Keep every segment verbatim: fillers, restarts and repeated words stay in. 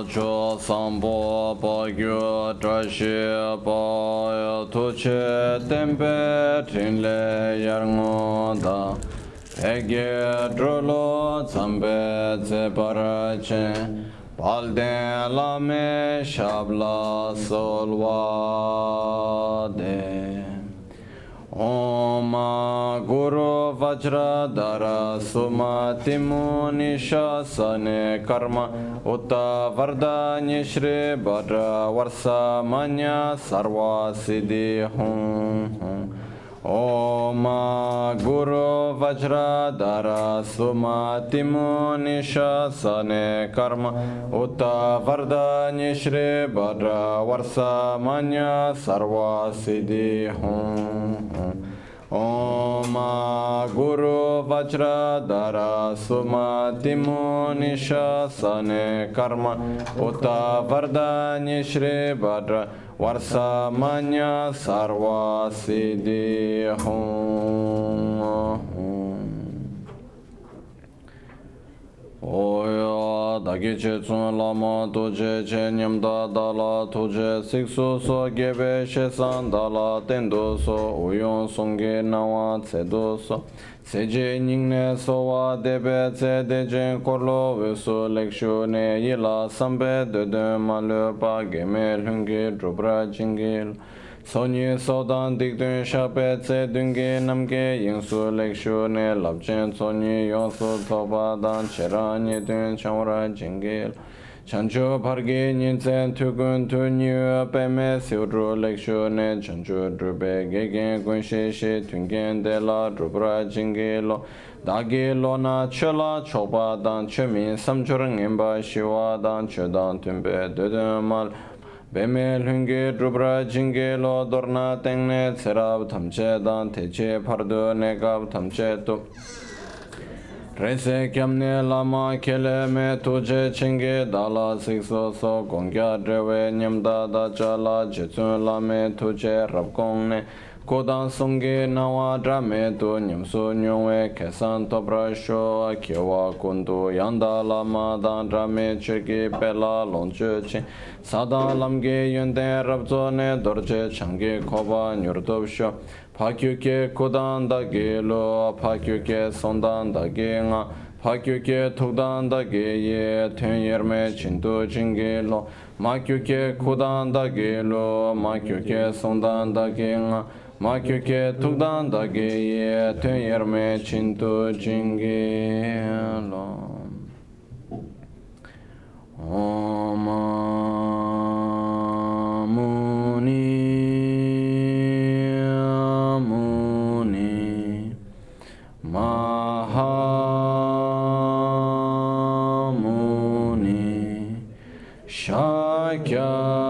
cho sambo pa gyu trashi pa tu che tempe trinle yarngo da pege drolo zambe ze parache palde lame shabla solvade Om Guru Vajradhara Sumati Muni Shasane Karma Uta Vardhani Shri Bhadra Varsa Manya Sarva Siddhi Hum Om Guru Vajradhara Sumati Muni Shasane Karma Uta Vardhani Shri Bhadra Varsa Manya Sarva Siddhi Hum Om Guru Vajradhara Sumati Muni Shasane Karma Uta Vardhani Shri Bhadra Varsa Manya Sarva Siddhi Hum Oya dagi che tsun lama tuje che nyamda dala tuje siksu so gebe she san dala tendo so uyon songe nawa tsedo so seje ningne so wa debe tse dejen korlo veso lekshu ne yila sambe dede malu pa geme lungi drupra jingil Sonyi sodan dikdun shape tse dungi namge yingsu lekshu ne labchen sonyi yonsu toba dan cherani dun chamra jingil chanchu pargi nyinsen tukun tu nyu peme siudru lekshu ne chanchu drube gegen gunshi shi tungen de la drupra jingilo dagi lona chola choba dan chemin samchur ngimba shiwa dan chodan tumbe dudun mal Beme lungi drupra jingi lo dorna tengne tserab tamche dan teche pardu negab tamche tu Rese kyamne lama kele me tuje chingi dala sikso so gongya drewe nyamda da chala jetsun lame tuje rabgongne Kodan songi nawa drame tu nyamsu nyungwe kesan topra sho kyewa kundu yanda lama dan drame chirki pela lonchu chin Sadan lamge yunten rabzo ne dorje changi koba nyurdob sho Pakyuke kodan dagi lo pakyuke sondan dagi nga Pakyuke tukdan dagi ye tun yerme chintu jingi lo Makyuke kodan dagi lo makyuke sondan dagi nga Makyuke tukdan dagi ye tun yerme chintu jingi lo Om Muni Muni Mahamuni Shakya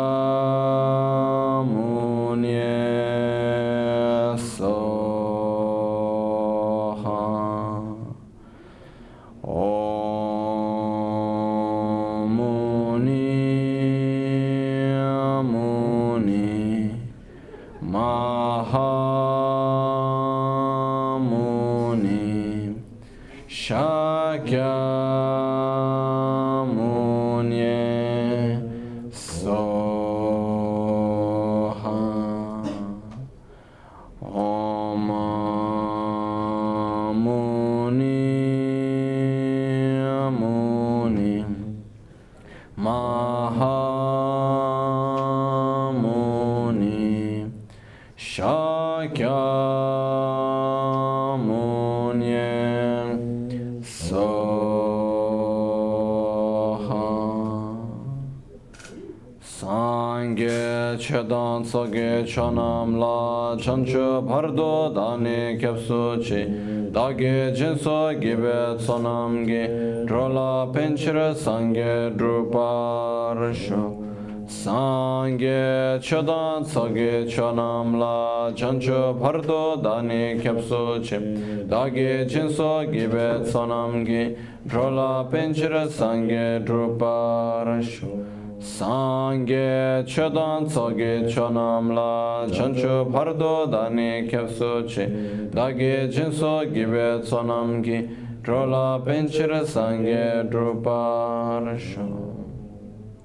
Chedan soge chonam la chanchu pardo dani kepsu chi dagi jinso gibe sonam gi drola penchira sange drupar sho sange chedan soge chonam la chanchu pardo dani kepsu chi dagi jinso gibe sonam gi drola penchira sange drupar sho Sangye chodan tsoge chonam la chanchu pardo dani kepsu chi dagi jinso gibe tsonam gi drola penchira sangye drupar sho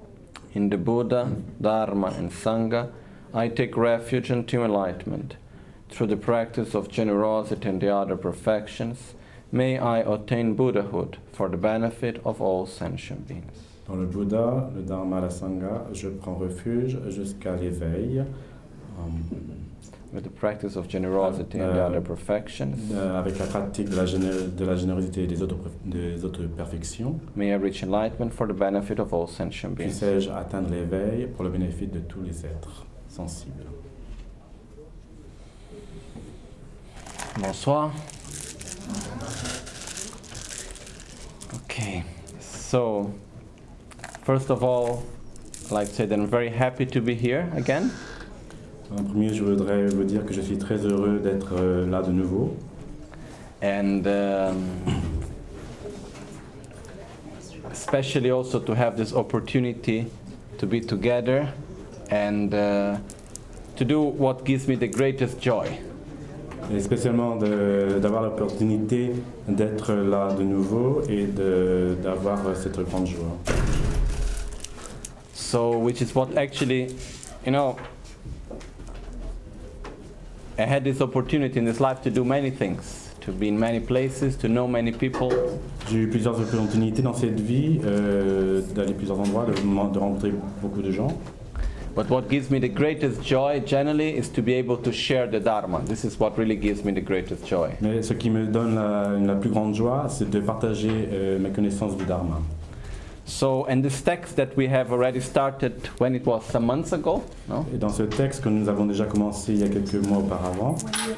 in the Buddha, Dharma, and Sangha, I take refuge unto enlightenment. Through the practice of generosity and the other perfections, may I attain Buddhahood for the benefit of all sentient beings. Dans le Bouddha, le Dharma, la Sangha, je prends refuge jusqu'à l'éveil. Um, With the practice of generosity and the other perfections, euh, avec la pratique de la, géné- de la générosité et des autres, des autres perfections, may I reach enlightenment for the benefit of all sentient beings. puissais-je atteindre l'éveil pour le bénéfice de tous les êtres sensibles. Bonsoir. Okay, so first of all, I'd like to say that I'm very happy to be here again. En premier, je voudrais vous dire que je suis très heureux d'être euh, là de nouveau. And um, especially also to have this opportunity to be together and uh, to do what gives me the greatest joy. Et spécialement de- d'avoir l'opportunité d'être là de nouveau et de- d'avoir cette grande joie. So, which is what actually, you know, I had this opportunity in this life to do many things, to be in many places, to know many people. J'ai eu plusieurs opportunités dans cette vie, euh, d'aller à plusieurs endroits, de, de rencontrer beaucoup de gens. But what gives me the greatest joy generally is to be able to share the Dharma. This is what really gives me the greatest joy. Mais ce qui me donne la, la plus grande joie, c'est de partager euh, mes connaissances du Dharma. So, and this text that we have already started when it was some months ago, no? Et dans ce texte que nous avons déjà commencé il y a quelques mois auparavant,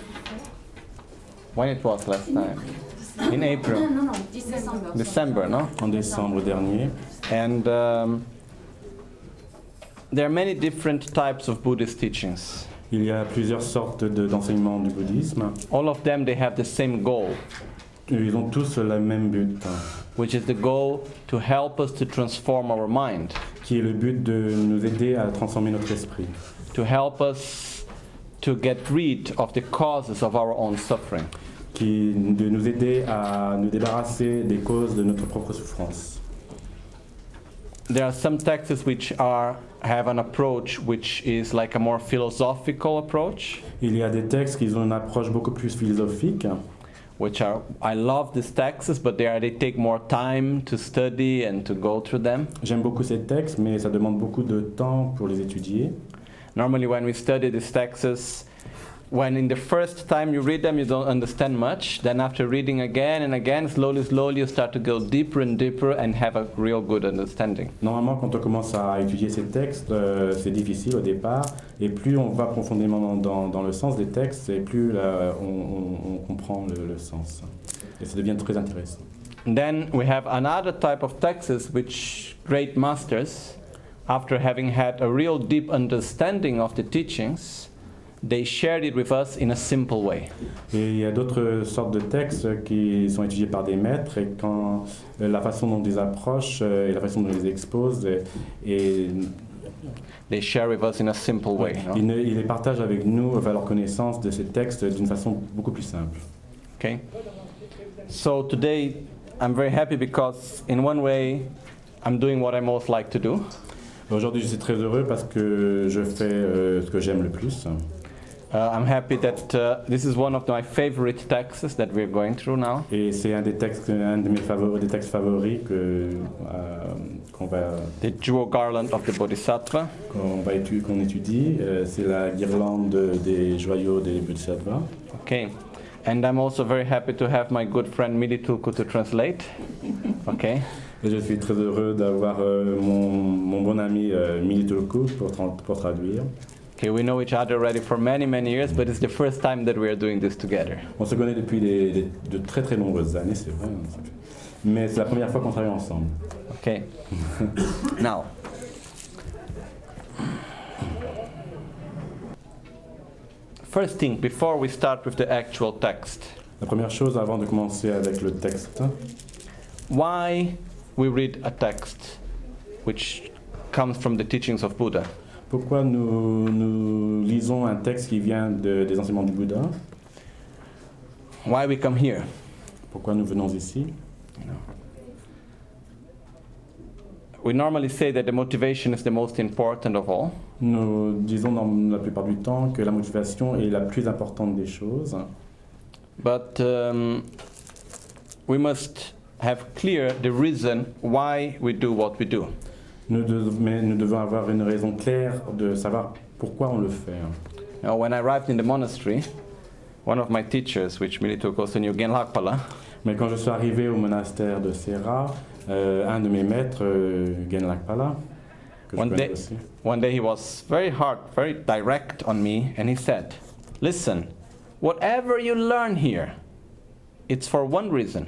When it was last time? In April, Non, non, décembre. December, no? en décembre dernier, And um, there are many different types of Buddhist teachings. il y a plusieurs sortes de- d'enseignements du bouddhisme. All of them, they have the same goal, Ils ont tous le même but, which is the goal to help us to transform our mind, qui est le but de nous aider à transformer notre esprit, to help us to get rid of the causes of our own suffering. qui de nous aider à nous débarrasser des causes de notre propre souffrance. There are some texts which are have an approach which is like a more philosophical approach, Il y a des textes qui ont une approche beaucoup plus philosophique, which are I love these texts, but they are they take more time to study and to go through them. J'aime beaucoup ces textes, mais ça demande beaucoup de temps pour les étudier. Normally, when we study these texts, when in the first time you read them, you don't understand much. Then after reading again and again, slowly, slowly, you start to go deeper and deeper and have a real good understanding. Normalement, quand on commence à étudier ces textes, euh, c'est difficile au départ, et plus on va profondément dans, dans, dans le sens des textes, et plus là, on, on- on comprend le, le sens. Et ça devient très intéressant. And then we have another type of texts which great masters, after having had a real deep understanding of the teachings, they shared it with us in a simple way. Et il y a d'autres sortes de textes qui sont étudiés par des maîtres, et quand euh, la façon dont ils approchent euh, et la façon dont ils les exposent, et, et They share with us in a simple way. no? ils, ne- ils les partagent avec nous, enfin, leur connaissance de ces textes d'une façon beaucoup plus simple. Okay? So today I'm very happy because in one way I'm doing what I most like to do. Aujourd'hui, je suis très heureux parce que je fais euh, ce que j'aime le plus. Uh, I'm happy that uh, this is one of my favorite texts that we're going through now. Et c'est un des textes, un de mes favoris, des textes favoris que, euh, qu'on va, The Jewel Garland of the Bodhisattva. qu'on va étu- qu'on étudie. Euh, c'est la guirlande des joyaux des Bodhisattvas. Okay. And I'm also very happy to have my good friend Mili Tulku to translate. Okay. Et je suis très heureux d'avoir euh, mon, mon bon ami euh, Mili Tulku pour, tra- pour traduire. Okay, we know each other already for many, many years, but it's the first time that we are doing this together. On se connaît depuis des- des- de très très nombreuses années, c'est vrai. hein. Mais c'est la première fois qu'on travaille ensemble. Okay. Now, first thing, before we start with the actual text, La première chose avant de commencer avec le texte, why we read a text which comes from the teachings of Buddha? pourquoi nous, nous lisons un texte qui vient de- des enseignements du Bouddha? Why we come here? Pourquoi nous venons ici? we normally say that the motivation is the most important of all. Nous disons dans la plupart du temps que la motivation est la plus importante des choses. But um, we must have clear the reason why we do what we do. Nous de- mais nous devons avoir une raison claire de savoir pourquoi on le fait. Now, when I arrived in the monastery, one of my teachers, which Milito goes to New Genlakpala, Mais quand je suis arrivé au monastère de Serra, euh, un de mes maîtres, euh, Genlakpala, que je One connais day- aussi, one day he was very hard, very direct on me, and he said, "Listen, whatever you learn here, it's for one reason.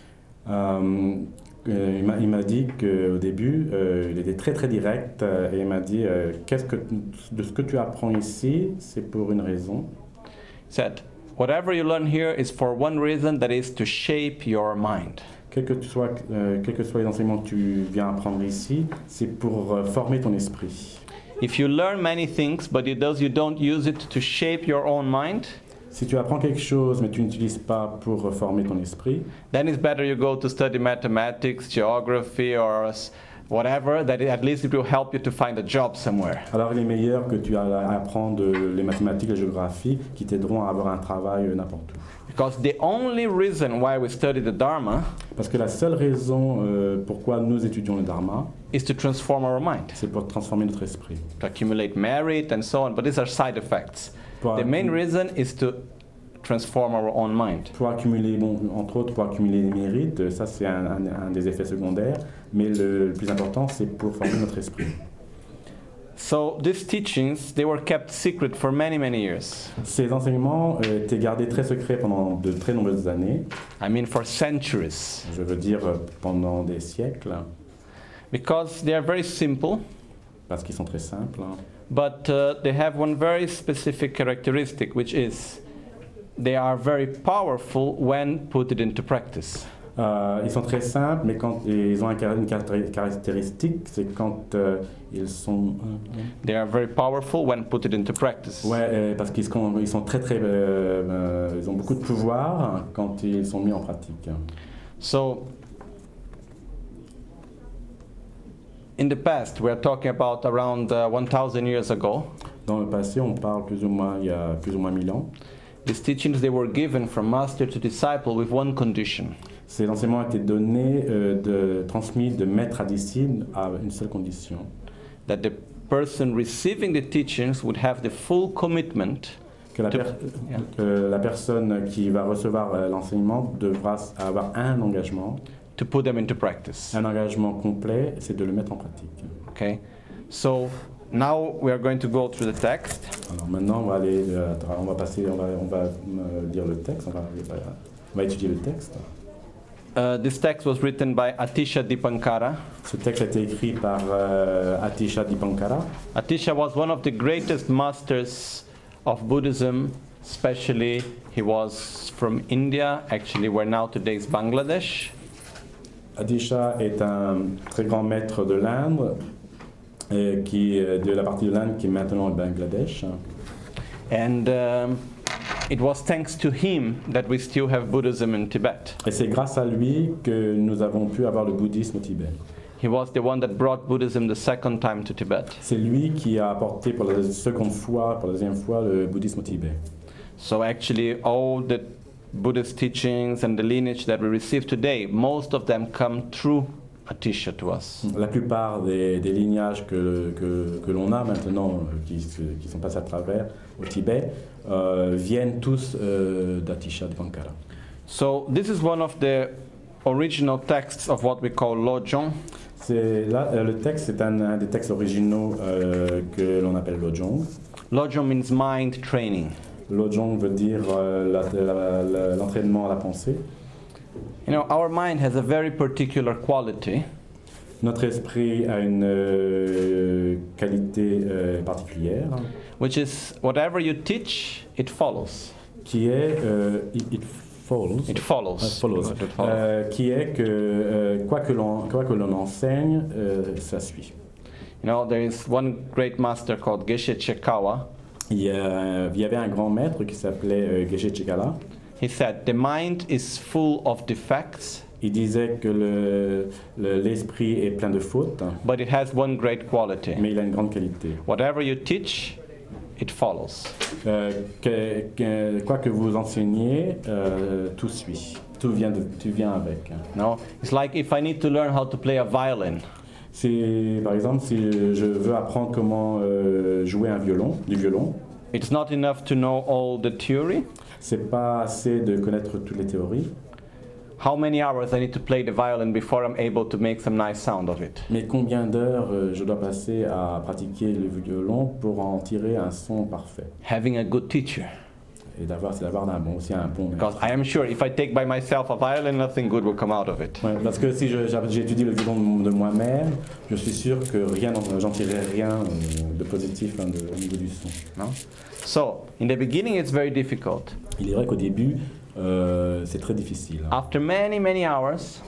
euh, euh, il m'a- il m'a dit qu'au début, euh, il était très très direct euh, et il m'a dit euh, qu'est-ce que, de ce que tu apprends ici, c'est pour une raison. He said, whatever you learn here is for one reason, that is to shape your mind. Quels que, tu sois, euh, quels que soient les enseignements que tu viens apprendre ici, c'est pour euh, former ton esprit. If you learn many things, but it does, you don't use it to shape your own mind, Si tu apprends quelque chose mais tu n'utilises pas pour euh, former ton esprit, then it's better you go to study mathematics, geography, or s- whatever, that it- at least it will help you to find a job somewhere. alors il est meilleur que tu a- apprends de, les mathématiques, la géographie, qui t'aideront à avoir un travail euh, n'importe où. Because the only reason why we study the Dharma Parce que la seule raison euh, pourquoi nous étudions le Dharma, is to transform our mind, c'est pour transformer notre esprit. to accumulate merit and so on, but these are side effects. Pour, The main accu- reason is to transform our own mind. pour accumuler, bon, entre autres, pour accumuler les mérites, ça c'est un, un- un des effets secondaires, mais le, le plus important c'est pour former notre esprit. So these teachings, they were kept secret for many, many years. Ces enseignements euh, étaient gardés très secrets pendant de très nombreuses années, I mean for centuries. je veux dire euh, pendant des siècles, Because they are very simple, parce qu'ils sont très simples. but uh, they have one very specific characteristic, which is they are very powerful when put it into practice. Euh, ils sont très simples, mais quand et ils ont un car- une caractéri- caractéristique, c'est quand euh, ils sont... They are very powerful when put it into practice. Ouais, euh, parce qu'ils sont, ils sont très très... euh, euh, ils ont beaucoup de pouvoir quand ils sont mis en pratique. So, in the past, we are talking about around uh, one thousand years ago. Dans le passé, on parle plus ou moins, il y a plus ou moins mille ans. These teachings, they were given from master to disciple with one condition. Ces enseignements ont été donnés, euh, de, transmis de maître à disciple à une seule condition. That the person receiving the teachings would have the full commitment Que la, to, per- yeah, que la personne qui va recevoir euh, l'enseignement devra s- avoir un engagement. to put them into practice. Un engagement complet, c'est de le mettre en pratique. Okay? So, now we are going to go through the text. Alors maintenant, on va aller, euh, on va passer, on va, on va euh, lire le texte, on va, on va étudier le texte. Uh, this text was written by Atisha Dipankara. Ce texte a été écrit par euh, Atisha Dipankara. Atisha was one of the greatest masters of Buddhism, especially he was from India, actually where now today is Bangladesh. Atisha est un très grand maître de l'Inde, euh, qui euh, de la partie de l'Inde qui est maintenant au Bangladesh. And um, it was thanks to him that we still have Buddhism in Tibet. Et c'est grâce à lui que nous avons pu avoir le bouddhisme au Tibet. He was the one that brought Buddhism the second time to Tibet. C'est lui qui a apporté pour la seconde fois, pour la deuxième fois, le bouddhisme au Tibet. So actually all the Buddhist teachings and the lineage that we receive today, most of them come through Atisha to us. La plupart des, des lignages que, que, que l'on a maintenant, euh, qui, se- qui sont passés à travers au Tibet, euh, viennent tous euh, d'Atisha Dipankara. So this is one of the original texts of what we call Lojong. C'est là, euh, le texte, c'est un, un des textes originaux euh, que l'on appelle Lojong. Lojong means mind training. Lojong veut dire euh, la- la- la- l'entraînement à la pensée. You know, our mind has a very particular quality, Notre esprit a une euh, qualité euh, particulière which is whatever you teach, it follows. qui est euh, it, it follows, It follows. Uh, follows. It follows. Euh, qui est que euh, quoi que l'on quoi que l'on enseigne, euh, ça suit. You know, there is one great master called Geshe Chekawa. Il y, a- il y avait un grand maître qui s'appelait euh, Geshe Chekala. He said, the mind is full of defects, Il disait que le- le- l'esprit est plein de fautes, but it has one great quality. mais il a une grande qualité. Whatever you teach, it follows. Euh, que, que- quoi que vous enseigniez, euh, tout suit. Tout vient, de, tout vient avec. No? It's like if I need to learn how to play a violin. C'est, par exemple, si je veux apprendre comment euh, jouer un violon, du violon, It's not enough to know all the theory. c'est pas assez de connaître toutes les théories. How many hours I need to play the violin before I'm able to make some nice sound of it? Mais combien d'heures euh, je dois passer à pratiquer le violon pour en tirer un son parfait? Having a good teacher. Et d'avoir, c'est d'avoir un bon, aussi un bon maître. Because I am sure if I take by myself a violin, nothing good will come out of it. Ouais, parce que si je- j'ai étudié le violon de moi-même, je suis sûr que rien, j'en tirerai rien euh, de positif hein, de, au niveau du son. No? So, in the beginning it's very difficult. Il est vrai qu'au début, euh, c'est très difficile. After many, many hours,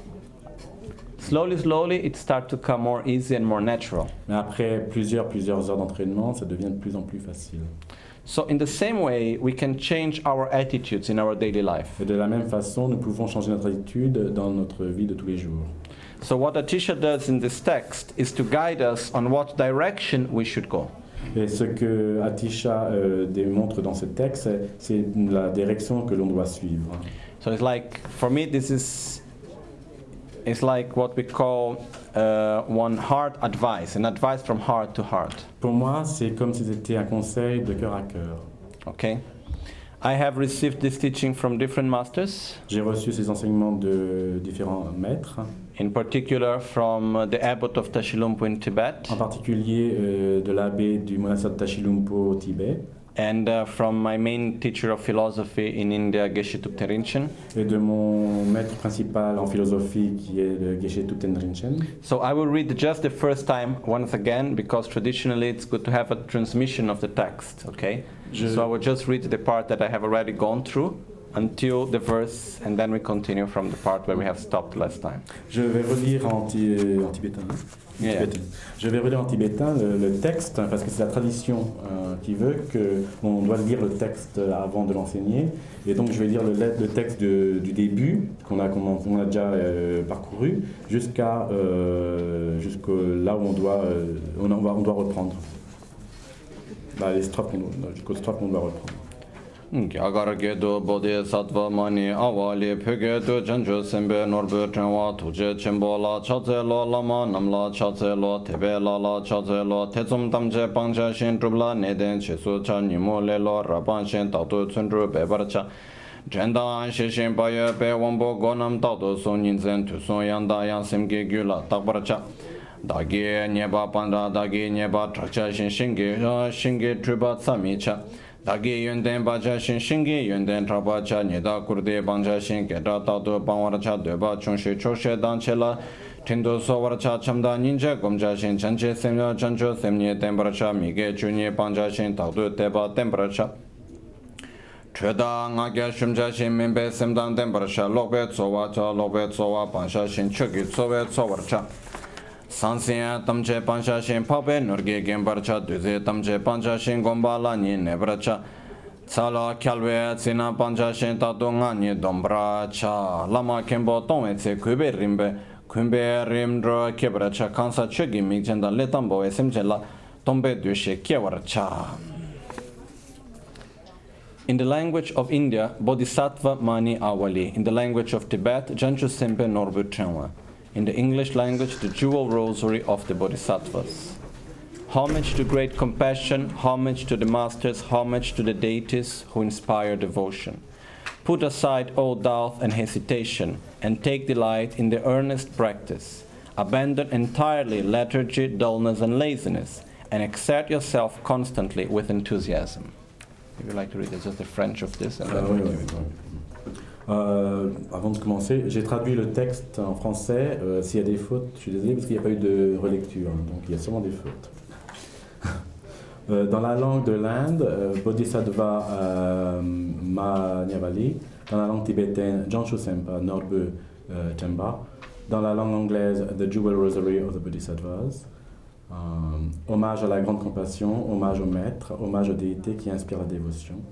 slowly, slowly, it starts to come more easy and more natural. Mais après plusieurs, plusieurs heures d'entraînement, ça devient de plus en plus facile. So in the same way, we can change our attitudes in our daily life. Et de la même façon, nous pouvons changer notre attitude dans notre vie de tous les jours. So what Atisha does in this text is to guide us on what direction we should go. Et ce que Atisha euh, démontre dans ce texte, c'est- c'est la direction que l'on doit suivre. So it's like, for me, this is, it's like what we call uh, one heart advice, an advice from heart to heart. Pour moi, c'est comme si c'était un conseil de cœur à cœur. Okay? I have received this teaching from different masters, J'ai reçu ces enseignements de différents maîtres, in particular from uh, the abbot of Tashilhunpo in Tibet, en particulier euh, de l'abbé du monastère de Tashilhunpo au Tibet, and uh, from my main teacher of philosophy in India, Geshe Thupten Rinchen. et de mon maître principal en philosophie qui est le Geshe Thupten Rinchen. So I will read just the first time once again, because traditionally it's good to have a transmission of the text, okay? Je- So I will just read the part that I have already gone through until the verse, and then we continue from the part where we have stopped last time. Je vais relire en, ti- en tibétain. hein. Yeah. Tibétain. Je vais relire en tibétain le, le texte hein, parce que c'est la tradition euh, qui veut qu'on doit lire le texte avant de l'enseigner. Et donc je vais lire le, le texte de- du début qu'on a, qu'on a déjà euh, parcouru jusqu'à euh, jusqu'au là où on doit, euh, on, en va- on doit reprendre. Bah, les strophes qu'on doit- jusqu'aux strophes qu'on doit reprendre. Gyagargedo bodhisattva mani avali pyogedo janjo sembe norbe trenwa tuje chenpo la chaze lo lama namla chaze lo tebe la la chaze lo tetsum tamche pangcha shin trubla neden chesu cha nimo le lo raban shin tatu tsundru bebar cha Chenda an shi shin paye pe wambo gonam tatu son yinzen tu son yanda yang semge gyula takbar cha Dagi nyeba panda dagi nyeba trakcha shin shingi shingi truba tsami cha Dagi yunden bacha shin shingi yunden traba cha nida kurde bangcha shin geta tatu bangwara cha deba chungshi choshe danche la Tindu sowara cha chamda ninja gomcha shin chanche semya chancho semnye tembara cha mige chunye bangcha shin tatu deba tembara cha Chöda nga kya shumcha shin minpe semdan tembara cha lokpe tsowa cha lokpe tsowa bangcha shin choki tsowe tsowara cha Sansiya tamche pansha shin pape nurge gembarcha duze tamche pansha shin gomba la ni nebracha Tsala kyalwe tsina pansha shin tatu nga ni dombracha Lama kembo tongwe tse kube rimbe Kumbe rimdro kebracha kansa chogi mikchenda letambo esemche la tombe dushe kyewarcha In the language of India, Bodhisattva Mani Awali. In the language of Tibet, Janchu Sempe Norbu Chenwa. In the English language, the Jewel Rosary of the Bodhisattvas. Homage to great compassion, homage to the masters, homage to the deities who inspire devotion. Put aside all doubt and hesitation, and take delight in the earnest practice. Abandon entirely lethargy, dullness, and laziness, and exert yourself constantly with enthusiasm. If you'd like to read, it's just the French of this. And Euh, then oui, oui, oui. Euh, avant de commencer, j'ai traduit le texte en français. Euh, S'il y a des fautes, je suis désolé parce qu'il n'y a pas eu de relecture, hein, donc il y a sûrement des fautes. euh, dans la langue de l'Inde, euh, Bodhisattva euh, Mahanyavali. Dans la langue tibétaine, Janchu Sempa Norbu euh, Chemba. Dans la langue anglaise, The Jewel Rosary of the Bodhisattvas. Euh, hommage à la grande compassion, hommage au maître, hommage aux déités qui inspirent la dévotion.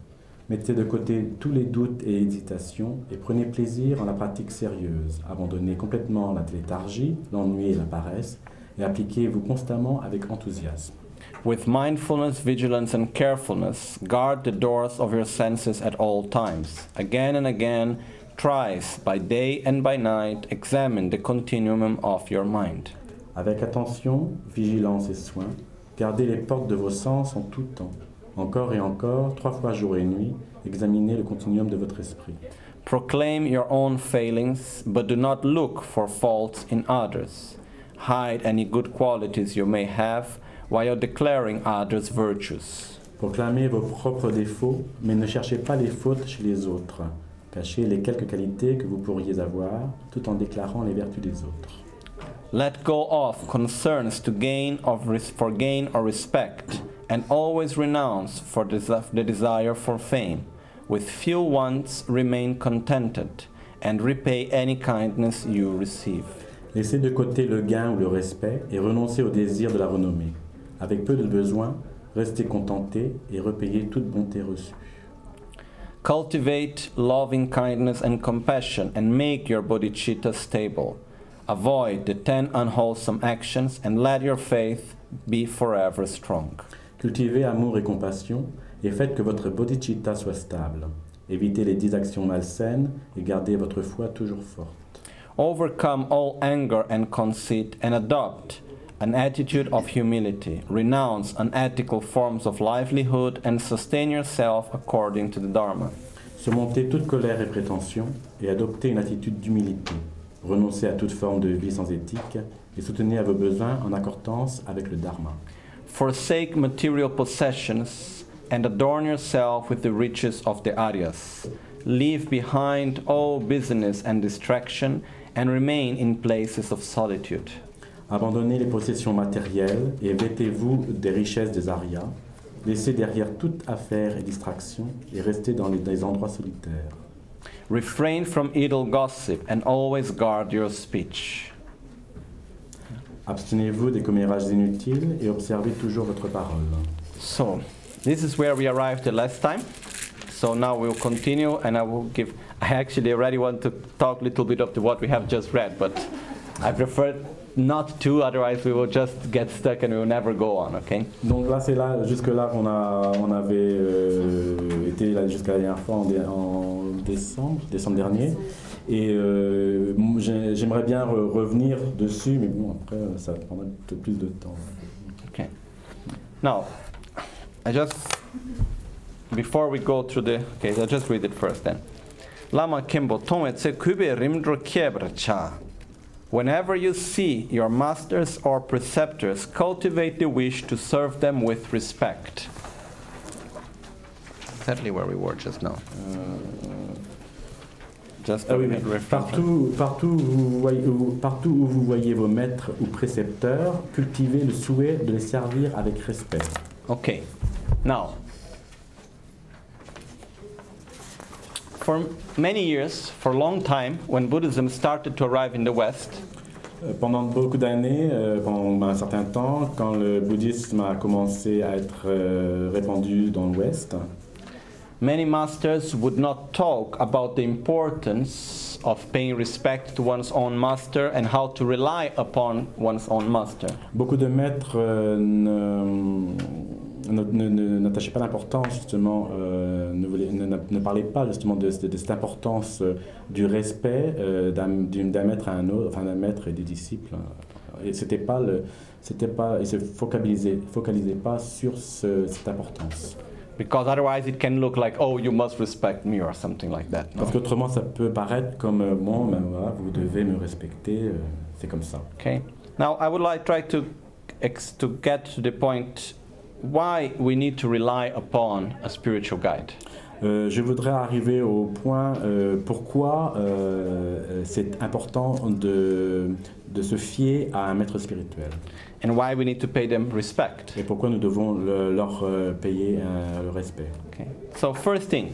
Mettez de côté tous les doutes et hésitations et prenez plaisir en la pratique sérieuse. Abandonnez complètement la léthargie, l'ennui et la paresse et appliquez-vous constamment avec enthousiasme. With mindfulness, vigilance, and carefulness, guard the doors of your senses at all times. Again and again, thrice, by day and by night, examine the continuum of your mind. Avec attention, vigilance et soin, gardez les portes de vos sens en tout temps. Encore et encore, trois fois jour et nuit, examinez le continuum de votre esprit. Proclaim your own failings, but do not look for faults in others. Hide any good qualities you may have, while declaring others' virtues. Proclamez vos propres défauts, mais ne cherchez pas les fautes chez les autres. Cachez les quelques qualités que vous pourriez avoir, tout en déclarant les vertus des autres. Let go of concerns to gain of res- for gain or respect, and always renounce for des- the desire for fame. With few wants remain contented, and repay any kindness you receive. Laissez de côté le gain ou le respect et renoncez au désir de la renommée. Avec peu de besoins, restez contentés et repayez toute bonté reçue. Cultivate loving kindness and compassion, and make your bodhicitta stable. Avoid the ten unwholesome actions, and let your faith be forever strong. Cultivez amour et compassion et faites que votre bodhicitta soit stable. Évitez les dix actions malsaines et gardez votre foi toujours forte. Overcome all anger and conceit, and adopt an attitude of humility. Renounce unethical forms of livelihood, and sustain yourself according to the Dharma. Surmontez toute colère et prétention et adoptez une attitude d'humilité. Renoncez à toute forme de vie sans éthique et soutenez à vos besoins en accordance avec le Dharma. Forsake material possessions, and adorn yourself with the riches of the Aryas. Leave behind all business and distraction, and remain in places of solitude. Abandonnez les possessions matérielles et vêtez-vous des richesses des Aryas. Laissez derrière toute affaire et distraction et restez dans les, dans les endroits solitaires. Refrain from idle gossip, and always guard your speech. Abstenez-vous des commérages inutiles et observez toujours votre parole. So, this is where we arrived the last time. So now we'll continue, and I will give. I actually already want to talk a little bit of the, what we have just read, but I prefer not to. Otherwise, we will just get stuck and we will never go on. Okay? Donc là, c'est là, jusque là qu'on a, on avait euh, été là jusqu'à la dernière fois en, dé, en décembre, décembre dernier. Et euh, j'ai, j'aimerais bien re, revenir dessus, mais bon, après, ça prendra un peu plus de temps. Okay. Now, I just before we go through the. Okay, I'll just read it first then. Lama Kimbo Tongetse Kube Rimdro Kiebre Cha. Whenever you see your masters or preceptors, cultivate the wish to serve them with respect. Exactly where we were just now. Uh, just ah oui, mais partout, partout, où vous voyez, où, partout où vous voyez vos maîtres ou précepteurs, cultivez le souhait de les servir avec respect. Okay. Now, for many years, for a long time, when Buddhism started to arrive in the West, pendant beaucoup d'années, euh, pendant un certain temps, quand le bouddhisme a commencé à être euh, répandu dans l'Ouest, many masters would not talk about the importance of paying respect to one's own master and how to rely upon one's own master. Beaucoup de maîtres euh, ne, ne, ne, n'attachaient pas l'importance, justement, euh, ne, voulaient, ne, ne parlaient pas justement de, de, de cette importance euh, du respect euh, d'un, d'un maître à un autre, enfin d'un maître et des disciples. Et c'était pas le, c'était pas, ils se focalisaient, focalisaient pas sur ce, cette importance. Because otherwise it can look like, oh, you must respect me or something like that. No? Parce qu'autrement ça peut paraître comme euh, bon, ben voilà, vous devez me respecter, euh, c'est comme ça. Okay. Now I would like try to ex- to get to the point why we need to rely upon a spiritual guide. Euh, je voudrais arriver au point euh, pourquoi euh, c'est important de, de se fier à un maître spirituel. And why we need to pay them respect. Et pourquoi nous devons le, leur euh, payer euh, le respect. Okay. So first thing,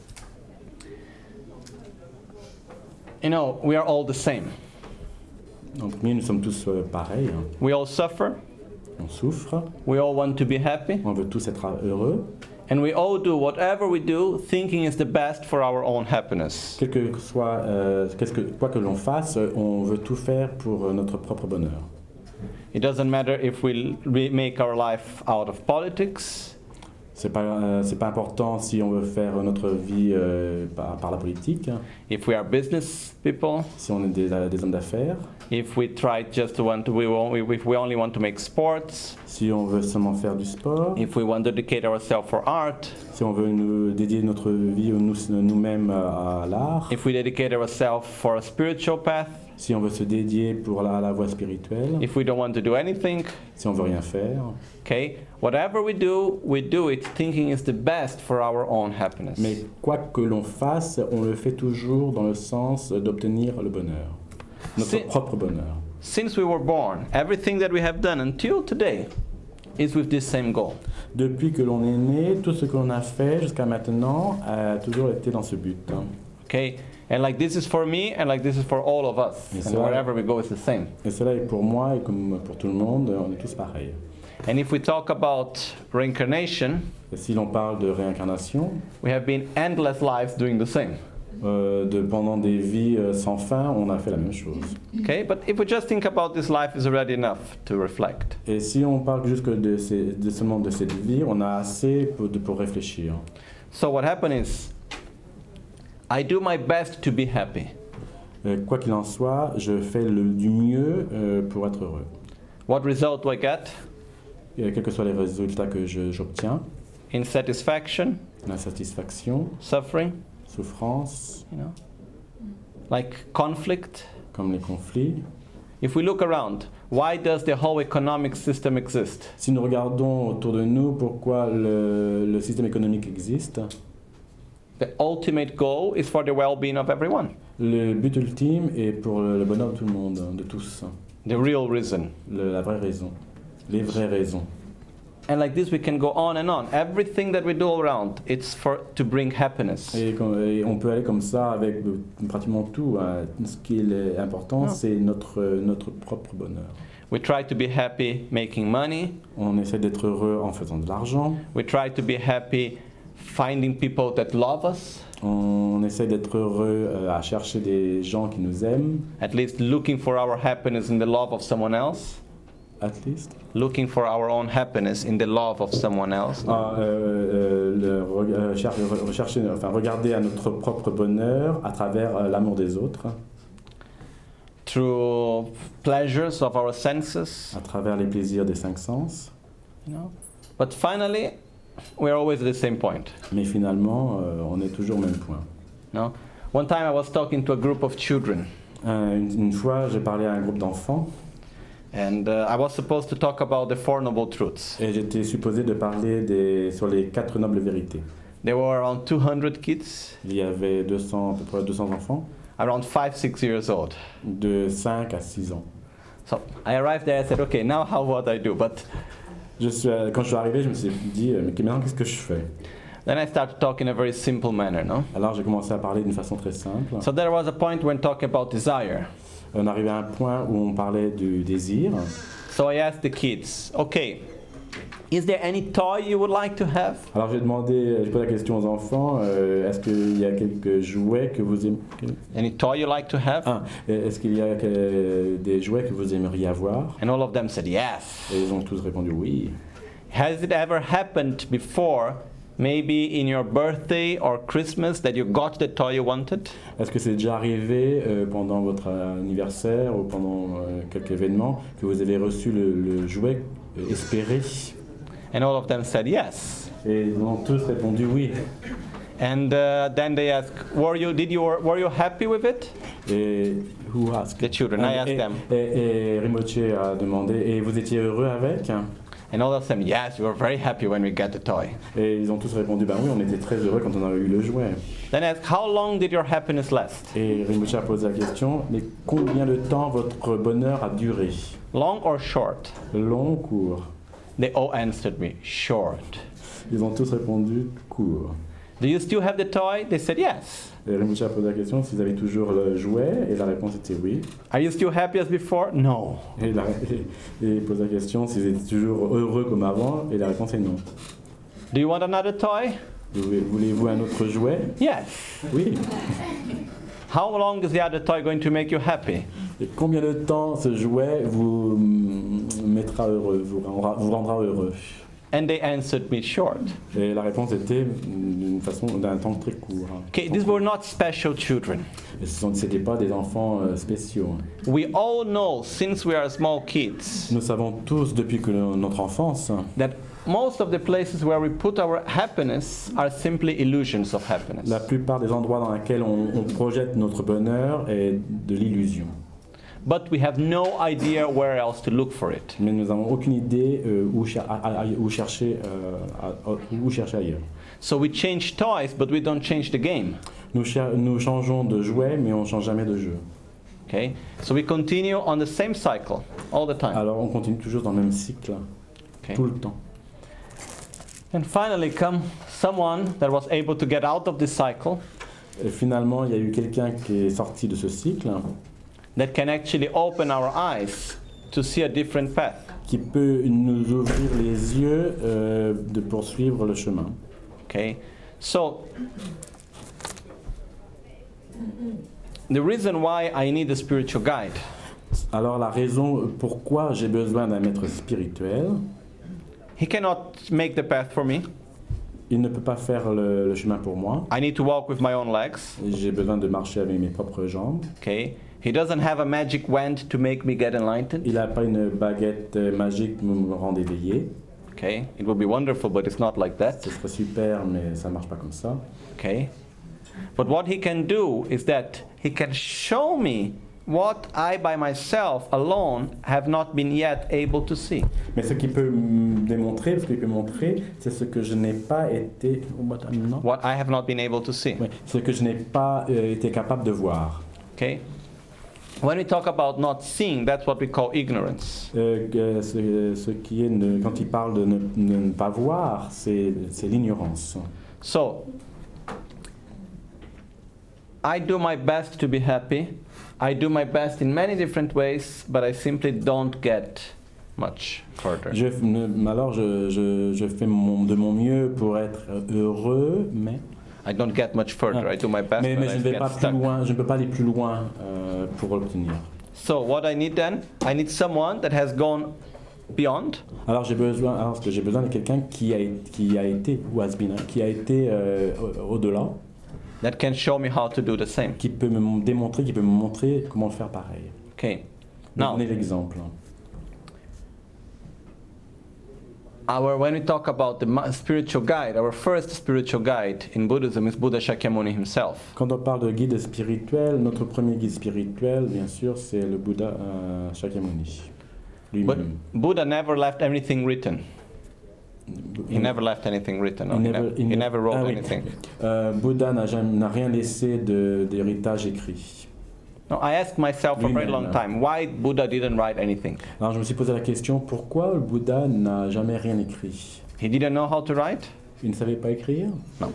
you know, we are all the same. Donc oui, nous sommes tous euh, pareils. Hein. We all suffer. On souffre. We all want to be happy. On veut tous être heureux. And we all do whatever we do, thinking is the best for our own happiness. Quel que soit, euh, qu'est-ce que, quoi que l'on fasse, on veut tout faire pour euh, notre propre bonheur. It doesn't matter if we re- make our life out of politics, C'est pas, euh, c'est pas important si on veut faire notre vie euh, par, par la politique, if we are business people, si on est des, des hommes d'affaires, if we try just to want to, we, won't- if we only want to make sports, si on veut seulement faire du sport, if we want to dedicate ourselves for art, si on veut nous dédier notre vie nous, nous-mêmes à, à l'art, if we dedicate ourselves for a spiritual path, si on veut se dédier pour la, la voie spirituelle, if we don't want to do anything, si on veut rien faire. okay, whatever we do, we do it thinking is the best for our own happiness. Mais quoi que l'on fasse, on le fait toujours dans le sens d'obtenir le bonheur, notre C'est- propre bonheur. Since we were born, everything that we have done until today is with this same goal. Depuis que l'on est né, tout ce que l'on a fait jusqu'à maintenant a toujours été dans ce but. hein. Okay? And like this is for me and like this is for all of us. Yes, And sir. wherever we go it's the same. Et cela est pour moi et comme pour tout le monde, on est tous pareils. And if we talk about reincarnation, Et si l'on parle de réincarnation, we have been endless lives doing the same. euh, de, pendant des vies euh, sans fin, on a fait la même chose. Okay? But if we just think about this life is already enough to reflect. Et si on parle juste de, ces, de seulement de cette vie, on a assez pour, de, pour réfléchir. So what happened is I do my best to be happy. Euh, quoi qu'il en soit, je fais le, du mieux euh, pour être heureux. What result do I get? Et quels que soient les résultats que je- j'obtiens, Insatisfaction, l'insatisfaction, suffering, souffrance, you know? Like conflict. comme les conflits. If we look around, why does the whole economic system exist? Si nous regardons autour de nous pourquoi le, le système économique existe, The ultimate goal is for the well-being of everyone. le but ultime est pour le, le bonheur de tout le monde, de tous. The real reason. Le- la vraie raison, les vraies raisons. And like this we can go on and on. Everything that we do around, it's for to bring happiness. Et, com- et on peut aller comme ça avec euh, pratiquement tout. hein. Ce qui est important, Ah. c'est notre, notre propre bonheur. We try to be happy making money. On essaie d'être heureux en faisant de l'argent. We try to be happy finding people that love us, On essaie d'être heureux euh, à chercher des gens qui nous aiment, at least looking for our happiness in the love of someone else. at least. Looking for our own happiness in the love of someone else. Ah, euh, euh, le re- euh, cher- rechercher, enfin, regarder à notre propre bonheur à travers euh, l'amour des autres, Through pleasures of our senses, à travers les plaisirs des cinq sens. you know. But finally, we're always at the same point. Mais finalement, euh, on est toujours au même point. No? One time I was talking to a group of children, Euh, une, une fois, j'ai parlé à un groupe d'enfants and uh, I was supposed to talk about the Four Noble Truths. et j'étais supposé de parler des, sur les quatre nobles vérités. There were around two hundred kids, Il y avait deux cents, à peu près deux cents enfants, around five, six years old. de cinq à six ans. So I arrived there, I said, okay, now how what I do? But Je suis, euh, quand je suis arrivé, je me suis dit, euh, mais maintenant, qu'est-ce que je fais? then I started talking in a very simple manner, no? Alors j'ai commencé à parler d'une façon très simple. So there was a point when talking about desire. On arrivait à un point où on parlait du désir. So I asked the kids, okay, is there any toy you would like to have? Alors j'ai demandé, j'ai posé la question aux enfants, euh, est-ce qu'il y a quelques jouets que vous aimez? Any toy you like to have? Ah, est-ce qu'il y a que- des jouets que vous aimeriez avoir? And all of them said yes. Et ils ont tous répondu oui. Has it ever happened before, maybe in your birthday or Christmas, that you got the toy you wanted? Est-ce que c'est déjà arrivé euh, pendant votre anniversaire ou pendant euh, quelque événement que vous avez reçu le, le jouet euh, espéré? And all of them said yes. Et ils ont tous répondu oui. And uh, then they asked, were you, did you, were you happy with it? Et who asked? The children, I asked et, them. Et, et Rimouche a demandé, et vous étiez heureux avec? And all of them, yes, we were very happy when we got the toy. Et ils ont tous répondu, ben oui, on était très heureux quand on a eu le jouet. Then I asked, how long did your happiness last? Et Rimouche a posé la question, mais combien de temps votre bonheur a duré? Long or short? Long ou court? They all answered me, short. Ils ont tous répondu court. Do you still have the toy? They said yes. Et Rimouche a posé la question s'ils avaient toujours le jouet, et la réponse était oui. Are you still happy as before? No. Et, la, et, et il pose la question s'ils étaient toujours heureux comme avant, et la réponse est non. Do you want another toy? Voulez-vous un autre jouet? Yes. Oui. How long is the other toy going to make you happy? Et combien de temps ce jouet vous mettra heureux, vous rendra, vous rendra heureux? And they answered me short. Et la réponse était d'une façon, d'un temps très court. Okay, these were not special children. Ce n'étaient pas des enfants euh, spéciaux. We all know, since we are small kids, Nous savons tous depuis que notre enfance that most of the places where we put our happiness are simply illusions of happiness. la plupart des endroits dans lesquels on, on projette notre bonheur est de l'illusion. But we have no idea where else to look for it. Mais nous n'avons aucune idée euh, où, cher- à- à- où, chercher, euh, à- à- où chercher ailleurs. So we change toys, but we don't change the game. Nous, cher- nous changeons de jouet, mais on ne change jamais de jeu. Okay? So we continue on the same cycle all the time. Alors on continue toujours dans le même cycle, Okay? tout le temps. And finally come someone that was able to get out of this cycle, Et finalement, il y a eu quelqu'un qui est sorti de ce cycle, that can actually open our eyes to see a different path. qui peut nous ouvrir les yeux euh, de poursuivre le chemin. Okay? So the reason why I need a spiritual guide Alors la raison pourquoi j'ai besoin d'un maître spirituel, he cannot make the path for me. il ne peut pas faire le, le chemin pour moi. I need to walk with my own legs. J'ai besoin de marcher avec mes propres jambes. Okay? He doesn't have a magic wand to make me get enlightened. Il n'a pas une baguette euh, magique pour me rendre éveillé. Okay? It would be wonderful, but it's not like that. Ce serait super, mais ça ne marche pas comme ça. Okay? But what he can do is that he can show me what I by myself alone have not been yet able to see. Mais ce qu'il peut me démontrer, ce qu'il peut montrer, c'est ce que je n'ai pas été... Non. What I have not been able to see. Oui, ce que je n'ai pas euh, été capable de voir. Okay? When we talk about not seeing, that's what we call ignorance. Euh, que ce, ce qui est, ne- quand il parle de ne, de ne pas voir, c'est c'est l'ignorance. So, I do my best to be happy. I do my best in many different ways, but I simply don't get much further. Je, ne- alors je, je, je fais mon, de mon mieux pour être heureux, mais, I don't get much further. I do my best, mais, but mais I je ne vais get pas plus stuck. loin, je ne peux pas aller plus loin euh, pour l'obtenir. So what I need then, I need someone that has gone beyond, Alors j'ai besoin, alors ce que j'ai besoin de quelqu'un qui a, qui a été, ou has been, hein, qui a été euh, au- au-delà, that can show me how to do the same. qui peut me démontrer, qui peut me montrer comment faire pareil. Okay. Now, Now, donner l'exemple. our when we talk about the ma- spiritual guide, our first spiritual guide in Buddhism is Buddha Shakyamuni himself. Quand on parle de guide spirituel, notre premier guide spirituel, bien sûr, c'est le Bouddha euh, Shakyamuni, But lui-même. Buddha never left anything written. He never left anything written. No, He he, never- never, he he ne- never wrote ah oui. anything. Euh, Bouddha n'a jamais- n'a rien laissé de- d'héritage écrit. No, I asked myself for a very Lui-même. long time why Buddha didn't write anything. Alors je me suis posé la question, pourquoi le Bouddha n'a jamais rien écrit? He didn't know how to write? Il ne savait pas écrire?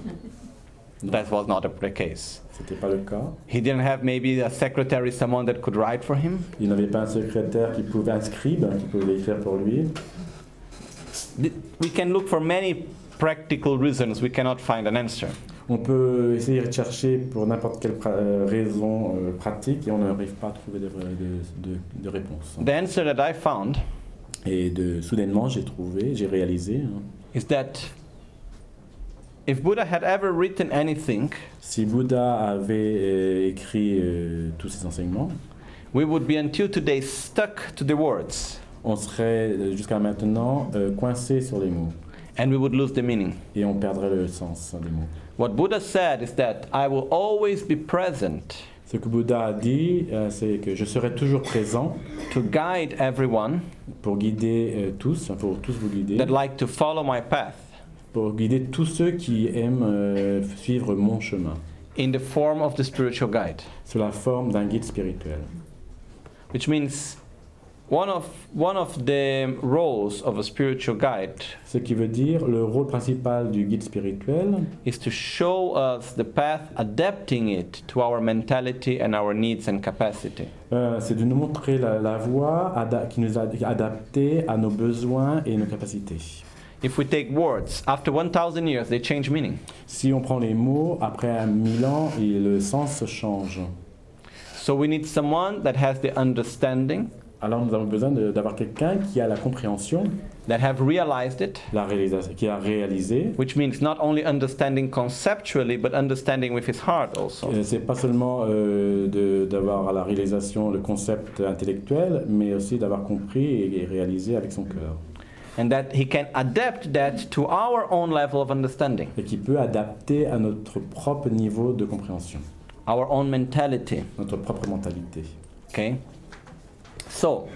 That was not the case. C'était pas le cas. He didn't have maybe a secretary, someone that could write for him. Il n'avait pas un secrétaire qui pouvait, un scribe qui pouvait écrire pour lui. Th- We can look for many practical reasons. We cannot find an answer. On peut essayer de chercher pour n'importe quelle pra- euh, raison euh, pratique et on n'arrive pas à trouver de, de, de, de réponse. The answer that I found Et de, soudainement, j'ai trouvé, j'ai réalisé, hein, is that if Buddha had ever written anything, si Bouddha avait euh, écrit euh, tous ses enseignements, we would be until today stuck to the words, on serait euh, jusqu'à maintenant euh, coincé sur les mots and we would lose the meaning. et on perdrait le sens des mots. What Buddha said is that I will always be present Ce que Bouddha a dit, euh, c'est que je serai toujours présent to guide everyone pour guider euh, tous, pour tous vous guider, that like to follow my path pour guider tous ceux qui aiment euh, suivre mon chemin, in the form of the spiritual guide. sous la forme d'un guide spirituel. Which means one of, one of the roles of a spiritual guide Ce qui veut dire le rôle principal du guide spirituel, is to show us the path, adapting it to our mentality and our needs and capacity. euh, c'est de nous montrer la, la voie ada- qui nous a adaptée à nos besoins et nos capacités. If we take words, after one thousand years, they change meaning. Si on prend les mots, après mille ans, et le sens change. So we need someone that has the understanding, Alors nous avons besoin de- d'avoir quelqu'un qui a la compréhension, that have realized it, la réalisation, qui a réalisé. which means not only understanding conceptually, but understanding with his heart also. Euh, C'est pas seulement euh, de- d'avoir à la réalisation le concept intellectuel, mais aussi d'avoir compris et, et réalisé avec son cœur. And that he can adapt that to our own level of understanding, Et qui peut adapter à notre propre niveau de compréhension, our own mentality. notre propre mentalité. Okay? So,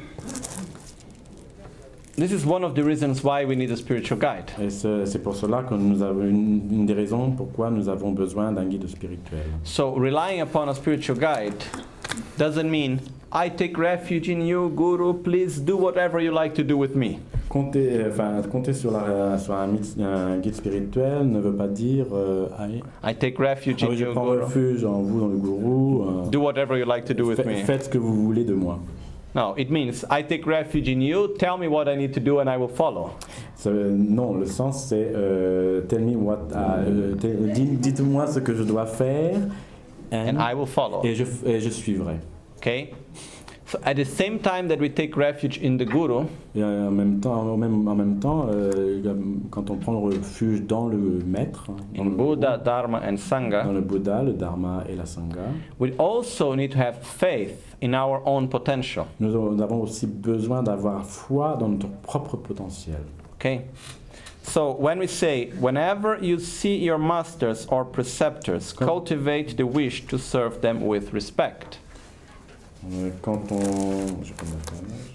this is one of the reasons why we need a spiritual guide. Et c'est c'est pour cela que nous avons une, une des raisons pourquoi nous avons besoin d'un guide spirituel. So, relying upon a spiritual guide doesn't mean I take refuge in you, Guru, please do whatever you like to do with me. Compter, euh, enfin, compter sur, la, sur un, mythe- un guide spirituel ne veut pas dire euh, ah, I take refuge ah in oui, je you, prends Guru. refuge en vous, dans le gourou. euh, Do whatever you like to do with fa- me. Faites ce que vous voulez de moi. No, it means I take refuge in you, tell me what I need to do and I will follow. Ça, non, le sens c'est euh, tell me what, ah, euh, tell- dites- dites-moi ce que je dois faire And and- I will follow. et, je, et je suivrai. Okay? So at the same time that we take refuge in the Guru, Et en même temps, en même, en même temps euh, il y a- quand on prend le refuge dans le maître, dans in le, Buddha, Dharma and dans Sangha, le Bouddha, le Dharma et la Sangha, we also need to have faith in our own potential. nous avons nous avons aussi besoin d'avoir foi dans notre propre potentiel. Okay? So when we say, whenever you see your masters or preceptors, cultivate the wish to serve them with respect. Euh, Quand on, je vais prendre la page.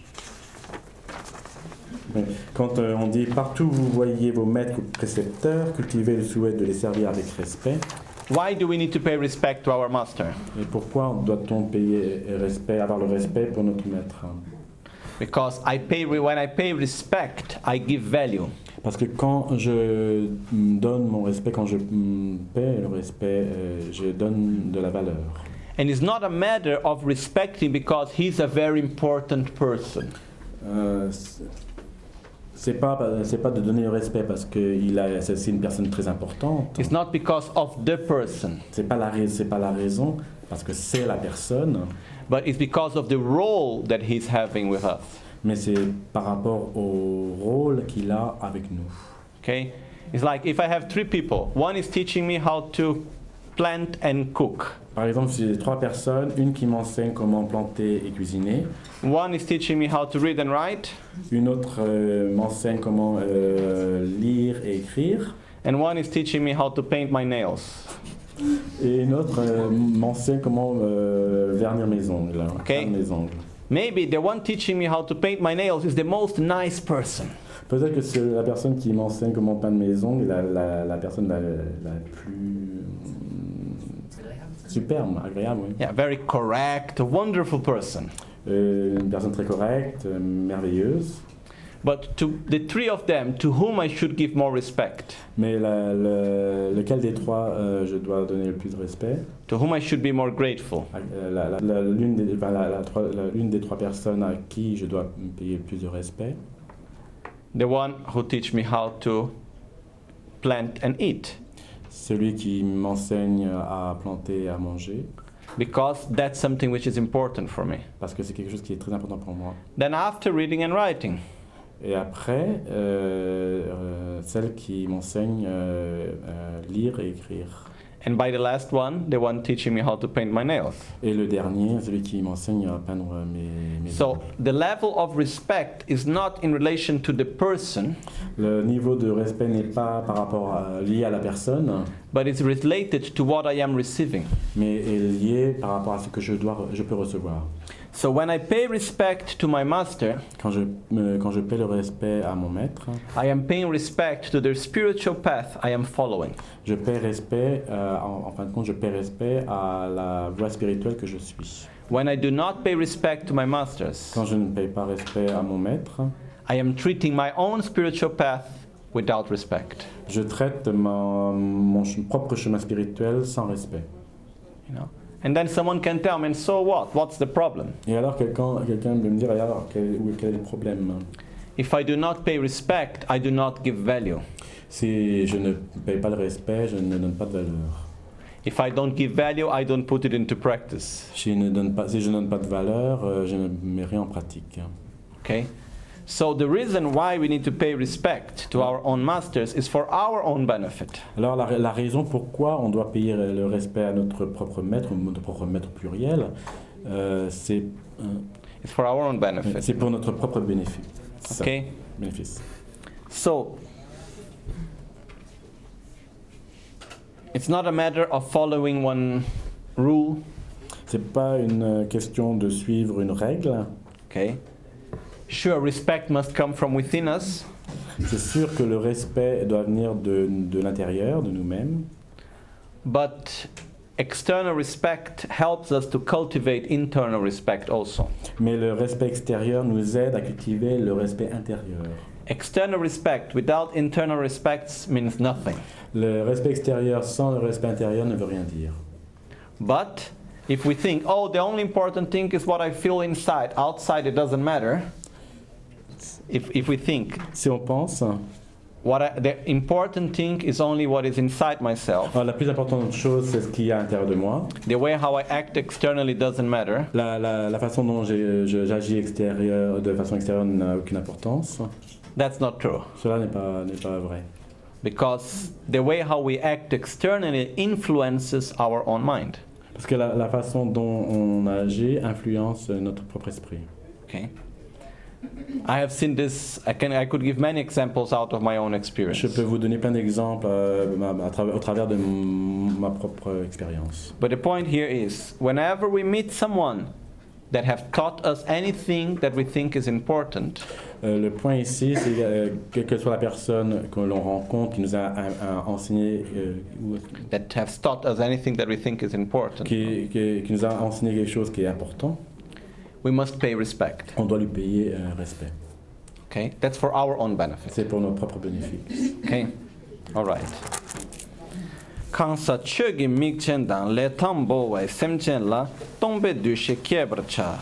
Oui. Quand euh, on dit partout où vous voyez vos maîtres ou précepteurs, cultivez le souhait de les servir avec respect. Why do we need to pay respect to our master? Et pourquoi doit-on payer respect, avoir le respect pour notre maître? Because I pay when I pay respect, I give value. Parce que quand je mm, donne mon respect, quand je mm, paie le respect, euh, je donne de la valeur. And it's not a matter of respecting because he's a very important person. Euh, c'est- c'est pas c'est pas de donner le respect parce que il a c'est c'est une personne très importante. It's not because of the person, C'est pas la rais- c'est pas la raison parce que c'est la personne, but it's because of the role that he's having with us. mais c'est par rapport au rôle qu'il a avec nous. Okay? It's like if I have three people, one is teaching me how to plant and cook. Par exemple, si j'ai trois personnes, une qui m'enseigne comment planter et cuisiner, One is teaching me how to read and write, une autre euh, m'enseigne comment euh, lire et écrire, and one is teaching me how to paint my nails. et une autre euh, m'enseigne comment euh, vernir mes ongles, hein, Ok. faire mes ongles. Maybe the one teaching me how to paint my nails is the most nice person. Peut-être que c'est la personne qui m'enseigne comment peindre mes ongles, la, la, la personne la, la plus superbe, agréable, oui. Yeah, very correct, a wonderful person. Euh, une personne très correcte, euh, merveilleuse. But to the three of them, to whom I should give more respect, Mais la- le- lequel des trois euh, je dois donner le plus de respect? to whom I should be more grateful. Euh, la- la- la- L'une des, enfin, la- la trois- la- l'une des trois personnes à qui je dois payer le plus de respect, The one who teach me how to plant and eat, celui qui m'enseigne à planter et à manger, because that's something which is important for me. parce que c'est quelque chose qui est très important pour moi. Then after reading and writing, Et après, euh, euh, celle qui m'enseigne euh, euh, lire et écrire. and by the last one, the one teaching me how to paint my nails. Et le dernier, celui qui m'enseigne à peindre mes, mes So ongles. the level of respect is not in relation to the person, Le niveau de respect n'est pas par rapport à, lié à la personne, but it's related to what I am receiving. mais est lié par rapport à ce que je, dois, je peux recevoir. So when I pay respect to my master, Quand je, me- quand je paie le respect à mon maître, I am paying respect to the spiritual path I am following. je paie respect, euh, en, en fin de compte, je paie respect à la voie spirituelle que je suis. When I do not pay respect to my masters, Quand je ne paye pas respect à mon maître, I am treating my own spiritual path without respect. je traite ma- mon ch- propre chemin spirituel sans respect. You know? And then someone can tell me, and so what? What's the problem? Et alors quelqu'un quelqu'un peut me dire, et alors quel, où- quel est le problème? If I do not pay respect, I do not give value. Si je ne paye pas le respect, je ne donne pas de valeur. If I don't give value, I don't put it into practice. Si je ne donne pas, si je ne donne pas de valeur, euh, je ne mets rien en pratique. Okay? So the reason why we need to pay respect to our own masters is for our own benefit. Alors la, la raison pourquoi on doit payer le respect à notre propre maître, notre propre maître pluriel, euh, c'est euh, It's for our own benefit. c'est pour notre propre bénéfice. Okay? Bénéfice. So it's not a matter of following one rule. C'est pas une question de suivre une règle. Okay? Sure, respect must come from within us, C'est sûr que le respect doit venir de, de l'intérieur, de nous-mêmes. but external respect helps us to cultivate internal respect also. Mais le respect extérieur nous aide à cultiver le respect intérieur. External respect without internal respect means nothing. Le respect extérieur sans le respect intérieur ne veut rien dire. But if we think, oh, the only important thing is what I feel inside, outside it doesn't matter. If, if we think, Si on pense, what I, the important thing is only what is inside myself. alors, la plus importante chose, c'est ce qu'il y a à l'intérieur de moi. The way how I act externally doesn't matter. La, la, la façon dont j'ai- je- j'agis extérieur, de façon extérieure n'a aucune importance. That's not true. Cela n'est pas, n'est pas vrai. Because the way how we act externally influences our own mind. Parce que la, la façon dont on agit influence notre propre esprit. Okay? I have seen this, I, can, I could give many examples out of my own experience. Je peux vous donner plein d'exemples euh, à travers- au travers de m- ma propre expérience. But the point here is, whenever we meet someone that have taught us anything that we think is important, Euh, le point ici, c'est euh, quelle que soit la personne que l'on rencontre qui nous a, a- a enseigné, euh, ou- that has taught us anything that we think is important, qui, qui- qui nous a enseigné quelque chose qui est important, we must pay respect. on doit lui payer euh, respect. Okay? That's for our own benefit. C'est pour notre propre bénéfice. Okay? All right. Kansa chögi mikchen dan le tambo wai semchen la tombe dushe kyebrcha.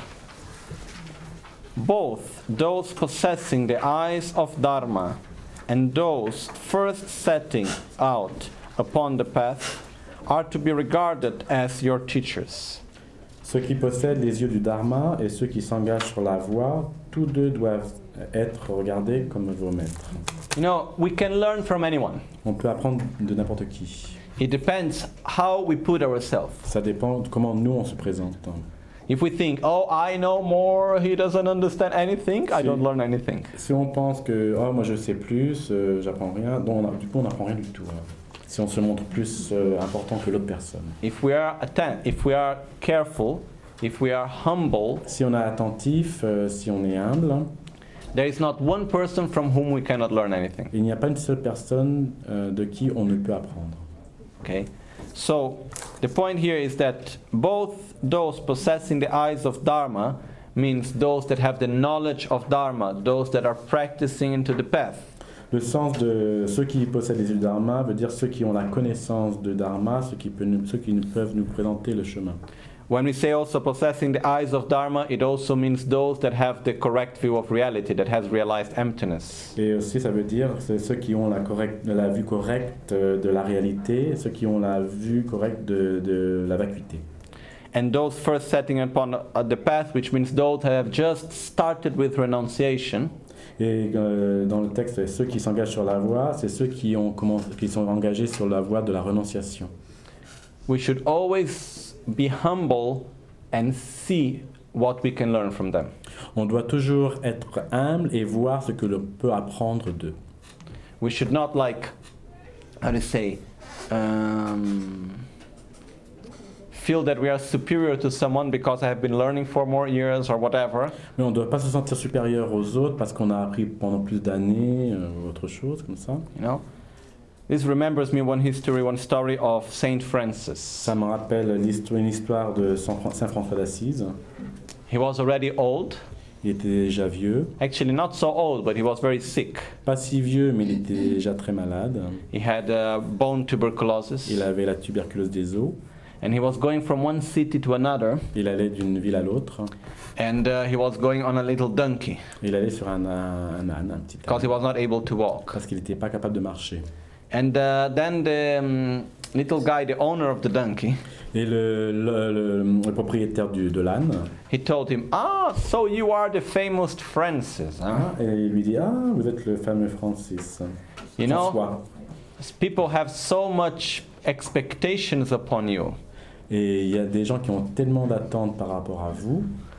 Both those possessing the eyes of Dharma and those first setting out upon the path are to be regarded as your teachers. Ceux qui possèdent les yeux du Dharma et ceux qui s'engagent sur la voie, tous deux doivent être regardés comme vos maîtres. You know, we can learn from anyone. On peut apprendre de n'importe qui. It depends how we put ourselves. Ça dépend de comment nous on se présente. If we think, oh, I know more, he doesn't understand anything, I Si. don't learn anything. Si on pense que oh moi je sais plus, euh, j'apprends rien, donc on a- du coup on n'apprend rien du tout. hein. Si on se montre plus euh, important que l'autre personne. If we are atten- if we are careful, if we are humble, Si on est attentif, euh, si on est humble, there is not one person from whom we cannot learn anything. il n'y a pas une seule personne euh, de qui on ne peut apprendre. Okay? So, the point here is that both those possessing the eyes of Dharma means those that have the knowledge of Dharma, those that are practicing into the path. Le sens de ceux qui possèdent les yeux du Dharma veut dire ceux qui ont la connaissance de Dharma, ceux qui, peut nous, ceux qui nous peuvent nous présenter le chemin. When we say also possessing the eyes of Dharma, it also means those that have the correct view of reality, that has realized emptiness. Et aussi ça veut dire c'est ceux qui ont la, correcte, la vue correcte euh, de la réalité, ceux qui ont la vue correcte de, de la vacuité. And those first setting upon uh, the path, which means those that have just started with renunciation, Et euh, dans le texte, ceux qui s'engagent sur la voie, c'est ceux qui, ont commencé, qui sont engagés sur la voie de la renonciation. we should always be humble and see what we can learn from them. On doit toujours être humble et voir ce que l'on peut apprendre d'eux. We should not like, how to say, um, feel that we are superior to someone because I have been learning for more years or whatever. Mais on ne doit pas se sentir supérieur aux autres parce qu'on a appris pendant plus d'années euh, ou autre chose comme ça. You know, this remembers me one history, one story of Saint Francis. Ça me rappelle l'histoire, une histoire de Saint Fran- Saint François d'Assise. He was already old, Il était déjà vieux, actually not so old, but he was very sick. pas si vieux, mais il était déjà très malade. He had uh, bone tuberculosis, Il avait la tuberculose des os. And he was going from one city to another, Il allait d'une ville à l'autre. and uh, he was going on a little donkey Il allait sur un, un âne, un petit because he âne, was not able to walk. parce qu'il n'était pas capable de marcher. And uh, then the um, little guy, the owner of the donkey, Et le, le, le- le propriétaire du, de l'âne, he told him, "Ah, so you are the famous Francis, huh? ah, et il lui dit, ah, vous êtes le fameux Francis. You know, François. people have so much expectations upon you. Et il y a des gens qui ont tellement d'attentes par rapport à vous.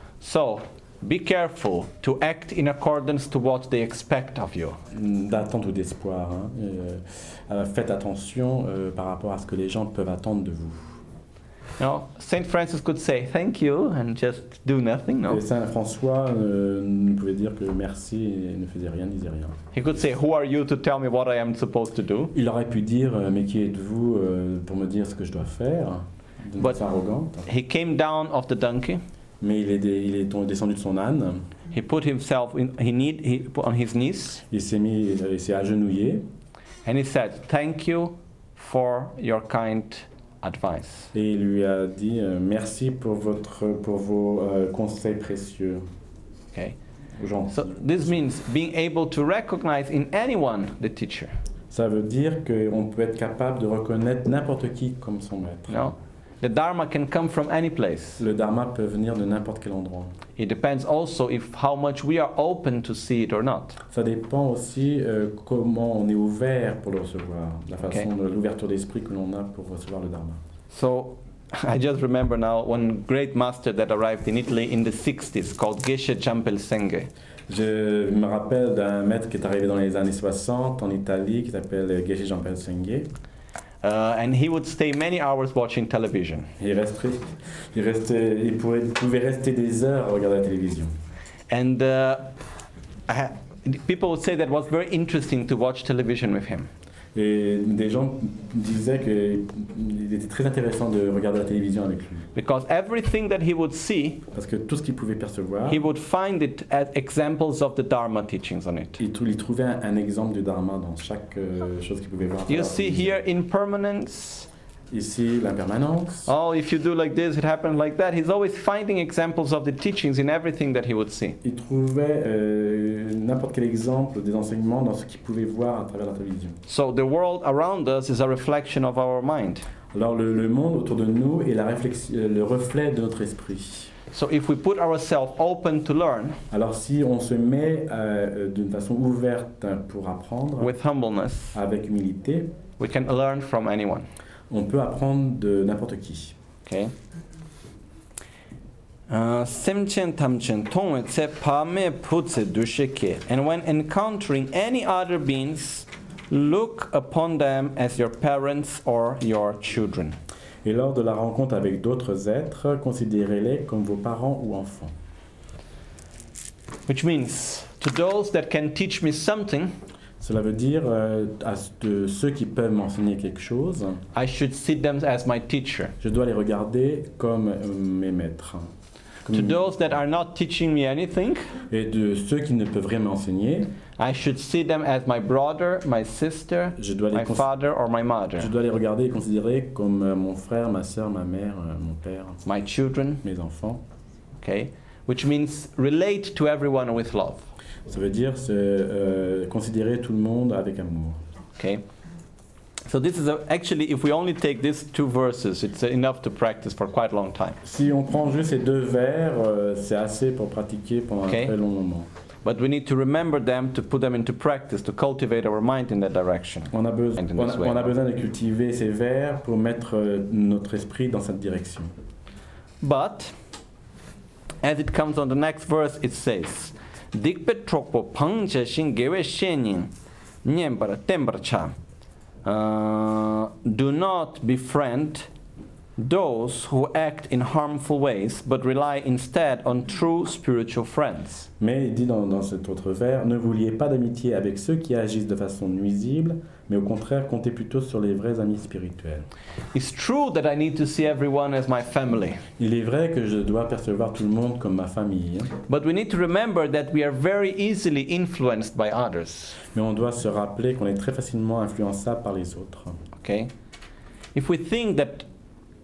So be careful to act in accordance to what they expect of you." D'attente ou d'espoir. Hein. Euh, euh, faites attention euh, par rapport à ce que les gens peuvent attendre de vous. You know, Saint Francis could say thank you and just do nothing. No, Et Saint François euh, ne pouvait dire que merci et ne faisait rien, ne disait rien. he could say, "Who are you to tell me what I am supposed to do?" Il aurait pu dire euh, mais qui êtes-vous euh, pour me dire ce que je dois faire, d'une But- façon arrogante. He came down off the donkey. Mais il est, dé- il est tombé- descendu de son âne, He put himself in, he need he put on his knees, il s'est mis, il s'est agenouillé and he said, "Thank you for your kind advice." et il lui a dit euh, merci pour votre pour vos euh, conseils précieux. Okay. Gentil. So this means being able to recognize in anyone the teacher. Ça veut dire qu'on peut être capable de reconnaître n'importe qui comme son maître. You know, the Dharma can come from any place. Le dharma peut venir de n'importe quel endroit. It depends also if how much we are open to see it or not. Ça dépend aussi euh, comment on est ouvert pour le recevoir, la façon Ok. de l'ouverture d'esprit que l'on a pour recevoir le dharma. So I just remember now one great master that arrived in Italy in the sixties called Geshe Champel Senge. Je me rappelle d'un maître qui est arrivé dans les années soixante en Italie qui s'appelle Geshe Jean-Paul Senge. Uh, and he would stay many hours watching television. Il restait, il restait, il pouvait, il pouvait rester des heures à regarder la télévision. And uh, I ha- people would say that it was very interesting to watch television with him. Et des gens disaient qu'il était très intéressant de regarder la télévision avec lui. Because everything that he would see, Parce que tout ce qu'il pouvait percevoir, he would find it as examples of the Dharma teachings on it. il, trou- il trouvait un, un exemple du dharma dans chaque euh, chose qu'il pouvait voir. à You travers la see télévision. here impermanence. Ici, l'impermanence. Oh, if you do like this, it happens like that. He's always finding examples of the teachings in everything that he would see. Il trouvait euh, n'importe quel exemple des enseignements dans ce qu'il pouvait voir à travers la télévision. So the world around us is a reflection of our mind. Alors le, le monde autour de nous est la réflexion, le reflet de notre esprit. So if we put ourselves open to learn Alors si on se met euh, d'une façon ouverte pour apprendre, with humbleness, avec humilité, we can learn from anyone. on peut apprendre de n'importe qui. Okay. Uh, Semchen tamchen tongwe tse pame putse dusheke. And when encountering any other beings, look upon them as your parents or your children. Et lors de la rencontre avec d'autres êtres, considérez-les comme vos parents ou enfants. Which means, to those that can teach me something, Cela veut dire euh, à de ceux qui peuvent m'enseigner quelque chose, I should see them as my teacher. je dois les regarder comme euh, mes maîtres. Comme- To those that are not teaching me anything, Et de ceux qui ne peuvent rien m'enseigner, I should see them as my brother, my sister, je dois les, my cons- father, or my mother, je dois les regarder et considérer comme euh, mon frère, ma soeur, ma mère, euh, mon père, my children. mes enfants. Okay, which means relate to everyone with love. Ça veut dire se, euh, considérer tout le monde avec amour. Okay, so this is a, actually, if we only take these two verses, it's enough to practice for quite a long time. Si on prend juste ces deux vers, euh, c'est assez pour pratiquer pendant Ok. un très long moment. But we need to remember them to put them into practice to cultivate our mind in that direction. On a, besoin, And in on, this a, way. on a besoin de cultiver ces vers pour mettre euh, notre esprit dans cette direction. But as it comes on the next verse, it says, "Dikpet trokpo pangje shin gewe shenin nyembara tembara cha." Uh, do not befriend those who act in harmful ways, but rely instead on true spiritual friends. Mais il dit dans, dans cet autre vers, ne vous liez pas d'amitié avec ceux qui agissent de façon nuisible, mais au contraire, comptez plutôt sur les vrais amis spirituels. It's true that I need to see everyone as my family, Il est vrai que je dois percevoir tout le monde comme ma famille, hein, but we need to remember that we are very easily influenced by others. mais on doit se rappeler qu'on est très facilement influençable par les autres. Okay? If we think that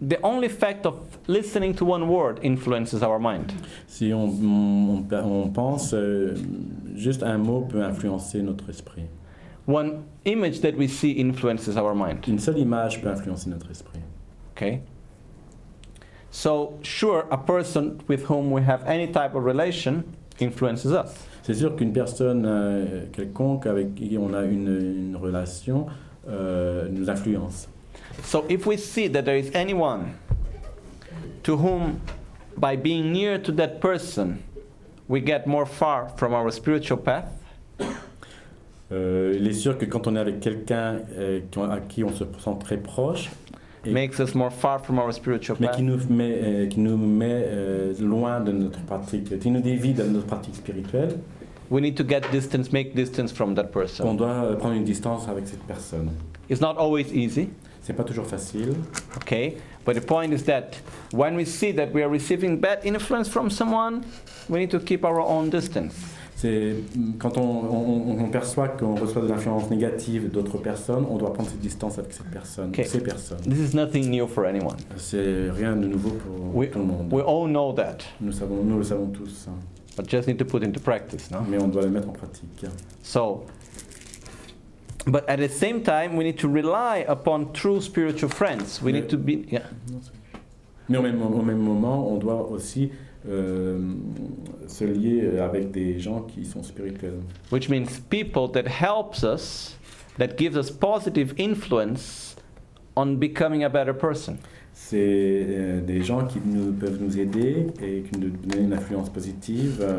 the only fact of listening to one word influences our mind. Si on, on, on pense, euh, juste un mot peut influencer notre esprit. One image that we see influences our mind. Une seule image peut influencer notre esprit. Okay? So, sure, a person with whom we have any type of relation influences us. C'est sûr qu'une personne euh, quelconque avec qui on a une, une relation euh, nous influence. So, if we see that there is anyone to whom, by being near to that person, we get more far from our spiritual path, Euh, il est sûr que quand on est avec quelqu'un euh, à qui on se sent très proche, et, makes us more far from our spiritual mais path, qui nous met, euh, qui nous met euh, loin de notre pratique, qui nous dévie de notre pratique spirituelle, we need to get distance, make distance from that on person. doit euh, prendre une distance avec cette personne. It's not always easy, C'est pas toujours facile, okay? But the point is that when we see that we are receiving bad influence from someone, we need to keep our own distance. c'est quand on, on, on perçoit qu'on reçoit de l'influence négative d'autres personnes, on doit prendre cette distance avec cette personne, Okay. ces personnes. This is nothing new for anyone. C'est rien de nouveau pour We, tout le monde. we all know that, Nous, savons, nous le savons tous, hein. but just need to put into practice, no? Mais on doit le mettre en pratique. So, but at the same time, we need to rely upon true spiritual friends. We need to be, yeah. Mais au même, au même moment, on doit aussi euh, se lier avec des gens qui sont spirituels. Which means people that helps us, that gives us positive influence on becoming a better person. C'est euh, des gens qui nous, peuvent nous aider et qui nous donnent une influence positive, euh,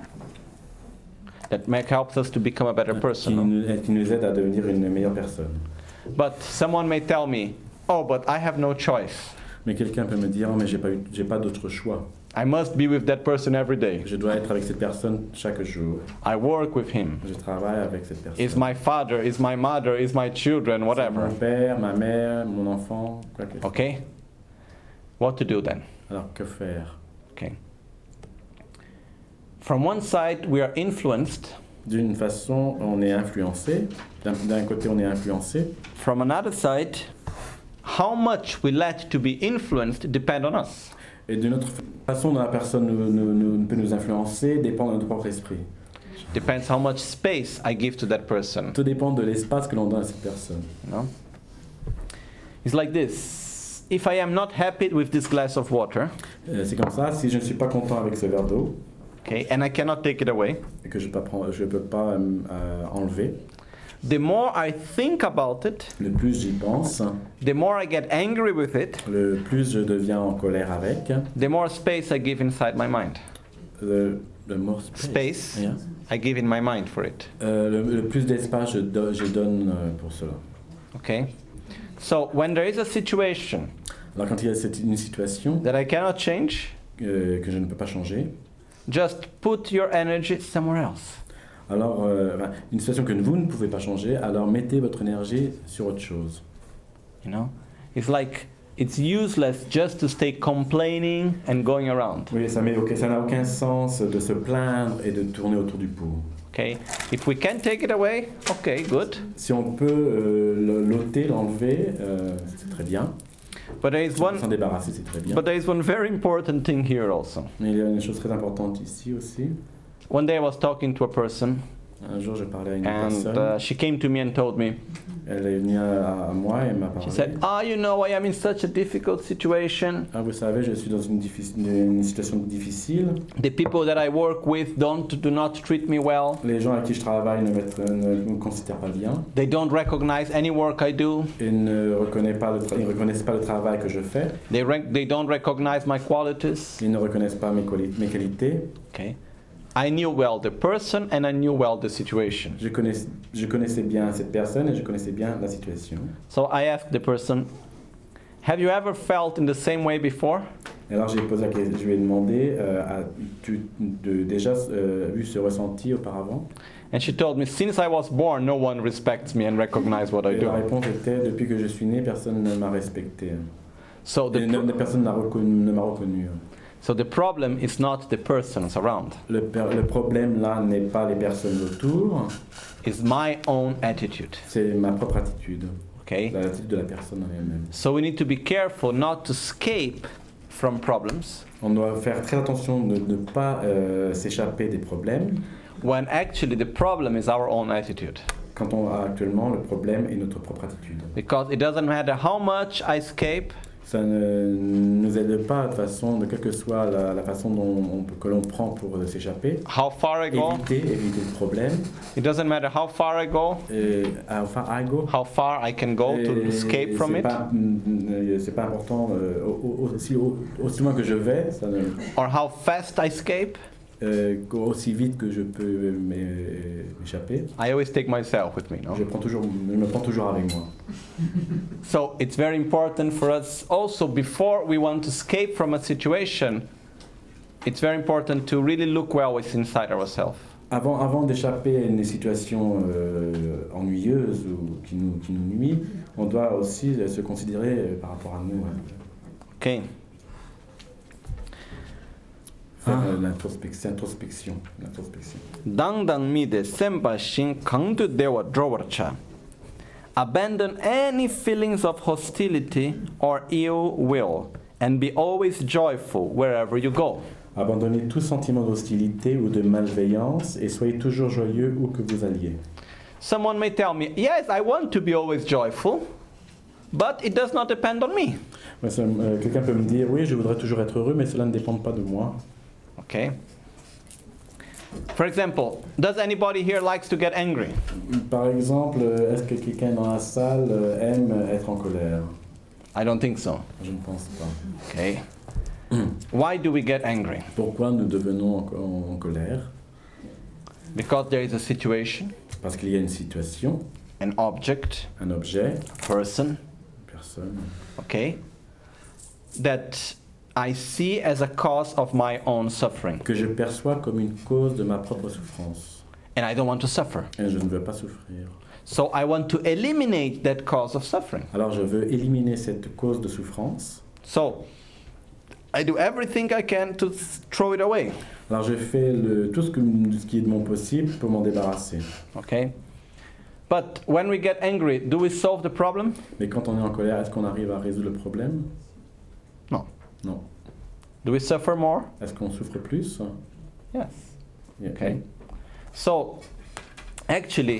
That make, helps us to become a better qui, person. no? nous, qui nous aident à devenir une meilleure personne. But someone may tell me, oh, but I have no choice. Mais quelqu'un peut me dire, oh, mais j'ai pas, eu- j'ai pas d'autre choix. I must be with that person every day. Je dois être avec cette personne chaque jour. I work with him. Je travaille avec cette personne. Is my father, is my mother, is my children, C'est whatever. mon père, ma mère, mon enfant, quoi que. Okay? What to do then? Alors que faire? Okay. From one side, we are influenced. D'une façon, on est influencé. D'un, d'un côté, on est influencé. From another side, how much we let to be influenced depend on us. Et d'une autre façon dont la personne nous, nous- nous- peut nous influencer dépend de notre propre esprit. Depends how much space I give to that person. Tout dépend de l'espace que l'on donne à cette personne. You know? It's like this. If I am not happy with this glass of water, Euh, c'est comme ça, si je ne suis pas content avec ce verre d'eau okay, and I cannot take it away, et que je ne peux pas, je peux pas euh, euh, enlever, the more I think about it, le plus j'y pense, the more I get angry with it, le plus je deviens en colère avec, the more space I give inside my mind. le, le more space. Space Yeah. I give in my mind for it. Euh, le, le plus d'espace je, do- je donne euh, pour cela. Okay? So when there is a situation Alors quand il y a cette, une situation that I cannot change, euh, que je ne peux pas changer, just put your energy somewhere else. alors euh, enfin, une situation que vous ne pouvez pas changer, alors mettez votre énergie sur autre chose. You know? It's like it's useless just to stay complaining and going around. Oui, ça met aucun- ça n'a aucun sens de se plaindre et de tourner autour du pot. Okay? If we can take it away, okay, good. Si on peut euh, le- l'ôter, l'enlever, euh, c'est très bien. But there is Si on peut one s'en débarrasser, c'est très bien. but there is one very important thing here also. Mais il y a une chose très importante ici aussi. One day I was talking to a person Un jour, je parlais à une and personne. uh, she came to me and told me, Elle est venue à, à moi et m'a she parlé. said, ah, you know, I am in such a difficult situation. Ah, vous savez, je suis dans une, diffi- une situation difficile. The people that I work with don't do not treat me well. Les gens avec qui je travaille ne, mettent- ne me considèrent pas bien. They don't recognize any work I do. Ils ne reconnaissent pas le, tra- ils reconnaissent pas le travail que je fais. They rec- they don't recognize my qualities. Ils ne reconnaissent pas mes, quali- mes qualités. Okay. I knew well the person and I knew well the situation. Je, connais, je connaissais bien cette personne et je connaissais bien la situation. So I asked the person, have you ever felt in the same way before? Et alors j'ai posé la question, je lui ai demandé, euh, as-tu de, déjà euh, eu ce ressenti auparavant? And she told me, since I was born, no one respects me and recognizes what I Et la do. réponse était, depuis que je suis né, personne ne m'a respecté. So Et the, ne- pro- personne n'a reconnu- ne m'a reconnu. so the problem is not the persons around, Le, per- le problème là n'est pas les personnes autour, it's my own attitude. c'est ma propre attitude. Okay? l'attitude de la personne en elle-même. So we need to be careful not to escape from problems On doit faire très attention de ne pas euh, s'échapper des problèmes when actually the problem is our own attitude. quand on a actuellement le problème est notre propre attitude. Because it doesn't matter how much I escape, Ça ne nous aide pas de façon, de quelle que soit la, la façon dont on peut- que l'on prend pour euh, s'échapper. how far I go. Éviter, éviter le problème. It doesn't matter how far I go, Et, ah, enfin, I go. how far I can go to Et escape from c'est it, pas, mm, mm, c'est pas important euh, au- au- aussi, au- aussi loin que je vais, ça ne, or how fast I escape. euh, aussi vite que je peux m'é- m'échapper. I always take myself with me, no? Je, prends toujours, je me prends toujours avec moi. So it's very important for us also, before we want to escape from a situation, it's very important to really look well what's inside ourselves. Avant, avant d'échapper à une situation euh, ennuyeuse ou qui nous, qui nous nuit, on doit aussi euh, se considérer euh, par rapport à nous. Hein. Okay. Faire Ah. euh, l'introspection, introspection, l'introspection. Dangdang mi de sempa shin kangdu dewa drowarcha. Abandon any feelings of hostility or ill will, and be always joyful wherever you go. Abandonnez tout sentiment d'hostilité ou de malveillance et soyez toujours joyeux où que vous alliez. Someone may tell me, yes, I want to be always joyful, but it does not depend on me. Ouais, ça, euh, quelqu'un peut me dire, oui, je voudrais toujours être heureux, mais cela ne dépend pas de moi. Okay. For example, does anybody here likes to get angry? Par exemple, euh, est-ce que quelqu'un dans la salle euh, aime être en colère? I don't think so. Je ne pense pas. Okay. Why do we get angry? Pourquoi nous devenons en, en- en colère? Because there is a situation, Parce qu'il y a une situation, an object, un objet, a person, une personne, okay, that I see as a cause of my own suffering, que je perçois comme une cause de ma propre souffrance. and I don't want to suffer. Et je ne veux pas souffrir. So I want to eliminate that cause of suffering. Alors je veux éliminer cette cause de souffrance. So I do everything I can to th- throw it away. Alors je fais le, tout ce, que, ce qui est de mon possible pour m'en débarrasser. Okay? But when we get angry, do we solve the problem? Mais quand on est en colère, est-ce qu'on arrive à résoudre le problème? No. Non. Do we suffer more? Est-ce qu'on souffre plus? Yes. Yeah. Okay. So actually,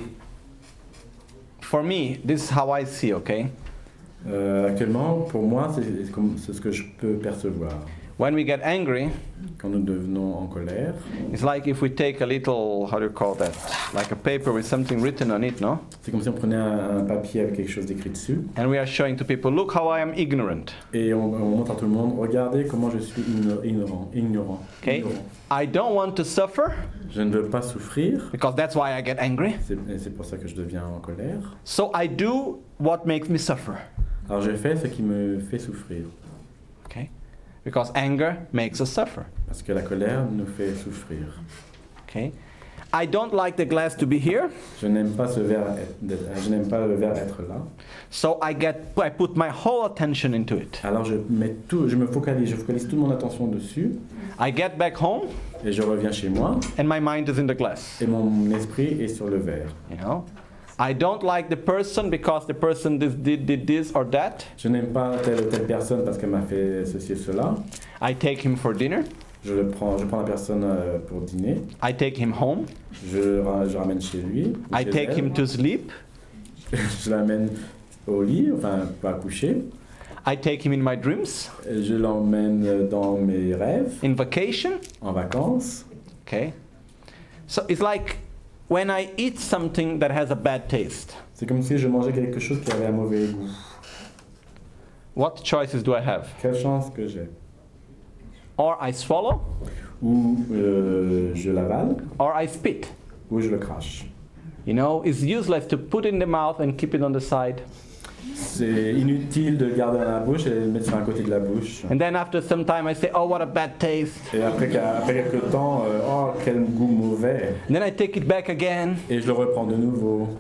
for me, this is how I see, okay? Euh, actuellement, pour moi, c'est c'est comme- c'est ce que je peux percevoir. When we get angry, Quand nous devenons en colère, it's like if we take a little, how do you call that? Like a paper with something written on it, no? c'est comme si on prenait un, un papier avec quelque chose d'écrit dessus And we are showing to people, look how I am ignorant. et on, on montre à tout le monde, regardez comment je suis igno- ignorant. ignorant, Okay? ignorant. I don't want to suffer Je ne veux pas souffrir, because that's why I get angry. c'est et c'est pour ça que je deviens en colère. So I do what makes me suffer. Alors je fais ce qui me fait souffrir, Okay? Because anger makes us suffer. parce que la colère nous fait souffrir. Okay? I don't like the glass to be here, Je n'aime pas ce verre, être- d'être- je n'aime pas le verre être là. so I get I put my whole attention into it. Alors je mets tout, je me focalise, je focalise toute mon attention dessus I get back home et je reviens chez moi and my mind is in the glass. et mon esprit est sur le verre. You know? I don't like the person because the person did, did, did this or that. Je n'aime pas telle ou telle personne parce qu'elle m'a fait ceci et cela. I take him for dinner. Je le prends, je prends la personne euh, pour dîner. I take him home. Je, ra- je ramène chez lui. ou I chez take elle. him to sleep. Je l'amène au lit, enfin pas coucher. I take him in my dreams, Je l'emmène dans mes rêves, in vacation. en vacances. Okay? So it's like when I eat something that has a bad taste. C'est comme si je mangeais quelque chose qui avait un mauvais goût. What choices do I have? Quelle chance que j'ai. Or I swallow, Ou euh, je l'avale, or I spit. ou je le crache. You know, it's useless to put it in the mouth and keep it on the side. C'est inutile de le garder dans la bouche et de le mettre sur un côté de la bouche. And then after some time I say, oh, what a bad taste. Et après, qu'à- après quelques temps, euh, oh quel goût mauvais. And then I take it back again. Et je le reprends de nouveau.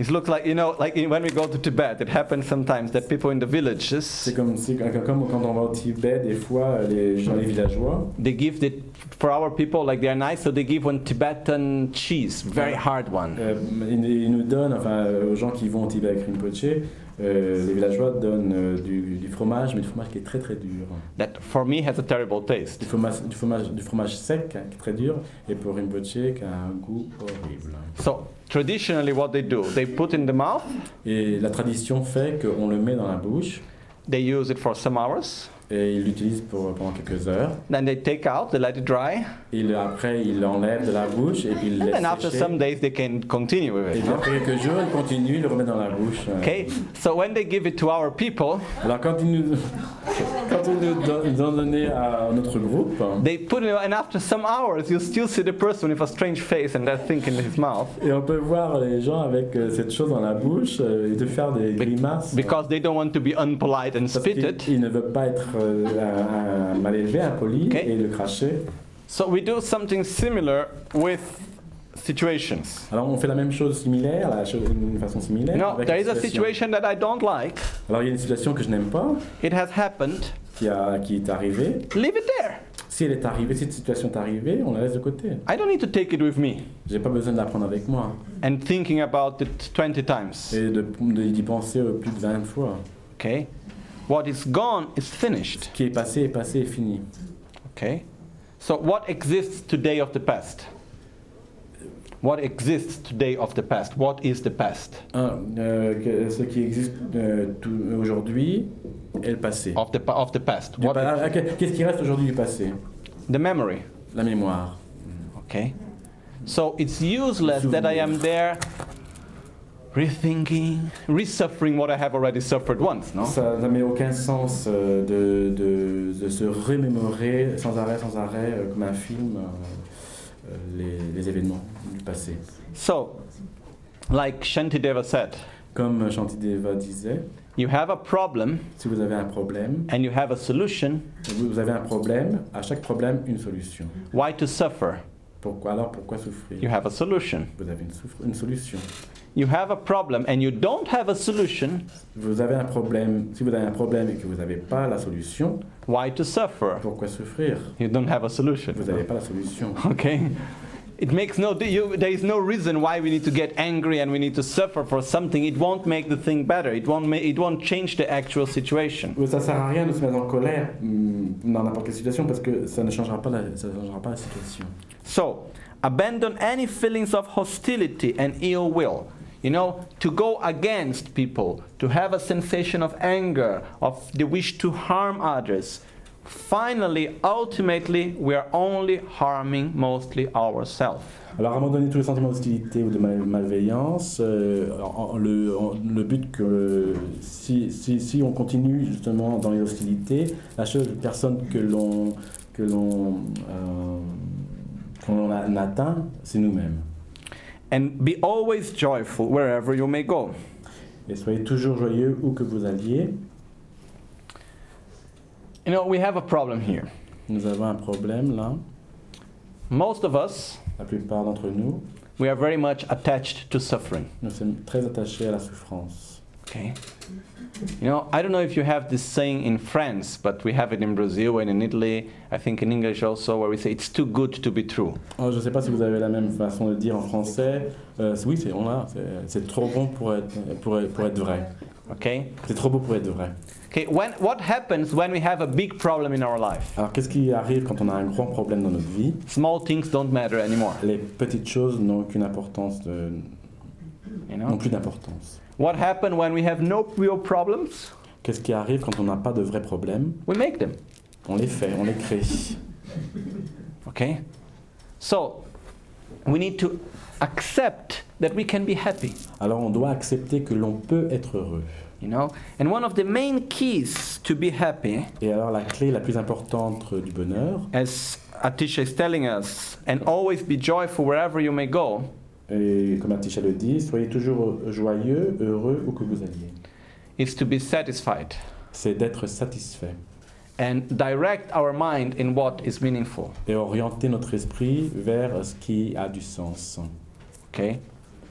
It looks like, you know, like in, when we go to Tibet, it happens sometimes that people in the villages, C'est comme, c'est comme quand on va au Tibet, des fois, les gens, les villageois, they give the, for our people, like they're nice, so they give one Tibetan cheese, very hard one. euh, ils, ils nous donnent, enfin, aux gens qui vont au Tibet avec Rinpoche, euh, les villageois donnent euh, du, du fromage, mais du fromage qui est très très dur. That for me has a terrible taste. Du fromage, du fromage, du fromage sec, hein, qui est très dur, et pour Rinpoche, qui a un goût horrible. So traditionally what they do, they put in the mouth, Et la tradition fait qu'on le met dans la bouche, they use it for some hours, et ils l'utilisent pour, pendant quelques heures. then they take out, they let it dry, Et le- après, ils l'enlèvent de la bouche, et puis ils le and laissent then after sécher. some days they can continue with Et it. puis no? après quelques jours, ils continuent, ils le remettent dans la bouche. Okay, so when they give it to our people, Alors quand ils nous, quand ils nous don- ils ont donné à notre groupe, they put it, and after some hours you still see the person with a strange face and that thing in his mouth, et on peut voir les gens avec euh, cette chose dans la bouche euh, et de faire des grimaces. because they don't want to be unpolite and Parce spit qu'ils it. ils ne veulent pas être euh, un, un mal élevé, impoli, Ok. et le cracher. So we do something similar with situations. Alors on fait la même chose similaire, la chose d'une façon similaire. You know, avec there une is a situation. situation that I don't like. Alors il y a une situation que je n'aime pas, It has happened. qui, a, qui est arrivée. Leave it there. Si elle est arrivée, si cette situation est arrivée, on la laisse de côté. I don't need to take it with me J'ai pas besoin de la prendre avec moi and thinking about it twenty times. et de, de- d'y penser euh, plus de vingt fois. Okay? What is gone is finished. Ce qui est passé est passé et fini. Okay? So what exists today of the past? What exists today of the past? What is the past? Un, euh, que- ce qui existe euh, tout- aujourd'hui est le passé. Of the pa- of the past. Du What pa- ah, que- Qu'est-ce qui reste aujourd'hui du passé? the memory. La mémoire. Okay? So it's useless that I am there rethinking, resuffering what I have already suffered once, no? Ça n'a mais aucun sens euh, de, de, de se remémorer sans arrêt, sans arrêt, euh, comme un film, euh, euh, les, les événements du passé. So, like Shantideva said, Comme Shantideva disait, you have a problem si vous avez un problème, and you have a solution. vous avez un problème, à chaque problème, une solution. Why to suffer? Pourquoi alors pourquoi souffrir? You have a solution. Vous avez une, souffre- une solution. You have a problem and you don't have a solution. Vous avez un problème, si vous avez un problème et que vous n'avez pas la solution, Why to suffer? pourquoi souffrir? You don't have a solution. Vous n'avez pas la solution. Okay? It makes no, you, there is no reason why we need to get angry and we need to suffer for something. It won't make the thing better. It won't, ma- it won't change the actual situation. Ça ne sert à rien de se mettre en colère hum, dans n'importe quelle situation parce que ça ne changera pas la, ça ne changera pas la situation. So, abandon any feelings of hostility and ill will. You know, to go against people, to have a sensation of anger, of the wish to harm others. Finally, ultimately, we are only harming mostly ourselves. Alors abandonner tous les sentiments d'hostilité ou de mal- malveillance, euh, en- en- le, en- le but que si, si, si on continue justement dans les hostilités, la seule personne que l'on que l'on euh, qu'on a- atteint, c'est nous-mêmes. And be always joyful wherever you may go. Et soyez toujours joyeux où que vous alliez. You know, we have a problem here. Nous avons un problème là. Most of us, La plupart d'entre nous, we are very much attached to suffering. nous sommes très attachés à la souffrance. Okay? You know, I don't know if you have this saying in France, but we have it in Brazil and in Italy, I think in English also, where we say it's too good to be true. Oh, je ne sais pas si vous avez la même façon de dire en français. Euh, oui, c'est on l'a. C'est- C'est trop bon pour être, pour être, pour être vrai. Okay? C'est trop beau pour être vrai. Okay, when, what happens when we have a big problem in our life? Alors, qu'est-ce qui arrive quand on a un grand problème dans notre vie? Small things don't matter anymore. Les petites choses n'ont aucune importance, de, You n'ont know? plus d'importance. What happens when we have no real problems? Qu'est-ce qui arrive quand on n'a pas de vrais problèmes? We make them. On les fait, on les crée. Okay? So, we need to accept that we can be happy. Alors, on doit accepter que l'on peut être heureux. You know? And one of the main keys to be happy, Et alors, la clé la plus importante du bonheur, as Atisha is telling us, and always be joyful wherever you may go, et comme Atisha le dit, soyez toujours joyeux, heureux où que vous alliez. is to be satisfied C'est d'être satisfait and direct our mind in what is meaningful. et orienter notre esprit vers ce qui a du sens. Okay?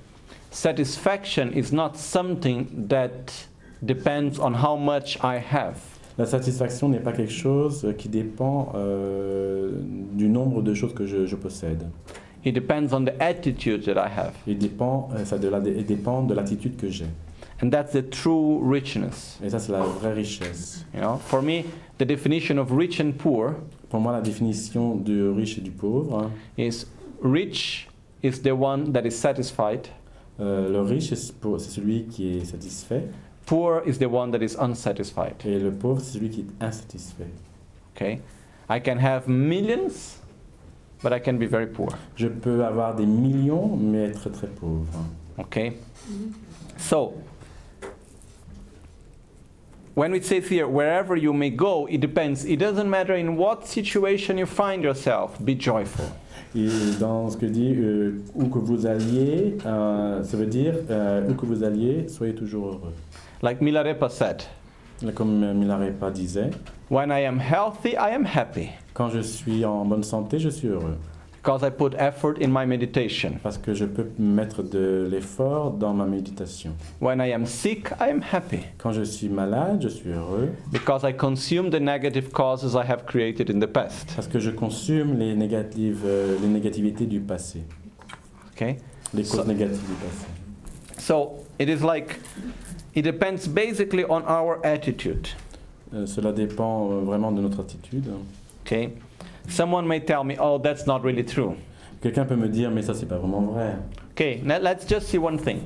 satisfaction is not something that depends on how much I have. La satisfaction n'est pas quelque chose qui dépend euh, du nombre de choses que je, je possède. It depends on the attitude that I have. Il dépend, euh, ça de la, il dépend de l'attitude que j'ai. And that's the true richness. Et ça, c'est la vraie richesse. You know, for me, the definition of rich and poor Pour moi, la définition du riche et du pauvre, hein, is rich is the one that is satisfied, euh, le riche, c'est pour- c'est celui qui est satisfait, poor is the one that is unsatisfied. et le pauvre, c'est celui qui est insatisfait. Okay? I can have millions, but I can be very poor. Je peux avoir des millions, mais être très pauvre. Okay? So, when it says here, wherever you may go, it depends. It doesn't matter in what situation you find yourself, be joyful. Et dans ce que dit euh, où que vous alliez, euh, ça veut dire euh, où que vous alliez, soyez toujours heureux. Like Milarepa said, Comme Milarepa disait, when I am healthy, I am happy, quand je suis en bonne santé, je suis heureux. because I put effort in my meditation. Parce que je peux mettre de l'effort dans ma méditation. When I am sick, I am happy, Quand je suis malade, je suis heureux. because I consume the negative causes I have created in the past. Parce que je consume les, négatives, euh, les négativités du passé. Okay? Les causes So- négatives du passé. So it is like, it depends basically on our attitude. Euh, cela dépend euh, vraiment de notre attitude. Okay? Someone may tell me, oh, that's not really true. Quelqu'un peut me dire, mais ça, c'est pas vraiment vrai. Okay, now let's just see one thing.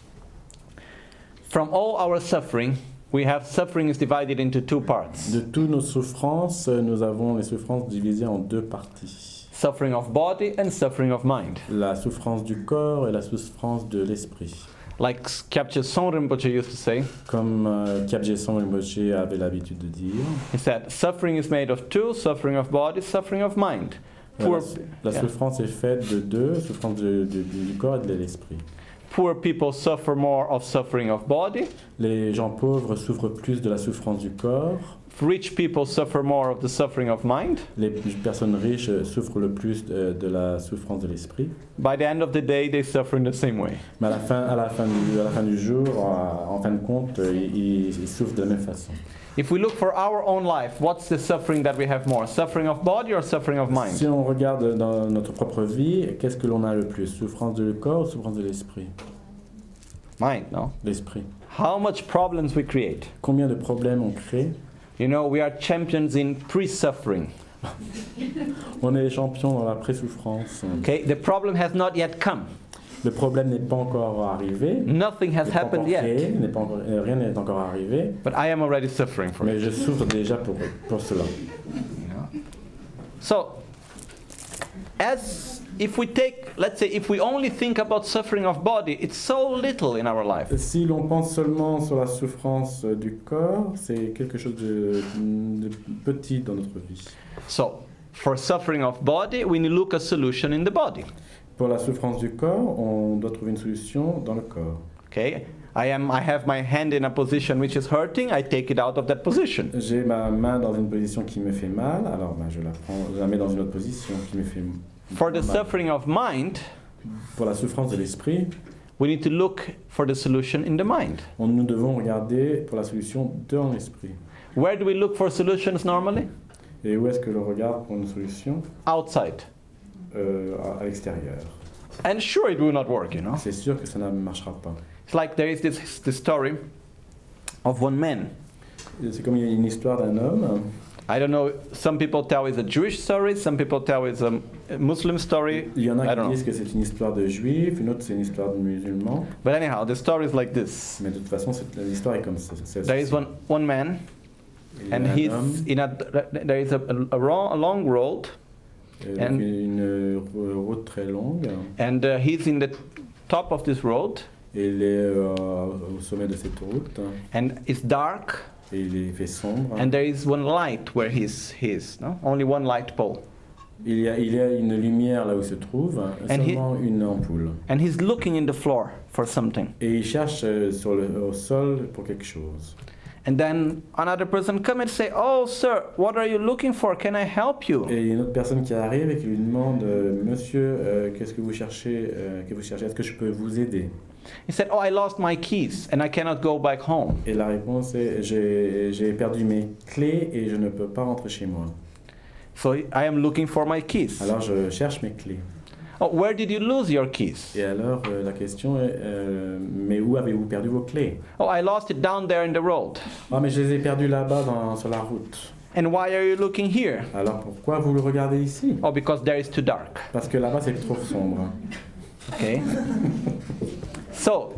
From all our suffering, we have suffering is divided into two parts. De toutes nos souffrances, euh, nous avons les souffrances divisées en deux parties. Suffering of body and suffering of mind. La souffrance du corps et la souffrance de l'esprit. Like Kyabje Son Rinpoche used to say, Comme euh, Kyabje Son Rinpoche avait l'habitude de dire, he said, suffering is made of two, suffering of body, suffering of mind. euh, Poor, la, la yeah. souffrance est faite de deux, souffrance de- de- du corps et de l'esprit. Poor people suffer more of suffering of body. Les gens pauvres souffrent plus de la souffrance du corps. Rich people suffer more of the suffering of mind. Les personnes riches souffrent le plus de, de la souffrance de l'esprit. By the end of the day, they suffer in the same way. Mais à la fin, à la fin, du, à la fin du jour, en, en fin de compte, ils, ils- ils souffrent de la même façon. If we look for our own life, what's the suffering that we have more? Suffering of body or suffering of mind? Si on regarde dans notre propre vie, qu'est-ce que l'on a le plus? Souffrance du corps ou souffrance de l'esprit? Mind, no? L'esprit. How much problems we create. Combien de problèmes on crée? You know, we are champions in pre-suffering. On est les champions dans la pré-souffrance. Okay, the problem has not yet come. Le problème n'est pas encore arrivé. Nothing has n'est pas happened encore yet. créé, n'est pas encore- euh, rien n'est encore arrivé. But I am already suffering for Mais it. je souffre déjà pour, pour cela. So, as if we take, let's say, if we only think about suffering of body, it's so little in our life. Si l'on pense seulement sur la souffrance euh, du corps, c'est quelque chose de, de petit dans notre vie. So, for suffering of body, we need to look a solution in the body. Pour la souffrance du corps, on doit trouver une solution dans le corps. Okay, I am. I have my hand in a position which is hurting. I take it out of that position. J'ai ma main dans une position qui me fait mal, alors ben, je la prends, je la mets dans une autre position qui me fait For the mal. suffering of mind, Pour la souffrance de l'esprit, we need to look for the solution in the mind. on, nous devons regarder pour la solution dans l'esprit. Where do we look for solutions normally? Et où est-ce que je regarde pour une solution? Outside. Euh, à, à l'extérieur. And sure, it will not work, you know. C'est sûr que ça ne marchera pas. It's like there is this, this story of one man. C'est comme il y a une histoire d'un homme. I don't know, some people tell it's a Jewish story, some people tell it's a Muslim story. Il y en a I qui don't disent know. que c'est une histoire de juif, une autre c'est une histoire de musulman. But anyhow, the story is like this. Mais de toute façon, c'est- l'histoire est comme ça. c'est- There is one, one man, Il y a and un he's homme, in a, there is a, a, wrong- a long road, euh, and- donc une euh, route très longue, and uh, he's in the top of this road, et il est euh, au sommet de cette route, and it's dark, et il est fait sombre. and there is one light where he's, he's no? Only one light pole. Il y, a, il y a une lumière là où il se trouve, And he- seulement une ampoule. And he's looking in the floor for something. Et il cherche euh, sur le, au sol pour quelque chose. And then another person come and say, "Oh, sir, what are you looking for? Can I help you?" Et il y a une autre personne qui arrive et qui lui demande euh, Monsieur, euh, qu'est-ce que vous cherchez euh, que vous cherchez Est-ce que je peux vous aider? He said, "Oh, I lost my keys and I cannot go back home." Et la réponse est j'ai, j'ai perdu mes clés et je ne peux pas rentrer chez moi. So I am looking for my keys. Alors je cherche mes clés. Oh, where did you lose your keys? Et alors euh, la question est euh, mais où avez-vous perdu vos clés? Oh, I lost it down there in the road. Ah mais je les ai perdues là-bas dans, sur la route. And why are you looking here? Alors pourquoi vous le regardez ici? Oh, because there is too dark. Parce que là-bas c'est trop sombre. Okay. So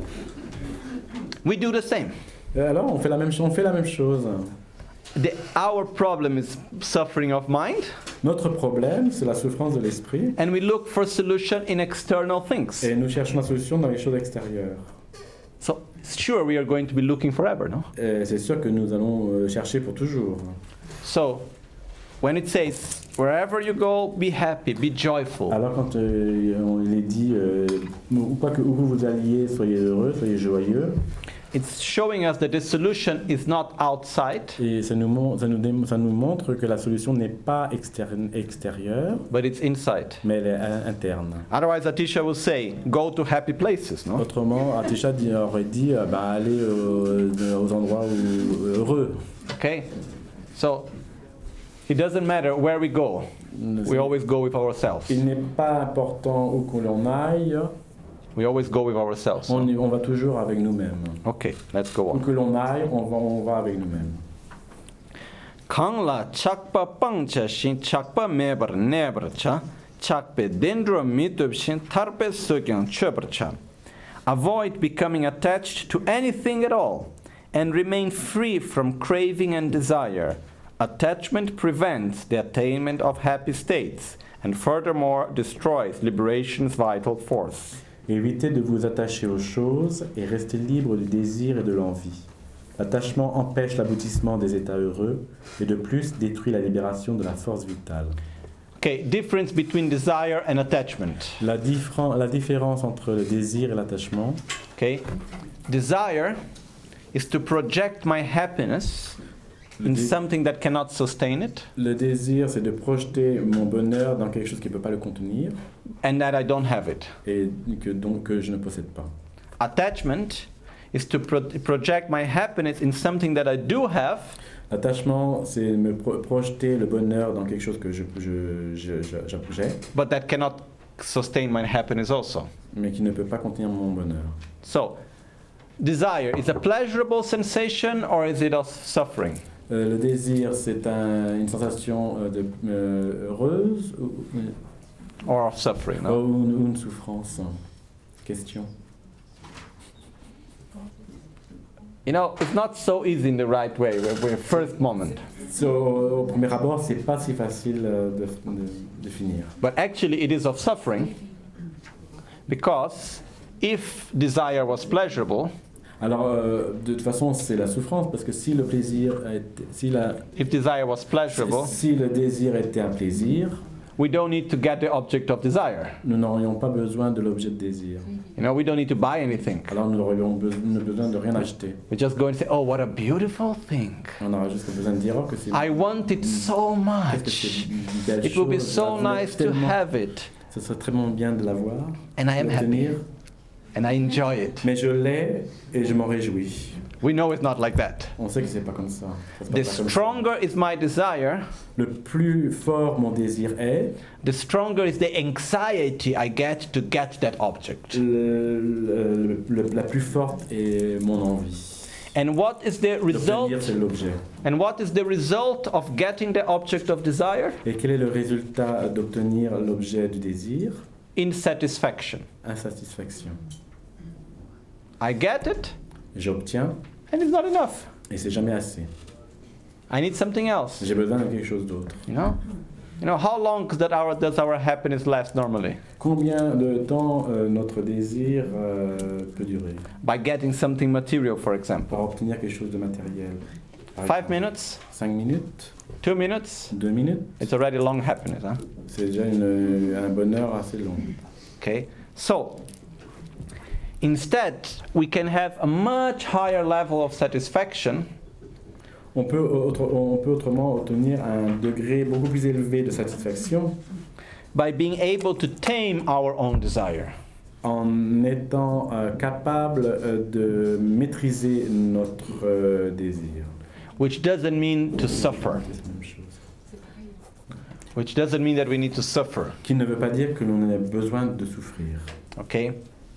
we do the same. Et alors on fait la même, on fait la même chose. The, our problem is suffering of mind, Notre problème, c'est la souffrance de l'esprit. and we look for solution in external things. Et nous cherchons la solution dans les choses extérieures. So sure, we are going to be looking forever, no? Et c'est sûr que nous allons euh, chercher pour toujours. So when it says, "Wherever you go, be happy, be joyful," Alors quand euh, on, il est dit, euh, où, quoi que, où vous alliez, soyez heureux, soyez joyeux, it's showing us that the solution is not outside, et ça nous, mon- ça, nous dé- ça nous montre que la solution n'est pas externe- extérieure, but it's inside. mais elle est in- interne. Otherwise, Atisha will say, "Go to happy places," no? Autrement, Atisha dit- aurait dit, euh, bah, allez euh, aux endroits où, heureux. Okay? So it doesn't matter where we go. We always go with ourselves. Il n'est pas important où que l'on aille, We always go with ourselves. on, y- on va toujours avec nous-mêmes. Okay, let's go Où on. que l'on aille, on va, on va avec nous-mêmes. Kangla chakpa pangcha shin chakpa mebar nebar cha chakpe dendro mitub shin tarpe sukyang chöbar cha. Avoid becoming attached to anything at all and remain free from craving and desire. Attachment prevents the attainment of happy states and furthermore destroys liberation's vital force. Évitez de vous attacher aux choses et restez libre du désir et de l'envie. L'attachement empêche l'aboutissement des états heureux et de plus détruit la libération de la force vitale. Okay, difference between desire and attachment. La, diffren- la différence entre le désir et l'attachement, Okay, desire is to project my happiness le, in dé- something that cannot sustain it le désir c'est de projeter mon bonheur dans quelque chose qui ne peut pas le contenir and that I don't have it. et que donc que je ne possède pas. Attachment is to pro- project my happiness in something that I do have L'attachement c'est me pro- projeter le bonheur dans quelque chose que je, je, je- je- je- j'ai but that cannot sustain my happiness also. mais qui ne peut pas contenir mon bonheur. So, desire is a pleasurable sensation or is it of suffering? Euh, le désir, c'est un- une sensation euh, de, euh, heureuse ou, Or of suffering, ou no? une, ou une souffrance? Question. You know, it's not so easy in the right way, when we're first moment. So, au premier abord, c'est pas si facile euh, de, de définir. But actually it is of suffering because if desire was pleasurable, Alors, euh, de toute façon, c'est la souffrance parce que si le plaisir, était, si, la, if desire was pleasurable, si le désir était un plaisir, we don't need to get the object of desire. nous n'aurions pas besoin de l'objet de désir. You know, we don't need to buy anything. Alors, nous n'aurions be- besoin de rien acheter. We just go and say, "Oh, what a beautiful thing. On aura juste besoin de dire oh, que c'est I want it so qu'est-ce que much. c'est une belle It would be chose, so je la voulais nice to tellement. have it." Ce serait très bien de l'avoir, And I am de happy. l'obtenir. And I enjoy it. Mais je l'ai et je m'en réjouis. We know it's not like that. On sait que c'est pas comme ça. Ça se The passe pas comme ça. stronger is my desire, Le plus fort mon désir est, the stronger is the anxiety I get to get that object. le- le- le- la plus forte est mon envie. And what is the result? L'obtenir, c'est l'objet. And what is the result of getting the object of desire? Et quel est le résultat d'obtenir l'objet du désir? Insatisfaction. Insatisfaction. I get it, J'obtiens and it's not enough. et c'est jamais assez. I need something else. J'ai besoin de quelque chose d'autre. You know? You know, how long does, that our, does our happiness last normally? Combien de temps euh, notre désir euh, peut durer? By getting something material, for example. Pour obtenir quelque chose de matériel. Par Five exemple, minutes? Cinq minutes? Two minutes? Deux minutes? It's already long happiness, huh? C'est déjà une- un bonheur assez long. Okay? So, instead, we can have a much higher level of satisfaction On peut, autre- on peut autrement obtenir un degré beaucoup plus élevé de satisfaction by being able to tame our own desire. en étant euh, capable euh, de maîtriser notre euh, désir. Which doesn't mean to suffer. C'est la même chose. Which doesn't mean that we need to suffer. Qui ne veut pas dire que l'on a besoin de souffrir. Okay?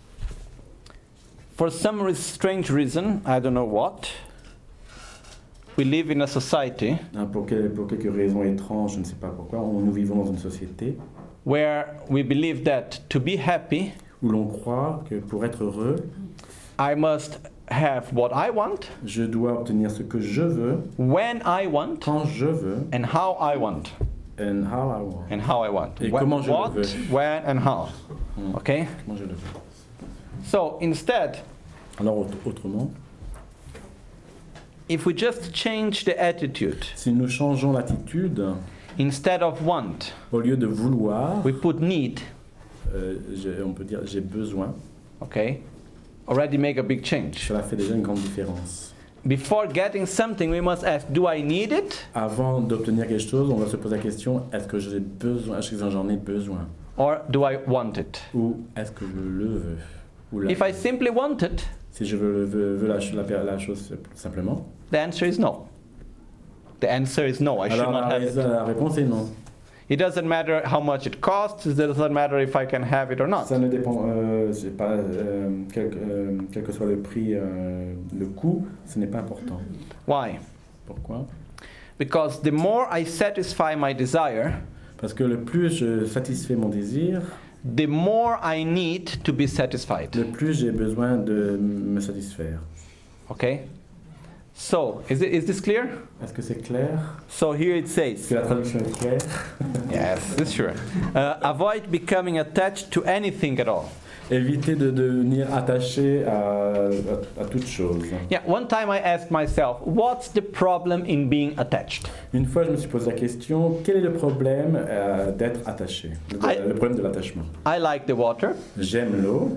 For some re- strange reason, I don't know what, we live in a society Hein, pour, quel- pour quelques raisons étranges, je ne sais pas pourquoi, on- nous vivons dans une société where we believe that to be happy, où l'on croit que pour être heureux, I must have what I want, je dois obtenir ce que je veux, when I want, quand je veux, and how I want. and how I want. And how I want. Et Wh- comment je le what, veux. when, and how. Hmm. Okay? Comment je le veux. So instead, Alors aut- autrement, if we just change the attitude, si nous changeons l'attitude, instead of want, au lieu de vouloir, we put need, euh, j'ai- on peut dire j'ai besoin, okay? Already make a big change. cela fait déjà une grande différence. Before getting something, we must ask, do I need it? Avant d'obtenir quelque chose, on va se poser la question, est-ce que j'ai besoin, est-ce que j'en ai besoin, Or do I want it? ou est-ce que je le veux, ou la- If I simply want it, si je veux, veux- veux la, ch- la per- la chose simplement. the answer is no. The answer is no, I should Alors not la, have it. la réponse est non. It doesn't matter how much it costs, it doesn't matter if I can have it or not. Ça ne dépend, euh, c'est pas, euh, quel, euh, quel que soit le prix, euh, le coût, ce n'est pas important. Why? Pourquoi? Because the more I satisfy my desire, Parce que le plus je satisfais mon désir, the more I need to be satisfied. le plus j'ai besoin de me satisfaire. Okay? So, is, it, is this clear? Est-ce que c'est clair? So here it Est-ce says, que la traduction est claire? yes, this sure. Uh, avoid becoming attached to anything at all. Éviter de devenir attaché à, à, à toute chose. Yeah, one time I asked myself, what's the problem in being attached? Une fois, je me suis posé la question, quel est le problème euh, d'être attaché? Le, I- le problème de l'attachement. I like the water. J'aime l'eau.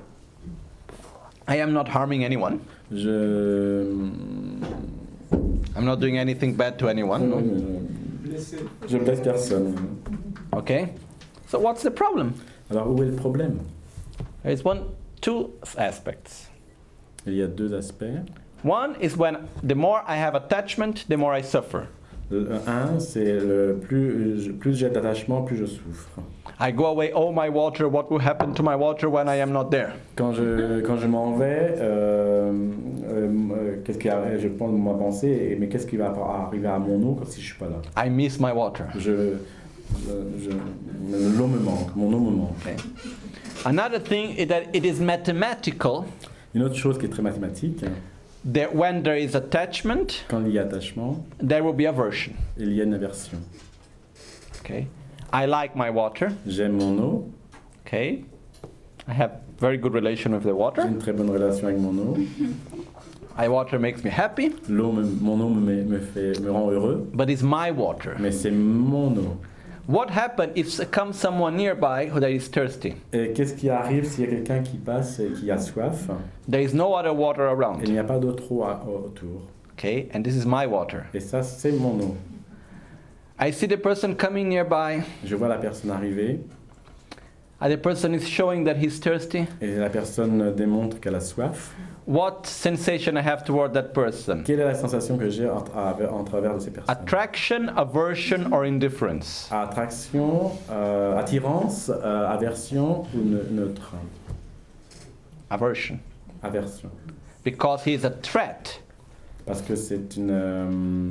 I am not harming anyone. Je... I'm not doing anything bad to anyone. No? Je blesse personne. Okay? So what's the problem? Alors, où est le problème? There is one, two aspects. Il y a deux aspects. One is when the more I have attachment, the more I suffer. Le un, c'est le plus, plus j'ai d'attachement, plus je souffre. I go away, oh my water, what will happen to my water when I am not there? Quand je, quand je m'en vais, euh, euh, qu'est-ce qui arrive? Je pense ma pensée, mais qu'est-ce qui va arriver à mon eau si je suis pas là? I miss my water. Je, je, je- l'eau me manque, mon eau me manque. Okay. Another thing is that it is mathematical Une autre chose qui est très mathématique, that when there is attachment, quand il y a attachement, there will be aversion. il y a une aversion. Okay? I like my water. J'aime mon eau, Okay? I have very good relation with the j'ai water. une très bonne relation avec mon eau. My water makes me happy, L'eau, me- mon eau me, me, fait, me rend heureux, but it's my water. mais c'est mon eau. What happens if comes someone nearby who that is thirsty? Et qu'est-ce qui arrive s'il y a quelqu'un qui passe et qui a soif? There is no other water Et il around. n'y a pas d'autre eau à- autour. Okay? And this is my water. Et ça, c'est mon eau. I see the person coming nearby, Je vois la personne arriver and the person is showing that he's thirsty. et la personne démontre qu'elle a soif. What sensation I have toward that person? Quelle est la sensation que j'ai en, à- en travers de ces personnes? Attraction, aversion, or indifference? Attraction, euh, attirance, euh, aversion ou ne- neutre? Aversion. Aversion. Because he is a threat. Parce que c'est une euh,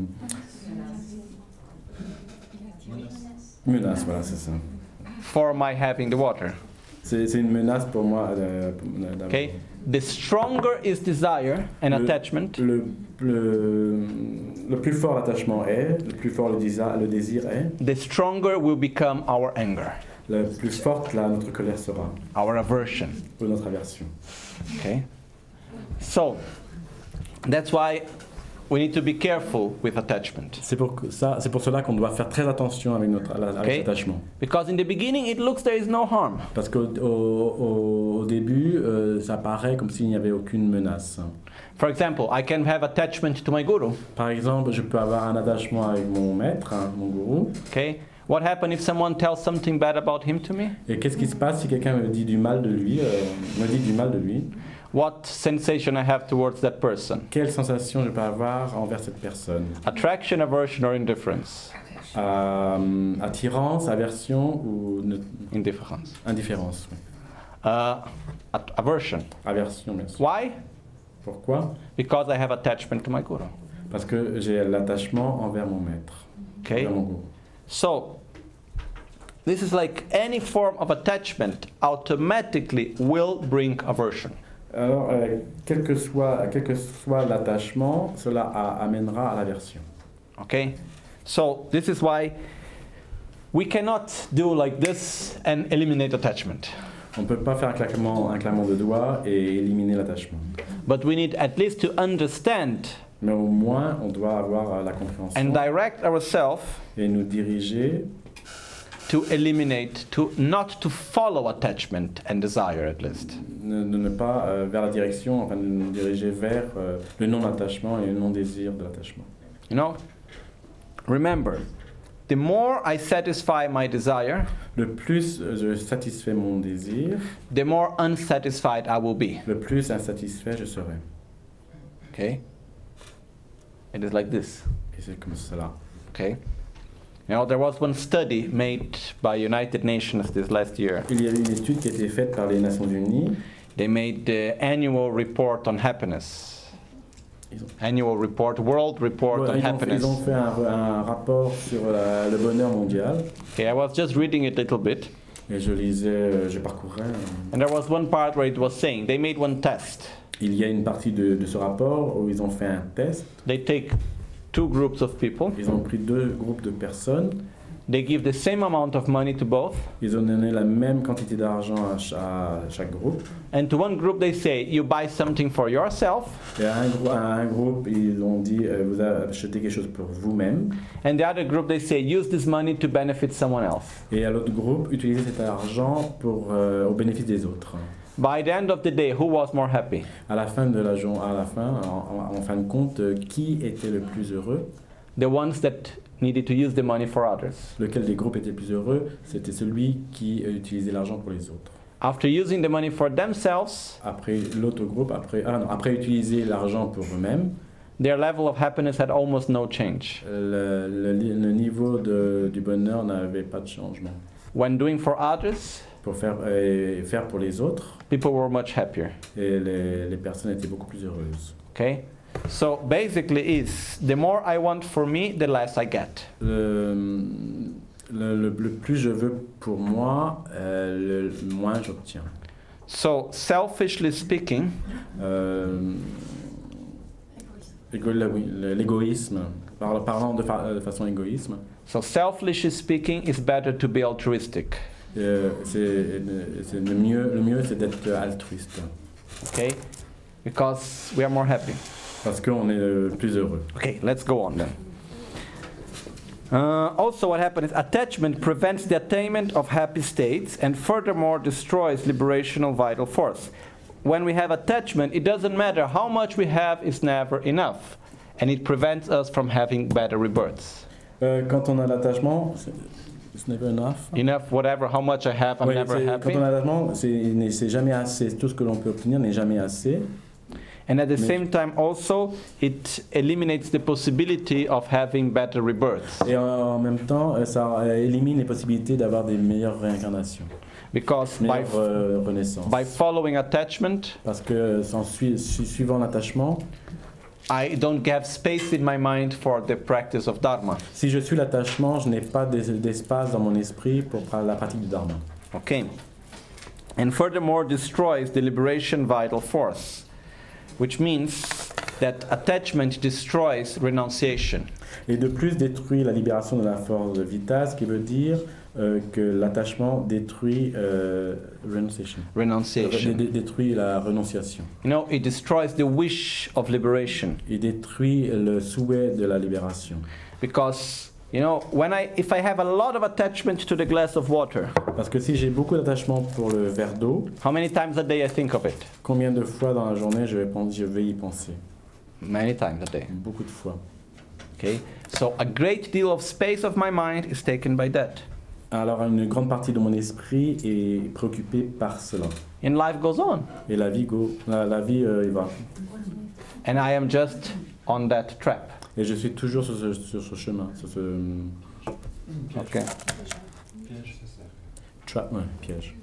menace, voilà, c'est ça. For my having the water. C'est c'est une menace pour moi. euh, pour- d'avoir- Okay? The stronger is desire and Le- attachment, Le, le, le plus fort l'attachement est, le plus fort le désir, le désir est, the stronger will become our anger, le plus forte là, notre colère sera, our aversion. ou notre aversion. Okay? So, that's why we need to be careful with attachment. C'est pour que ça, c'est pour cela qu'on doit faire très attention avec notre avec Okay. l'attachement. Because in the beginning it looks there is no harm. Parce qu'au au, au, au début, euh, ça paraît comme s'il n'y avait aucune menace. For example, I can have attachment to my guru. Par exemple, je peux avoir un attachement avec mon maître, hein, mon gourou. Okay? What happens if someone tells something bad about him to me? Et qu'est-ce qui se passe si quelqu'un me dit du mal de lui, euh, me dit du mal de lui? What sensation I have towards that person? Quelle sensation je peux avoir envers cette personne? Attraction, aversion, or indifference? Euh, attirance, aversion ou ne- Indifference. indifférence? Oui. Uh, at- aversion. Aversion, bien sûr. Why? Pourquoi? Because I have attachment to my guru. Parce que j'ai l'attachement envers mon maître, Okay? envers mon gourou. So, this is like any form of attachment automatically will bring aversion. Alors, euh, quel que soit, quel que soit l'attachement, cela a- amènera à l'aversion. Okay? So, this is why we cannot do like this and eliminate attachment. On ne peut pas faire un claquement, un claquement de doigts et éliminer l'attachement. But we need at least to understand Mais au moins, on doit avoir euh, la compréhension and direct ourselves et nous diriger to eliminate, to not to follow attachment and desire at least. ne, de ne pas euh, vers la direction, enfin de nous diriger vers euh, le non-attachement et le non-désir de l'attachement. You know? Remember, the more I satisfy my desire, Le plus euh, je satisfais mon désir, the more unsatisfied I will be. le plus insatisfait je serai. Okay? It is like this. Et c'est comme cela. Okay? You know, there was one study made by United Nations this last year. Il y a eu une étude qui a été faite par les Nations Unies. They made the annual report on happiness. Ils ont, Annual report, world report Ouais, on ils ont fait, happiness. ils ont fait un, un rapport sur la- le bonheur mondial. Okay, I was just reading it a little bit, Et je lisais, euh, je parcourais. euh, and there was one part where it was saying they made one test. Il y a une partie de, de ce rapport où ils ont fait un test. They take two groups of people, Ils ont pris deux groupes de personnes. they give the same amount of money to both, Ils ont donné la même quantité d'argent à, cha- à chaque groupe. and to one group they say you buy something for yourself, Et à un, grou- à un groupe, ils ont dit euh, vous achetez quelque chose pour vous-même. and the other group they say use this money to benefit someone else. Et à l'autre groupe, utilisez cet argent pour, euh, au bénéfice des autres. By the end of the day, who was more happy? À la fin de la journée, à la fin, en, en- en fin de compte, euh, qui était le plus heureux? The ones that needed to use the money for others. Lequel des groupes était le plus heureux? C'était celui qui euh, utilisait l'argent pour les autres. After using the money for themselves, Après l'autre groupe, après, ah non, après utiliser l'argent pour eux-mêmes, their level of happiness had almost no change. le, le- le niveau de- du bonheur n'avait pas de changement. When doing for others, Pour faire, euh, faire pour les autres, people were much happier. et les, les personnes étaient beaucoup plus heureuses. Okay? So basically is the more I want for me, the less I get. Le, le, le- le plus je veux pour moi, euh, le moins j'obtiens. So selfishly speaking, Euh, égo- le- oui, le- l'égoïsme, par- parlant de, fa- de façon égoïsme, so selfishly speaking, it's better to be altruistic. euh, c'est c'est le mieux, le mieux c'est d'être altruiste, Okay? Because we are more happy. parce qu'on est le plus heureux. Okay, let's go on then. Uh, also, what happens is attachment prevents the attainment of happy states and furthermore destroys liberational vital force. When we have attachment, it doesn't matter how much we have, it's never enough. And it prevents us from having better rebirths. Euh, quand on a l'attachement, c'est- it's never enough. Enough, whatever, how much I have, I'm Ouais, never c'est- happy. quand on a l'attachement, c'est c'est jamais assez. Tout ce que l'on peut obtenir n'est jamais assez. And at the Mais- same time, also, it eliminates the possibility of having better rebirths. Et en, en même temps, euh, ça euh, élimine les possibilités d'avoir des meilleures réincarnations, Because by, meilleures euh, renaissances. by following attachment, Parce que sans sui- su- suivant l'attachement, I don't have space in my mind for the practice of Dharma. si je suis l'attachement, je n'ai pas d'es- d'espace dans mon esprit pour pra- la pratique du dharma. Okay. And furthermore destroys the liberation vital force, which means that attachment destroys renunciation. Et de plus détruit la libération de la force vitale, ce qui veut dire euh, que l'attachement détruit euh, renunciation. Renunciation. Dé- détruit la renonciation. You know, it destroys the wish of liberation. Il détruit le souhait de la libération. Because, you know, when I, if I have a lot of attachment to the glass of water, Parce que si j'ai beaucoup d'attachement pour le verre d'eau, how many times a day I think of it? combien de fois dans la journée je vais, penser, je vais y penser? Many times a day. Beaucoup de fois. Okay? So a great deal of space of my mind is taken by that. Alors une grande partie de mon esprit est préoccupée par cela. And life goes on. Et la vie, go, la, la vie euh, il va. And I am just on that trap. Et je suis toujours sur ce, sur ce chemin, sur ce Okay. trap, ouais, piège.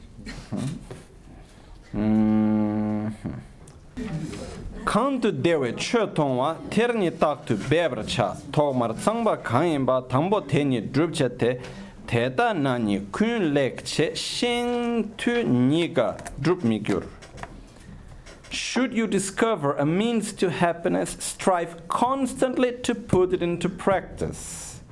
Mhm. Kantu dewe che tongwa terni taktu bebre cha togmar tsangba kanyinba tangbo teni drupche te teta nani kun lek che shin tu niga drup migyur. Should you discover a means to happiness, strive constantly to put it into practice.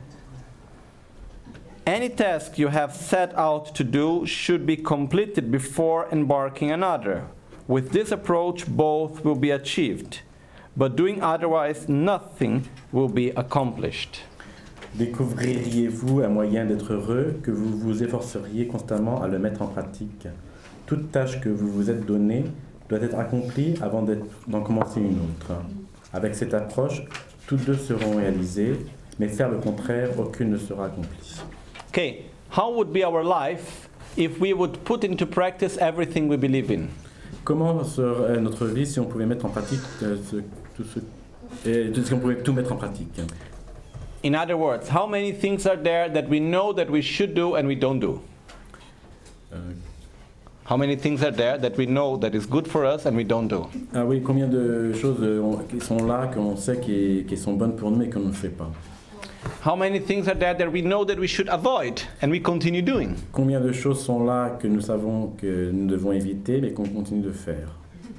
Any task you have set out to do should be completed before embarking another. With this approach, both will be achieved, but doing otherwise, nothing will be accomplished. Découvririez-vous un moyen d'être heureux que vous vous efforceriez constamment à le mettre en pratique? Toute tâche que vous vous êtes donnée doit être accomplie avant d'être- d'en commencer une autre. Avec cette approche, toutes deux seront réalisées, mais faire le contraire, aucune ne sera accomplie. Okay, how would be our life if we would put into practice everything we believe in? Comment serait notre vie si on pouvait mettre en pratique euh, ce, tout ce, et, si on pouvait tout mettre en pratique? In other words, how many things are there that we know that we should do and we don't do? Euh, How many things are there that we know that is good for us and we don't do? ah oui, combien de choses euh, on- qui sont là, qu'on sait qui, qui sont bonnes pour nous mais qu'on ne fait pas? How many things are there that we know that we should avoid and we continue doing? Combien de choses sont là que nous savons que nous devons éviter mais qu'on continue de faire?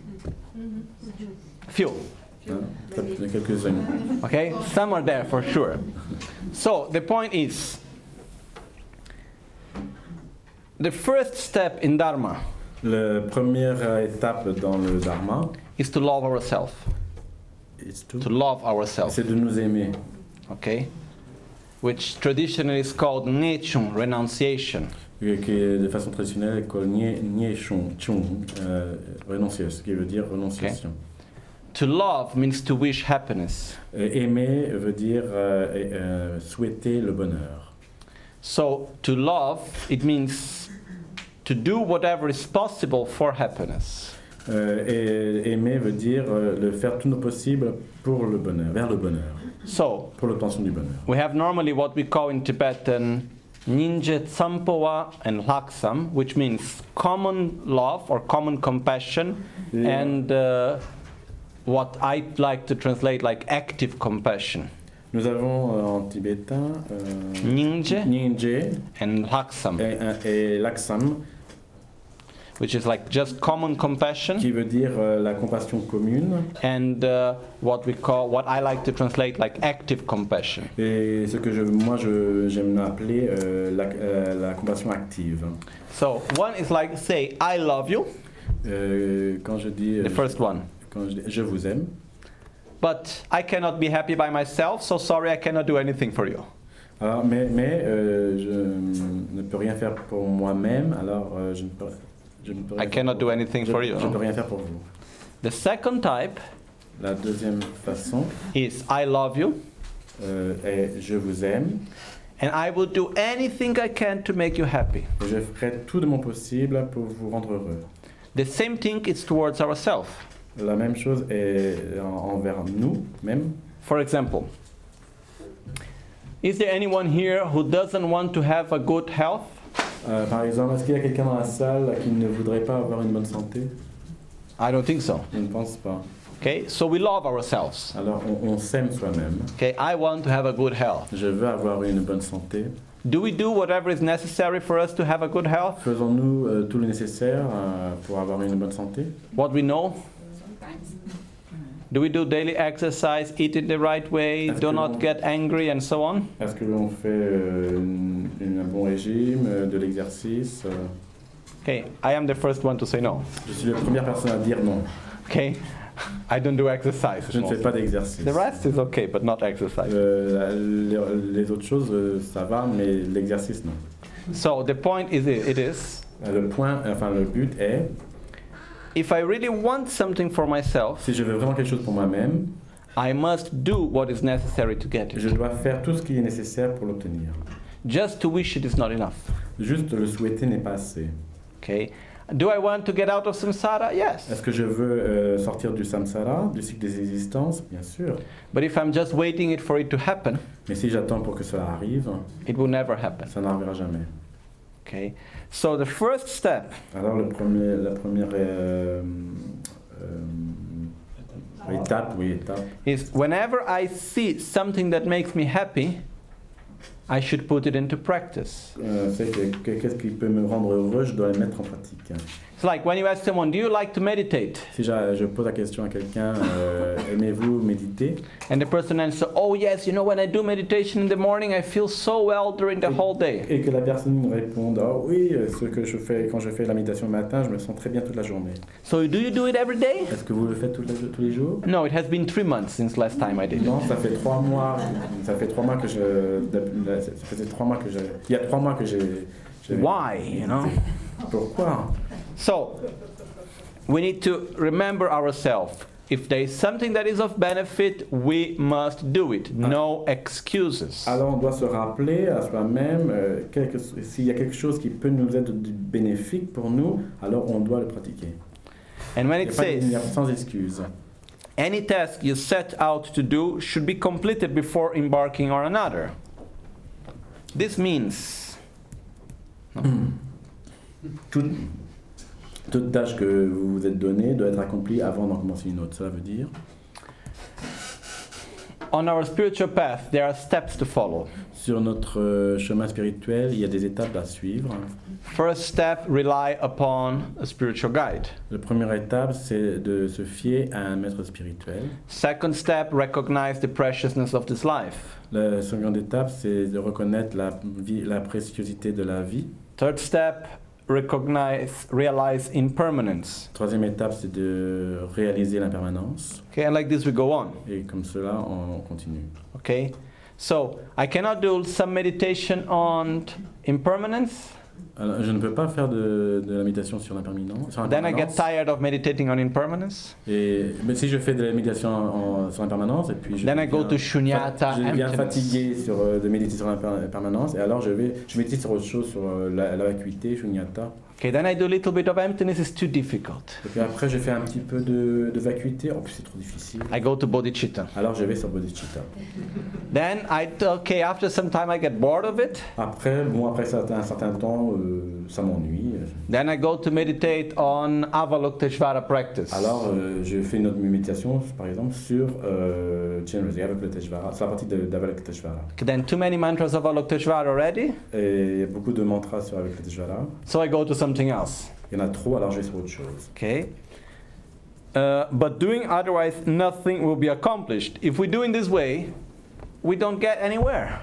Few. Hein? Peut-être quelques-unes. Okay, some are there for sure. So the point is, the first step in Dharma La première étape dans le Dharma, is to love ourselves. is to- To love ourselves. c'est de nous aimer, Okay, which traditionally is called Nechung, renunciation. euh, qui est de façon traditionnelle called nie, nie chung, chung, euh, renonciation, ce qui veut dire renonciation. To love means to wish happiness. Euh, aimer veut dire euh, euh, souhaiter le bonheur. So to love, it means to do whatever is possible for happiness. Euh, et aimer veut dire euh, de faire tout notre possible pour le bonheur, vers le bonheur, So pour l'obtention du bonheur. we have normally what we call in Tibetan Ninje Tsampowa and Laksam, which means common love or common compassion, Yeah. and uh, what I like to translate like active compassion. Nous avons euh, en tibétain euh, Ninje Nyingje and Laksam, et, et Laksam, which is like just common compassion, qui veut dire euh, la compassion commune, and uh, what we call, what I like to translate like active compassion. et ce que je, moi je, j'aime appeler euh, la, euh, la compassion active. So one is like say I love you, Euh, quand je dis, euh, the first one, quand je dis je vous aime, but I cannot be happy by myself, so sorry I cannot do anything for you. alors, mais, mais euh, je ne peux rien faire pour moi-même, alors euh, je ne peux, je ne peux I rien cannot faire do pour, anything je, for you. je ne peux rien faire pour vous. The second type La deuxième façon is I love you, euh, est je vous aime, and I will do anything I can to make you happy. et je ferai tout de mon possible pour vous rendre heureux. The same thing is towards ourselves. La même chose est en- envers nous même. For example, is there anyone here who doesn't want to have a good health? Euh, par exemple, est-ce qu'il y a quelqu'un dans la salle qui ne voudrait pas avoir une bonne santé? I don't think so. Je ne pense pas. Okay, so we love ourselves. Alors on, on s'aime soi-même. Okay, I want to have a good health. Je veux avoir une bonne santé. Do we do whatever is necessary for us to have a good health? Faisons-nous euh, tout le nécessaire euh, pour avoir une bonne santé? What we know? Do we do daily exercise, eat it the right way, Est-ce do que not l'on- get angry, and so on? Est-ce que l'on fait euh, une- une- un bon régime, euh, de l'exercice euh, Okay, I am the first one to say no. Je suis la première personne à dire non. Okay, I don't do exercise. Je ne fais pas d'exercice. The rest is okay, but not exercise. Euh, les, les autres choses, euh, ça va, mais l'exercice, non. So the point is, it is, Le point, enfin le but est, if I really want something for myself, si je veux vraiment quelque chose pour moi-même, I must do what is necessary to get je it. dois faire tout ce qui est nécessaire pour l'obtenir. Just to wish it is not enough. Juste le souhaiter n'est pas assez. Okay. Do I want to get out of samsara? Yes. Est-ce que je veux euh, sortir du samsara, du cycle des existences? Bien sûr. But if I'm just waiting it for it to happen, Mais si j'attends pour que cela arrive, it will never happen. ça n'arrivera jamais. Okay. So the first step Alors le premier, la première euh, euh, étape, oui, étape, is whenever I see something that makes me happy, I should put it into practice. euh, c'est que, que- qu'est-ce qui peut me rendre heureux, je dois le mettre en pratique. It's like when you ask someone, do you like to meditate? Si j'a- je pose la question à quelqu'un, euh, aimez-vous méditer? And the person answers, oh yes, you know, when I do meditation in the morning, I feel so well during the whole day. Et que la personne me réponde, oh oui, euh, ce que je fais quand je fais la méditation le matin, je me sens très bien toute la journée. So do you do it every day? Est-ce que vous le faites tous les, tous les jours? No, it has been three months since last time I did it. Non, ça fait trois mois. Ça fait trois mois que je. Ça faisait trois mois que je. Il y a trois mois que j'ai. j'ai- Why, you know? Pourquoi? So, we need to remember ourselves. If there is something that is of benefit, we must do it. No excuses. Alors on doit se rappeler à soi-même euh, quelque- s'il y a quelque chose qui peut nous être du bénéfique pour nous, alors on doit le pratiquer. And when Il it n'y a pas- il n'y a says, sans excuse. any task you set out to do should be completed before embarking on another. This means Toute, toute tâche que vous vous êtes donnée doit être accomplie avant d'en commencer une autre. Cela veut dire, on our spiritual path, there are steps to follow. sur notre euh, chemin spirituel, il y a des étapes à suivre. First step, rely upon a spiritual guide. La première étape, c'est de se fier à un maître spirituel. Second step, recognize the preciousness of this life. La seconde étape, c'est de reconnaître la, vie, la préciosité de la vie. Third step, recognize, realize impermanence. Troisième étape, c'est de réaliser l'impermanence. Okay, and like this we go on. Et comme cela, on continue. Okay, so I cannot do some meditation on impermanence. Alors, je ne peux pas faire de, de la méditation sur l'impermanence. sur Then I get l'impermanence. tired of meditating on impermanence. Et, mais si je fais de la méditation en- en- sur l'impermanence, et puis je Then I go deviens to shunyata, fa- je deviens emptiness. fatigué sur, euh, de méditer sur l'impermanence, et alors je vais je médite sur autre chose, sur euh, la, la vacuité, shunyata. Okay, then I do a little bit of emptiness. It's too difficult. Et puis après, je fais un petit peu de, de vacuité. En plus, c'est trop difficile. I go to bodhicitta. Alors, je vais sur bodhicitta. Then I okay. After some time, I get bored of it. Après, bon, après ça, un certain temps, euh, ça m'ennuie. Then I go to meditate on Avalokiteshvara practice. Alors, euh, je fais une autre méditation, par exemple, sur euh, Generosity, Avalokiteshvara. C'est la partie de- d'Avalokiteshvara. Okay, then too many mantras of Avalokiteshvara already. Et il y a beaucoup de mantras sur Avalokiteshvara. So I go to something else. Il y en a trop, alors je vais sur autre chose. Okay. Uh, but doing otherwise, nothing will be accomplished. If we do in this way, we don't get anywhere.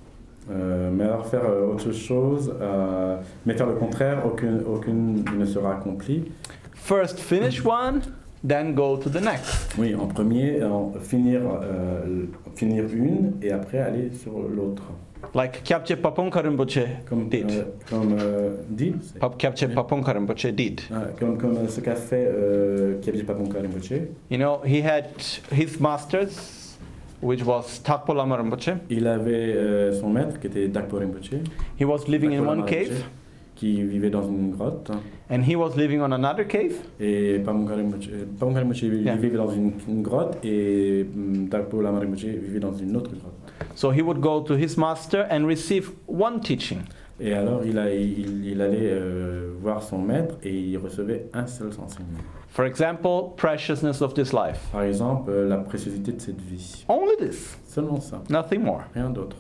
Euh, mais alors faire euh, autre chose, euh, mais faire le contraire, aucune, aucune ne sera accomplie. First finish one, then go to the next. Oui, en premier, en finir, euh, finir une et après aller sur l'autre. Like Kyabche Paponka Rinpoche Comme, did. euh, comme euh, dit, c'est- Pap- Kyabche Paponka Rinpoche did. ah, comme, comme ce qu'a fait euh, Kyabje Paponka Rinpoche. You know, he had his masters, which was Takpo Lama Rinpoche. Il avait euh, son maître qui était Dakpo Rinpoche, He was living in Dakpo one Lama cave, Rinpoche, qui vivait dans une grotte, and he was living on another cave. et Paponka Rinpoche, Paponka Rinpoche Yeah. vivait dans une, une grotte, et hum, Dakpo Lama Rinpoche vivait dans une autre grotte. So he would go to his master and receive one teaching. Et alors il, a, il, il allait euh, voir son maître et il recevait un seul enseignement. For example, preciousness of this life. Par exemple, euh, la préciosité de cette vie. Only this, Seulement ça, nothing more. rien d'autre.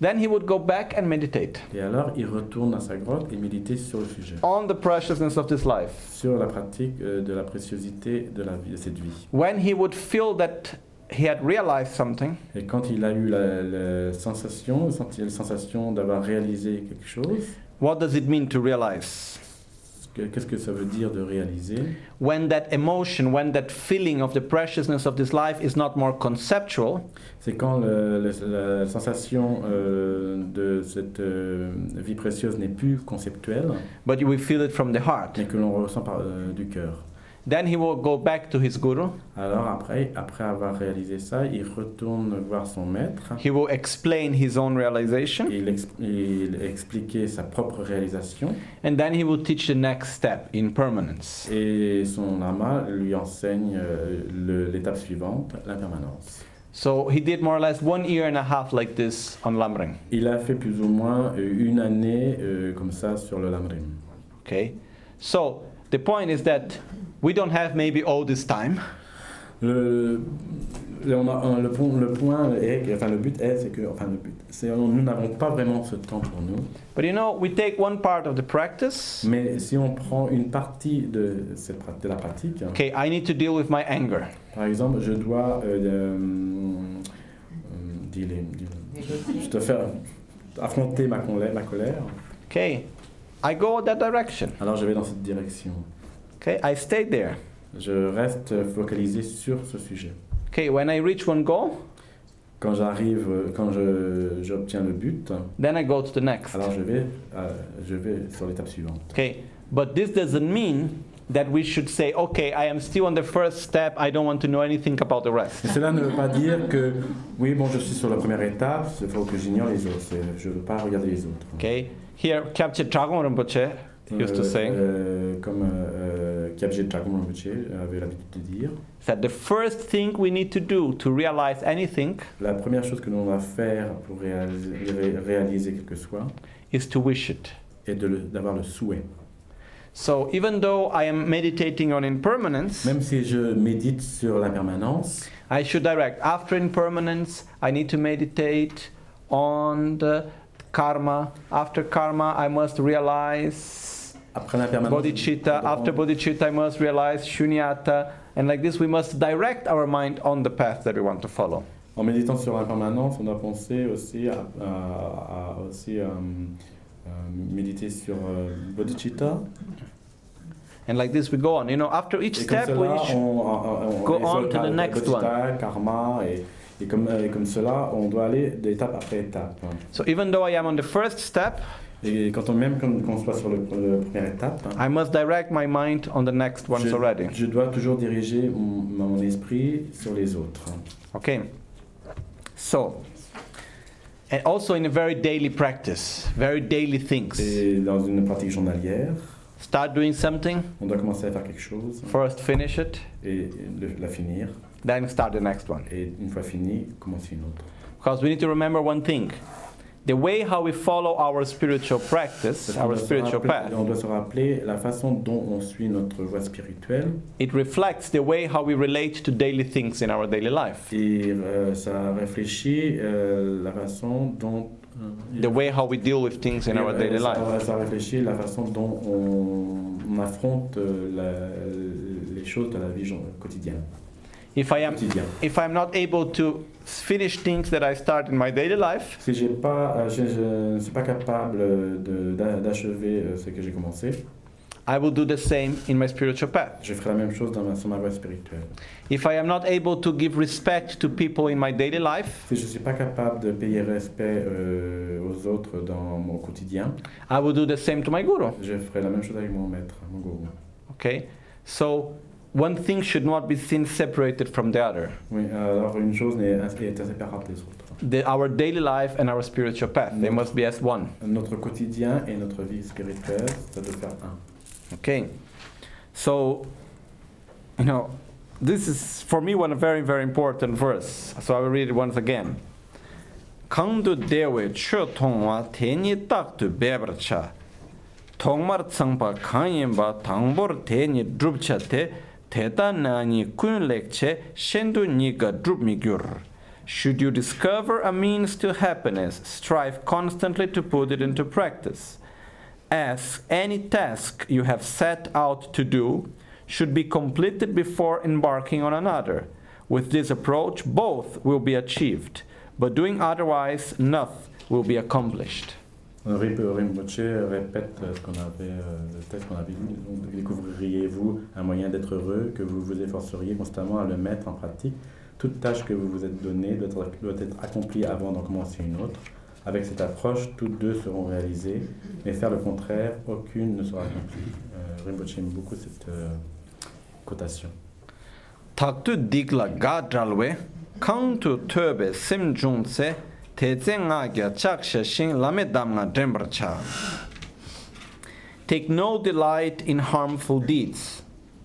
Then he would go back and meditate Et alors, il retourne dans sa grotte et méditer sur le sujet, on the preciousness of this life. sur la pratique euh, de la préciosité de, la vie, de cette vie. When he would feel that he had realized something, Et quand il a eu la, la sensation, senti la sensation d'avoir réalisé quelque chose, what does it mean to realize? que- qu'est-ce que ça veut dire de réaliser? When that emotion, when that feeling of the preciousness of this life is not more conceptual, C'est quand le- le- la sensation euh, de cette euh, vie précieuse n'est plus conceptuelle, but we feel it from the heart. mais que l'on ressent par, euh, du cœur. Then he will go back to his guru. Alors après, après avoir réalisé ça, il retourne voir son maître He will explain his own realization, et il, ex- il expliquait sa propre réalisation and then he will teach the next step in permanence. et son lama lui enseigne euh, le- l'étape suivante, l'impermanence. So he did more or less one year and a half like this on Lamrim. Il a fait plus ou moins euh, une année euh, comme ça sur le Lamrim. Okay, so the point is that we don't have maybe all this time, Le, le, on a- le point, le point est, que- enfin le but est, c'est que, enfin le but, c'est nous n'avons pas vraiment ce temps pour nous. but you know, we take one part of the practice. Mais si on prend une partie de cette pra- de la pratique, Okay, I need to deal with my anger. par exemple, je dois euh, euh, euh, dealer- dealer- je dois faire affronter ma colère, ma colère. Okay, I go that direction. Alors je vais dans cette direction. Okay, I stay there. Je reste focalisé sur ce sujet. Okay, when I reach one goal, Quand j'arrive, quand je j'obtiens le but, then I go to the next. alors je vais, euh, je vais sur l'étape suivante. Okay, but this doesn't mean that we should say, okay, I am still on the first step, I don't want to know anything about the rest. Et cela ne veut pas dire que, oui, bon, je suis sur la première étape, il faut que j'ignore les autres. C'est- Je ne veux pas regarder les autres. Okay, here Kyabje Dragom Rinpoche used to Euh, say euh, comme euh, Kyabje Dragom Rinpoche avait l'habitude de dire, that the first thing we need to do to realize anything la première chose que l'on va faire pour réaliser, ré- réaliser quel que soit, is to wish it. est de le- d'avoir le souhait. So even though I am meditating on impermanence, Même si je médite sur l'impermanence, I should direct. After impermanence, I need to meditate on the karma. After karma, I must realize après l'impermanence, bodhicitta. After bodhicitta, I must realize shunyata. And like this, we must direct our mind on the path that we want to follow. en méditant sur l'impermanence, on doit penser aussi à, à- à- aussi, euh, euh, méditer sur euh, bodhicitta. And like this, we go on. You know, after each Et comme step, we cela, should on, on, on go et on sur to the le next bodhicitta, karma, et, et, comme, et comme cela, on doit aller d'étape après étape. So even though I am on the first step, Et quand on, même quand on soit sur le, la première étape, I must direct my mind on the next ones je, already. je dois toujours diriger mon, mon esprit sur les autres. Okay. So, and also in a very daily practice, very daily things. Et dans une pratique journalière, Start doing something, on doit commencer à faire quelque chose first finish it, et le- la finir. then start the next one. Et une fois fini, commencer une autre. Because we need to remember one thing. The way how we follow our spiritual practice, Parce qu'on our doit se spiritual rappeler- path, on doit se rappeler la façon dont on suit notre voie spirituelle it reflects the way how we relate to daily things in our daily life. et euh, ça réfléchit euh, la façon dont euh, The way how we deal with things in et, our euh, daily ça, life. ça réfléchit la façon dont on, on affronte euh, la- les choses de la vie jour- quotidienne. If I am Quotidien. if I'm not able to finish things that I start in my daily life, Si j'ai pas, euh, je, je ne suis pas capable de- d'a- d'achever euh, ce que j'ai commencé, I will do the same in my spiritual path. je ferai la même chose dans ma, sur ma voie spirituelle. If I am not able to give respect to people in my daily life, Si je ne suis pas capable de payer respect euh, aux autres dans mon quotidien, I will do the same to my guru. je ferai la même chose avec mon maître, mon gourou. Okay? So one thing should not be seen separated from the other. Oui, alors une chose n'est est inséparable des autres. The, our daily life and our spiritual path, they must be as one. Notre quotidien et notre vie spirituelle, ça doit faire un. Okay? So, you know, this is for me one very, very important verse. So I will read it once again. 강도 대외 최통와 대니 딱도 베버차 통말 성바 강인바 당보르 대니 드룹차테 대단하니 군렉체 셴도 니가 드룹미규르 Should you discover a means to happiness, strive constantly to put it into practice. As any task you have set out to do should be completed before embarking on another. With this approach, both will be achieved, but doing otherwise, nothing will be accomplished. Rinpoche répète ce qu'on avait, le texte qu'on avait lu. Donc, découvririez-vous un moyen d'être heureux, que vous vous efforceriez constamment à le mettre en pratique. Toute tâche que vous vous êtes donnée doit être, doit être accomplie avant d'en commencer une autre. Avec cette approche, toutes deux seront réalisées, mais faire le contraire, aucune ne sera accomplie. Euh, Rinpoche aime beaucoup cette euh, cotation. Taktu digla gadralwe, kantu töbe simjunse, Take no delight in harmful deeds.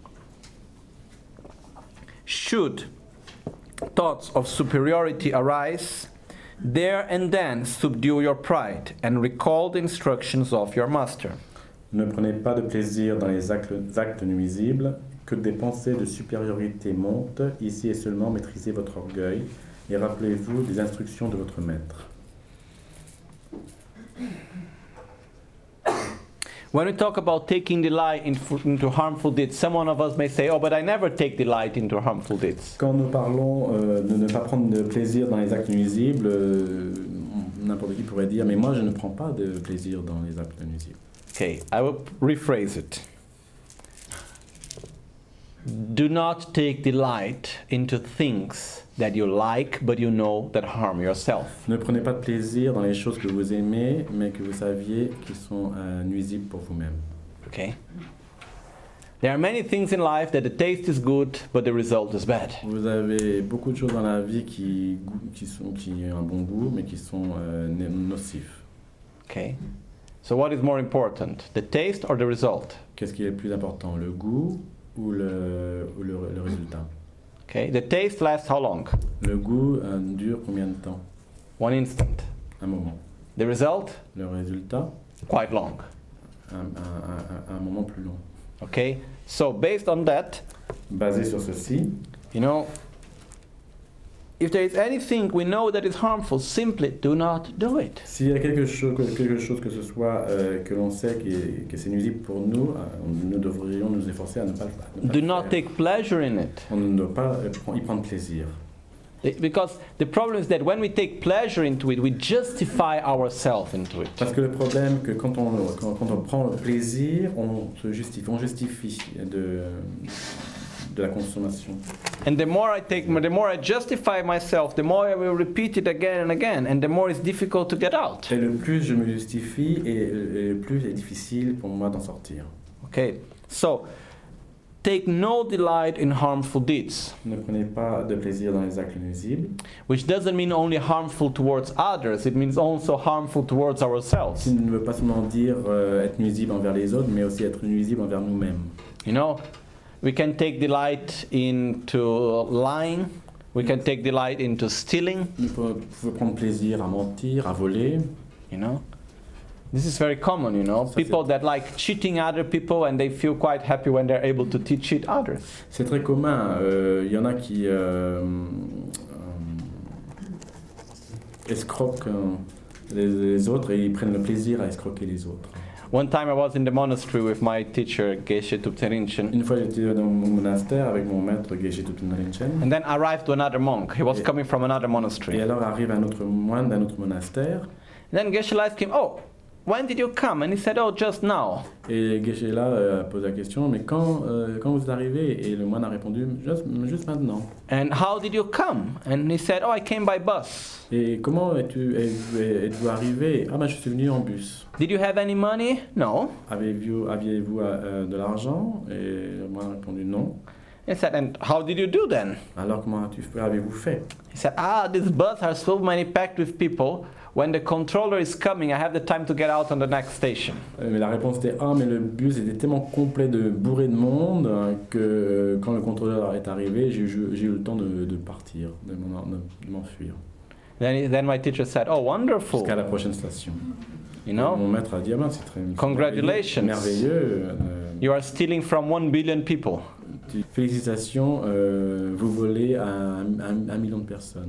Should thoughts of superiority arise, there and then subdue your pride and recall the instructions of your master. Ne prenez pas de plaisir dans les actes, actes nuisibles, que des pensées de supériorité montent, ici et seulement maîtrisez votre orgueil. Et rappelez-vous des instructions de votre maître. When we talk about taking delight in, into harmful deeds, some one of us may say, "Oh, but I never take delight into harmful deeds." Quand nous parlons euh, de ne pas prendre de plaisir dans les actes nuisibles, euh, n'importe qui pourrait dire, mais moi je ne prends pas de plaisir dans les actes nuisibles. Okay, I will rephrase it. Do not take delight into things that you like, but you know that harm yourself. Ne prenez pas de plaisir dans les choses que vous aimez, mais que vous saviez qui sont euh, nuisibles pour vous-même. Okay. There are many things in life that the taste is good, but the result is bad. Vous avez beaucoup de choses dans la vie qui, qui, sont, qui ont un bon goût, mais qui sont euh, nocifs. Okay. So what is more important, the taste or the result? Qu'est-ce qui est le plus important, le goût ou le, ou le, le résultat? Okay. The taste lasts how long? Le goût euh, dure combien de temps? One instant. Un moment. The result? Le résultat? Quite long. Un, un, un, un moment plus long. Okay. So based on that, basé sur ceci, you know, if there is anything we know that is harmful, simply do not do it. S'il y a quelque chose, quelque chose que ce soit euh, que l'on sait qui est, que c'est nuisible pour nous, euh, nous devrions nous efforcer à ne pas le faire. Do not take pleasure in it. On ne doit pas y prendre plaisir. Because the problem is that when we take pleasure into it, we justify ourselves into it. Parce que le problème que quand on quand, quand on prend le plaisir, on se justifie, on justifie de de la consommation. And the more I take, the more I justify myself, the more I will repeat it again and again, and the more it's difficult to get out. Et le plus je me justifie, et, et le plus c'est difficile pour moi d'en sortir. Okay, so take no delight in harmful deeds. Ne prenez pas de plaisir dans les actes nuisibles. Which doesn't mean only harmful towards others; it means also harmful towards ourselves. Ce ne veut pas seulement dire euh, être nuisible envers les autres, mais aussi être nuisible envers nous-mêmes. You know. We can take delight into lying. We can take delight into stealing. Vous pouvez prendre plaisir à mentir, à voler. You know, this is very common. You know, people that like cheating other people and they feel quite happy when they're able to cheat others. C'est très commun. Il euh, y en a qui euh, euh, escroquent les, les autres et ils prennent le plaisir à escroquer les autres. One time I was in the monastery with my teacher Geshe Thupten Rinchen. Une fois j'étais dans mon monastère avec mon maître Geshe Thupten Rinchen. And then arrived to another monk. He was et, coming from another monastery. Et alors arrive un autre moine d'un autre monastère. And then Geshe asked him, "Oh, when did you come?" And he said, "Oh, just now." Et Geshe là euh, pose la question, mais quand euh, quand vous êtes arrivé? Et le moine a répondu, juste, juste maintenant. And how did you come? And he said, "Oh, I came by bus." Et comment es-tu êtes-vous arrivé? Ah ben je suis venu en bus. Did you have any money? No. Avez-vous aviez-vous euh, de l'argent? Et le moine a répondu non. He said, "And how did you do then?" Alors comment avez-vous fait? He said, "Ah, these buses are so many packed with people. When the controller is coming, I have the time to get out on the next station." Mais la réponse était ah mais le bus était tellement complet de bourré de monde hein, que euh, quand le contrôleur est arrivé, j'ai eu, j'ai eu le temps de, de partir, de, de m'enfuir. Then, then my teacher said, "Oh, wonderful." Jusqu'à la prochaine station. You know? Mon maître a dit ah ben c'est très congratulations. Merveilleux. Euh, you are stealing from one billion people. Félicitations, euh, vous volez à un, un, un million de personnes.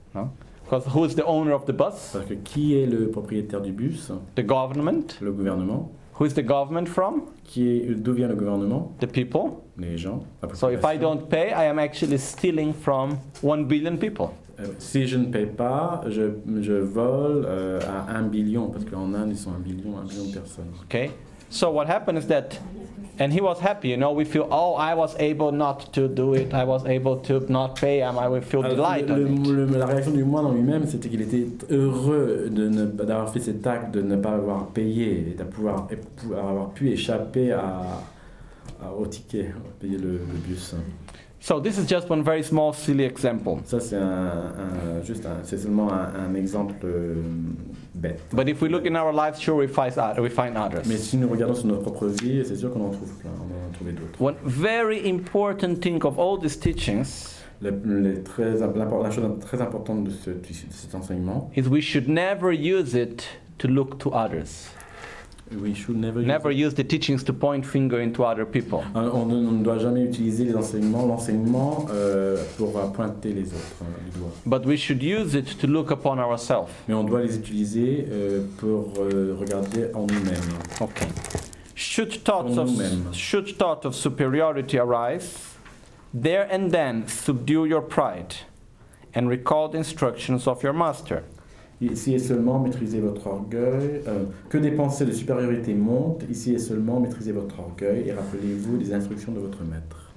No? Because who is the owner of the bus? Parce que qui est le propriétaire du bus? The government. Le gouvernement. Who is the government from? Qui est, d'où vient le gouvernement? The people. Les gens. La So if I population. don't pay, I am actually stealing from one billion people. Euh, si je ne paye pas, je, je vole euh, à un billion, parce qu'en Inde, ils sont un billion, un billion de personnes. Okay? So what happened is that, and he was happy, you know, we feel, oh, I was able not to do it, I was able to not pay, and I will feel Alors, delight le- on it. le- le- la réaction du moine en lui-même, c'était qu'il était heureux de ne- d'avoir fait cet acte, de ne pas avoir payé, et de pouvoir, et pouvoir avoir pu échapper à, à- au ticket, à payer le, le bus. So this is just one very small, silly example. Ça, c'est un, un- juste un- c'est seulement un, un exemple euh, bête. But if we look in our lives, sure we find, oth- we find others. Mais si nous regardons sur notre propre vie, c'est sûr qu'on en trouve plein, on en a trouvé d'autres. One very important thing of all these teachings Le- les très, l'impor- la chose très importante de, ce, de cet enseignement, is we should never use it to look to others. we should never, Never use use the teachings to point finger into other people. it. on, ne, on ne doit jamais utiliser les enseignements, l'enseignement euh, pour euh, pointer les autres euh, du doigt. But we should use it to look upon ourselves. Mais on doit les utiliser euh, pour euh, regarder en nous-mêmes. Okay. Should thoughts En of nous-mêmes. should thought of superiority arise, there and then subdue your pride and recall the instructions of your master. Ici et seulement maîtrisez votre orgueil. Euh, que des pensées de supériorité montent, ici et seulement maîtrisez votre orgueil et rappelez-vous des instructions de votre maître.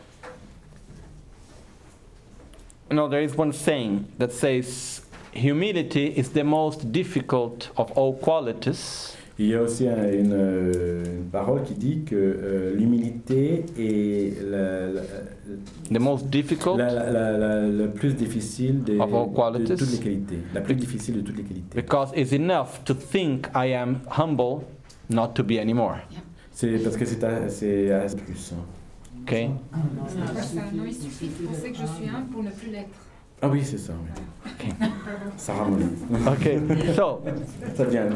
You know, there is one saying that says, humility is the most difficult of all qualities, Il y a aussi un- une, euh, une parole qui dit que euh, l'humilité est la, la, the most difficult la, la, la, la- la plus difficile des- Of all de qualities. toutes les qualités. La plus difficile de toutes les qualités. because it's enough to think I am humble not to be anymore. C'est parce que c'est à- c'est à plus. hein. Okay? C'est pas ça. Non, il suffit de penser que je suis un pour ne plus l'être. Ah oui, c'est ça. Oui. Ça ramollit. Okay. So, Ça vient.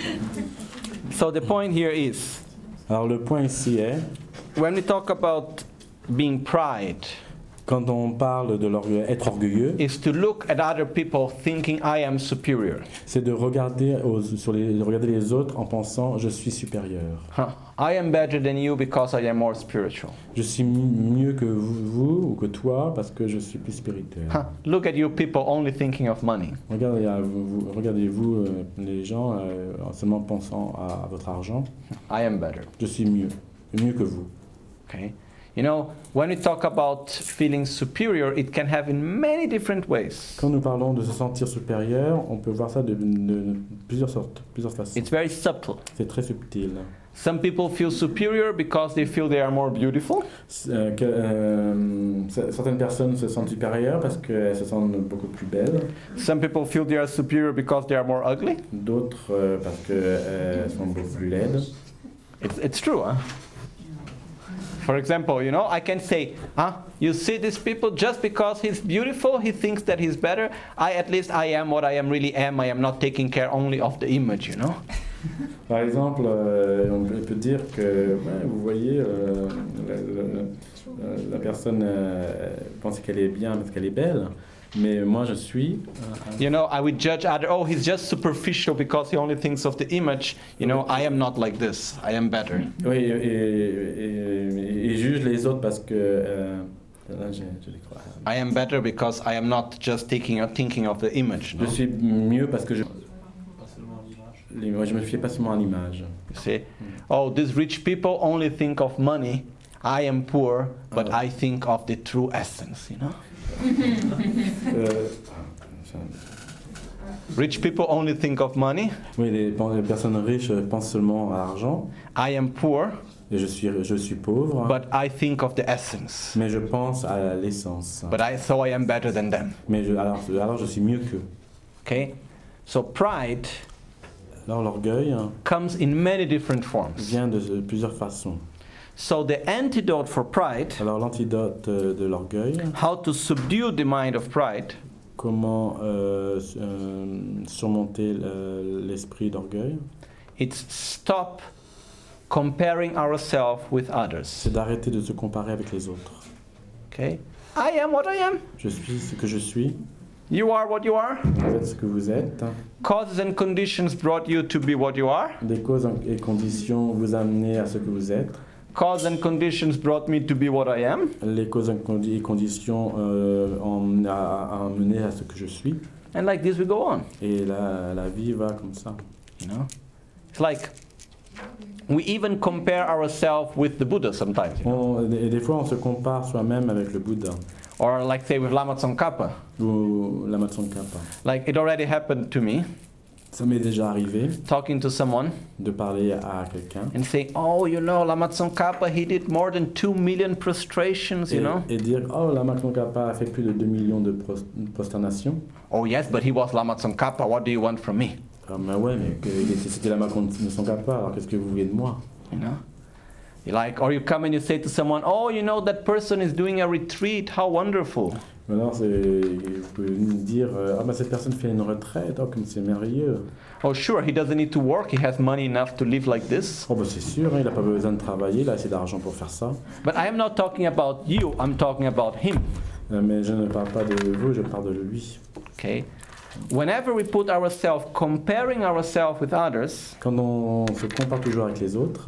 so the point here is, Alors le point ici est, when we talk about being pride, quand on parle de l'orgueil, être orgueilleux, is to look at other people thinking I am superior. c'est de regarder, aux, sur les, de regarder les autres en pensant je suis supérieur. Huh. I am better than you because I am more spiritual. Je suis mi- mieux que vous, vous ou que toi parce que je suis plus spirituel. Huh. Look at you people only thinking of money. Regardez, à vous- vous- regardez-vous euh, les gens euh, en seulement pensant à, à votre argent. I am better. Je suis mieux, mieux que vous. Okay? You know, when we talk about feeling superior, it can have in many different ways. Quand nous parlons de se sentir supérieur, on peut voir ça de, de- de plusieurs sortes, plusieurs façons. It's very subtle. C'est très subtil. Some people feel superior because they feel they are more beautiful. Euh, que, euh, c- certaines personnes se sentent supérieures parce qu'elles se sentent beaucoup plus belles. Some people feel they are superior because they are more ugly. D'autres euh, parce qu'elles sont beaucoup plus laides. It's, it's true, huh? For example, you know, I can say, huh, you see these people, just because he's beautiful, he thinks that he's better. I, at least I am what I am really am. I am not taking care only of the image, you know. Par exemple, euh, on peut peut dire que, ouais, vous voyez, euh, la, la- la- la personne euh, pense qu'elle est bien parce qu'elle est belle, mais moi je suis. You know, I would judge other, oh, he's just superficial because he only thinks of the image. You know, I am not like this. I am better. Oui, et, et, et- et juge les autres parce que. euh, là, j'ai- je les crois. I am better because I am not just taking, thinking of the image. Je No? suis mieux parce que je. Moi, je me fie pas seulement à l'image. You see? Oh, these rich people only think of money. I am poor, but Oh. I think of the true essence, you know? Euh, ça- Rich people only think of money. oui, les, les personnes riches pensent seulement à l'argent. I am poor, Et je suis, je suis pauvre, but I think of the essence. mais je pense à l'essence. But I, so I am better than them. Mais je, alors, alors je suis mieux qu'eux. Okay? So pride Alors l'orgueil comes in many different forms. vient de de plusieurs façons. So the antidote for pride, Alors l'antidote euh, de l'orgueil, how to subdue the mind of pride, comment euh, s- euh, surmonter euh, l'esprit d'orgueil, it's stop comparing ourselves with others. c'est d'arrêter de se comparer avec les autres. Okay? I am what I am. Je suis ce que je suis. You are what you are. Vous êtes ce que vous êtes. Causes and conditions brought you to be what you are. Des causes et conditions vous amenez à ce que vous êtes. Causes and conditions brought me to be what I am. Les causes et conditions euh, ont amené à ce que je suis. And like this we go on. Et la, la vie va comme ça. You know, it's like we even compare ourselves with the Buddha sometimes. You know? On, et des fois, on se compare soi-même avec le Bouddha Or like say with Lama Tsongkhapa. ou Lama Tsongkhapa. Like it already happened to me, Ça m'est déjà arrivé talking to someone de parler à quelqu'un and saying, oh, you know, Lama Tsongkhapa, he did more than two million prostrations, you et, know. et dire « Oh, Lama Tsongkhapa a fait plus de deux millions de pros- prosternations. Oh yes, but he was Lama Tsongkhapa, what do you want from me? » Ah, mais ouais, mais que, c'était Lama Tsongkhapa, alors qu'est-ce que vous voulez de moi? You know? You like, or you come and you say to someone, oh, you know, that person is doing a retreat, how wonderful. Alors, c'est, vous pouvez me dire « Ah, bah cette personne fait une retraite, oh, comme c'est merveilleux. » Oh sure, he doesn't need to work, he has money enough to live like this. Oh, bah c'est sûr, hein, il n'a pas besoin de travailler, il a assez d'argent pour faire ça. But I am not talking about you, I'm talking about him. Euh, mais je ne parle pas de vous, je parle de lui. Okay? Whenever we put ourselves, comparing ourselves with others, Quand on se compare toujours avec les autres,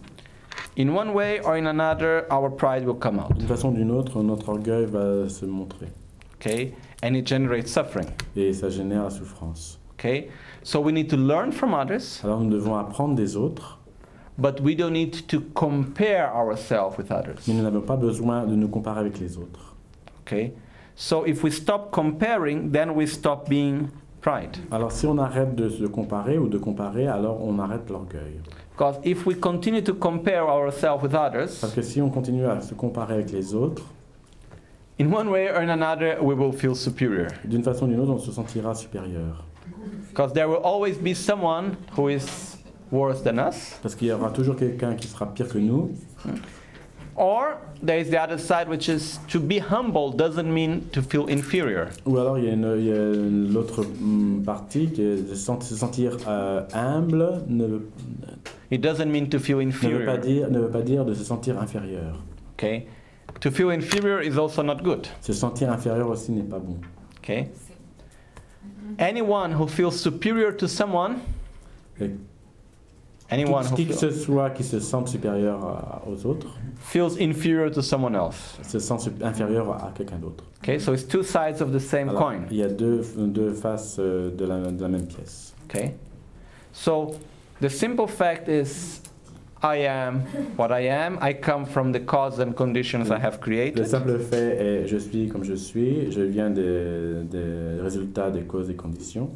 in one way or in another, our pride will come out. d'une façon ou d'une autre, notre orgueil va se montrer. Okay? And it generates suffering. Et ça génère la souffrance. Okay? So we need to learn from others, Alors nous devons apprendre des autres, but we don't need to compare ourselves with others. mais nous n'avons pas besoin de nous comparer avec les autres. Okay? So if we stop comparing, then we stop being pride. Alors si on arrête de se comparer ou de comparer, alors on arrête l'orgueil. Because if we continue to compare ourselves with others, Parce que si on continue à se comparer avec les autres, in one way or in another, we will feel superior. d'une façon ou d'une autre, on se sentira supérieur. Because there will always be someone who is worse than us. Parce qu'il y aura toujours quelqu'un qui sera pire que nous. Or there is the other side, which is to be humble doesn't mean to feel inferior. Ou alors il y a, une, il y a l'autre hum, partie qui est de sent- se sentir euh, humble ne veut, It doesn't mean to feel ne, veut pas inferior. dire, ne veut pas dire de se sentir inférieur. Okay? To feel inferior is also not good. Se sentir inférieur aussi n'est pas bon. Okay? Anyone who feels superior to someone, Et anyone qui, who qui que feel- ce soit qui se sente supérieur à- aux autres, feels inferior to someone else. se sent sup- inférieur à quelqu'un d'autre. Okay? So it's two sides of the same Alors, coin. il y a deux, deux faces euh, de la, de la même pièce. Okay? So the simple fact is I am what I am. I come from the cause and conditions I have Le created. simple fait est je suis comme je suis, je viens des, des résultats des causes et conditions.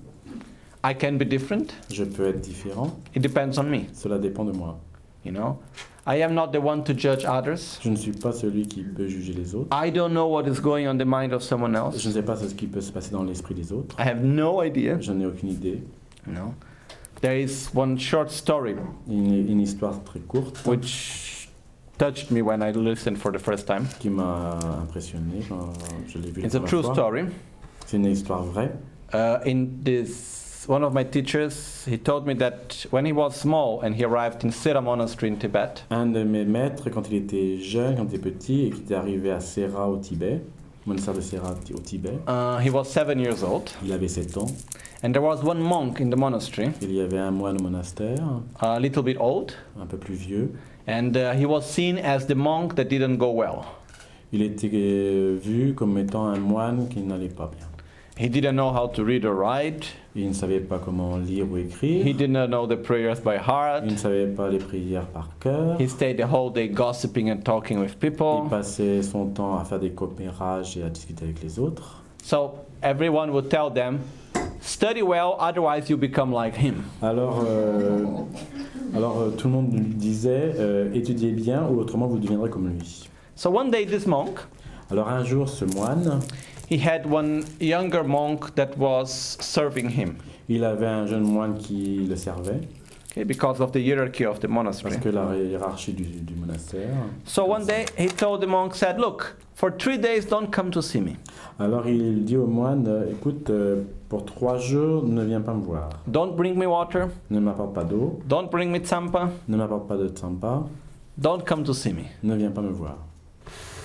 I can be different. Je peux être différent, It depends on me, cela dépend de moi. you know. I am not the one to judge others. Je ne suis pas celui qui peut juger les autres. I don't know what is going on the mind of someone Je else. ne sais pas ce qui peut se passer dans l'esprit des autres. I have no idea, Je n'ai aucune idée. you know. There is one short story Une, une histoire très courte which touched me when I listened for the first time. qui m'a impressionné quand je l'ai vu la It's a première true fois. story. C'est une histoire vraie. Uh, in this, one of my teachers, he told me that when he was small and he arrived in Sera Monastery in Tibet, Un de mes maîtres, quand il était jeune, quand il était petit et qu'il était arrivé à Sera au Tibet, monastère de Sera au Tibet, uh, he was seven years old, il avait sept ans. and there was one monk in the monastery, Il y avait un moine au monastère, a little bit old, un peu plus vieux. and uh, he was seen as the monk that didn't go well. Il était euh, vu comme étant un moine qui n'allait pas bien. He didn't know how to read or write. Il ne savait pas comment lire ou écrire. He didn't know the prayers by heart. Il ne savait pas les prières par cœur. He stayed the whole day gossiping and talking with Il people. passait son temps à faire des commérages et à discuter avec les autres. So everyone would tell them, study well, otherwise you become like him. Alors, euh, alors euh, tout le monde lui disait euh, étudiez bien ou autrement vous deviendrez comme lui. So one day this monk, Alors un jour, ce moine, he had one younger monk that was serving him, il avait un jeune moine qui le servait okay, because of the hierarchy of the parce monastery. que la hiérarchie du, du monastère. So one day he told the monk, said, look, for three days don't come to see me. Alors il dit au moine euh, écoute, euh, pour trois jours, ne viens pas me voir. Don't bring me water, Ne m'apporte pas d'eau, don't bring me tsampa, ne m'apporte pas de tsampa, don't come to see me. ne viens pas me voir.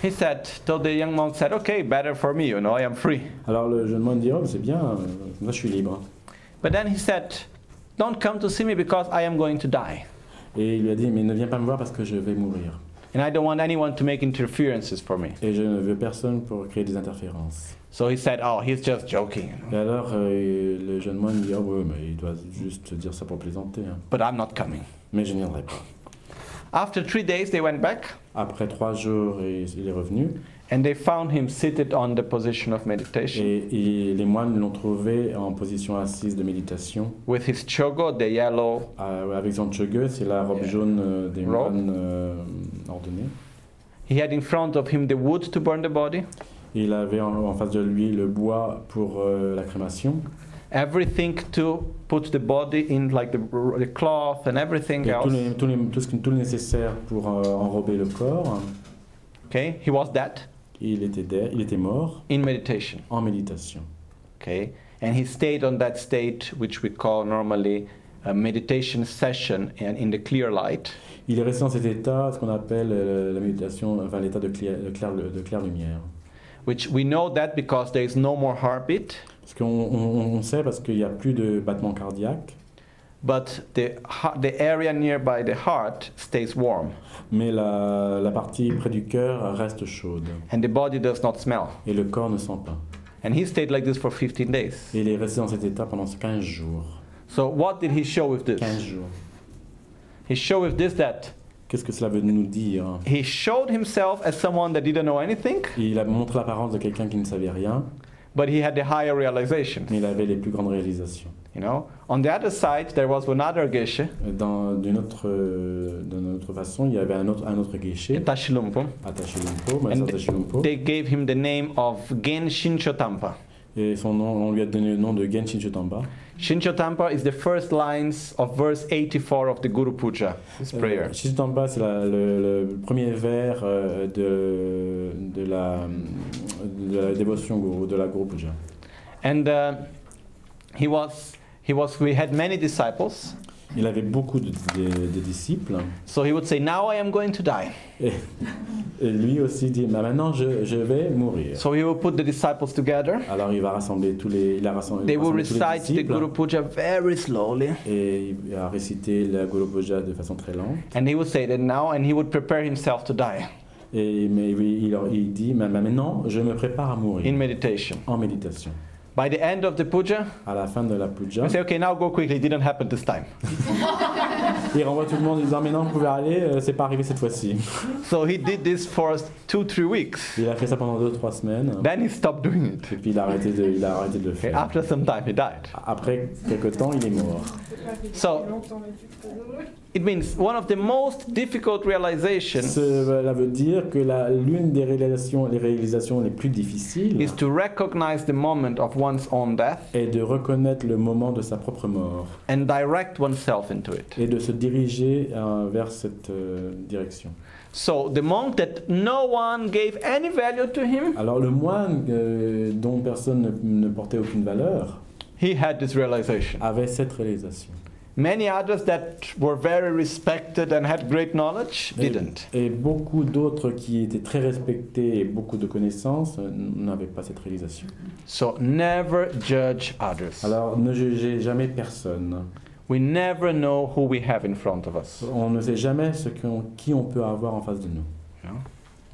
he said, told the young monk, said, okay, better for me, you know, I am free. Alors le jeune moine dit, oh, c'est bien, euh, moi je suis libre. But then he said, don't come to see me because I am going to die. Et il lui a dit, mais ne viens pas me voir parce que je vais mourir. And I don't want anyone to make interferences for me. Et je ne veux personne pour créer des interférences. So he said, oh, he's just joking. You know? Et alors euh, le jeune moine dit, oh ouais, mais il doit juste dire ça pour plaisanter. Hein. But I'm not coming. Mais je ne viendrai pas. After three days, they went back. Après trois jours, il est revenu. And they found him seated on the position of meditation. Et, et les moines l'ont trouvé en position assise de méditation. With his chogo, the yellow. Euh, avec son chogue, c'est la robe Yeah. jaune euh, des Robe. moines euh, ordonnés. He had in front of him the wood to burn the body. Il avait en, en face de lui le bois pour euh, la crémation. Everything to put the body in, like the, the cloth and everything Et tout, else. les, tout, les, tout, ce, qui- tout le nécessaire pour euh, enrober le corps. Okay, he was dead Il était, de- il était mort in meditation. en méditation. Okay, and he stayed on that state, which we call normally a meditation session, and in the clear light. Il est resté dans cet état, ce qu'on appelle euh, la méditation, enfin l'état de clair, de clair, de claire lumière. Which we know that because there is no more heartbeat, Parce qu'on on, on sait parce qu'il n'y a plus de battement cardiaque, but the ha- the area nearby the heart stays warm, mais la, la partie près du cœur reste chaude and the body does not smell. et le corps ne sent pas. And he stayed like this for fifteen days. Et il est resté dans cet état pendant quinze jours. So what did he show with this? quinze jours. He showed with this that Qu'est-ce que cela veut nous dire? he showed himself as someone that didn't know anything, Il a montré l'apparence de quelqu'un qui ne savait rien, but he had the higher realizations. mais il avait les plus grandes réalisations. You know. On the other side, there was another geshe, Dans, d'une autre, euh, d'une autre façon, il y avait un autre, un autre guichet, Tashilumpo, attaché Lumpo, and Maître Tashilumpo, they gave him the name of Gen Shinchotampa. et son nom, on lui a donné le nom de Genshin Chotamba. Shinchotampa is the first lines of verse eighty-four of the Guru Puja, this prayer. Euh, Chotamba, c'est la- le, le premier vers euh, de, de, la, de la dévotion Guru, de la Guru Puja. And uh, he was, he was, we had many disciples, Il avait beaucoup de, de- de disciples, so he would say, now I am going to die. et, et lui aussi dit, bah, maintenant je, je vais mourir. So he would put the disciples together. Alors il va rassembler tous les, il a rassemblé, They will rassemblé tous les recite the disciples, Guru Puja very slowly. et il a récité la Guru Puja de façon très lente. And he would say that now, and he would prepare himself to die Et mais il, il, il dit, mais maintenant je me prépare à mourir in meditation. en méditation. By the end of the puja, À la fin de la puja, we say, okay, now go quickly. It didn't happen this time. il renvoie tout le monde en disant, mais non, vous pouvez aller, euh, c'est pas arrivé cette fois-ci. So he did this for two, three weeks. Il a fait ça pendant deux, trois semaines, Then he stopped doing it. et puis il a arrêté de, il a arrêté de le Okay, faire. after some time, he died. Après quelques temps, il est mort. So it means one of the most difficult realizations Cela veut dire que la- l'une des réalisations, les réalisations les plus difficiles is to recognize the moment of one's own death est de reconnaître le moment de sa propre mort and direct oneself into it. et de se diriger euh, vers cette euh, direction. So the monk that no one gave any value to him, Alors le moine euh, dont personne ne, ne portait aucune valeur he had this realization. avait cette réalisation. Many others that were very respected and had great knowledge Et, didn't. et beaucoup d'autres qui étaient très respectés et beaucoup de connaissances euh, n'avaient pas cette réalisation. So never judge others. Alors ne jugez jamais personne. We never know who we have in front of us. On ne sait jamais ce qu'on- qui on peut avoir en face de nous. You know?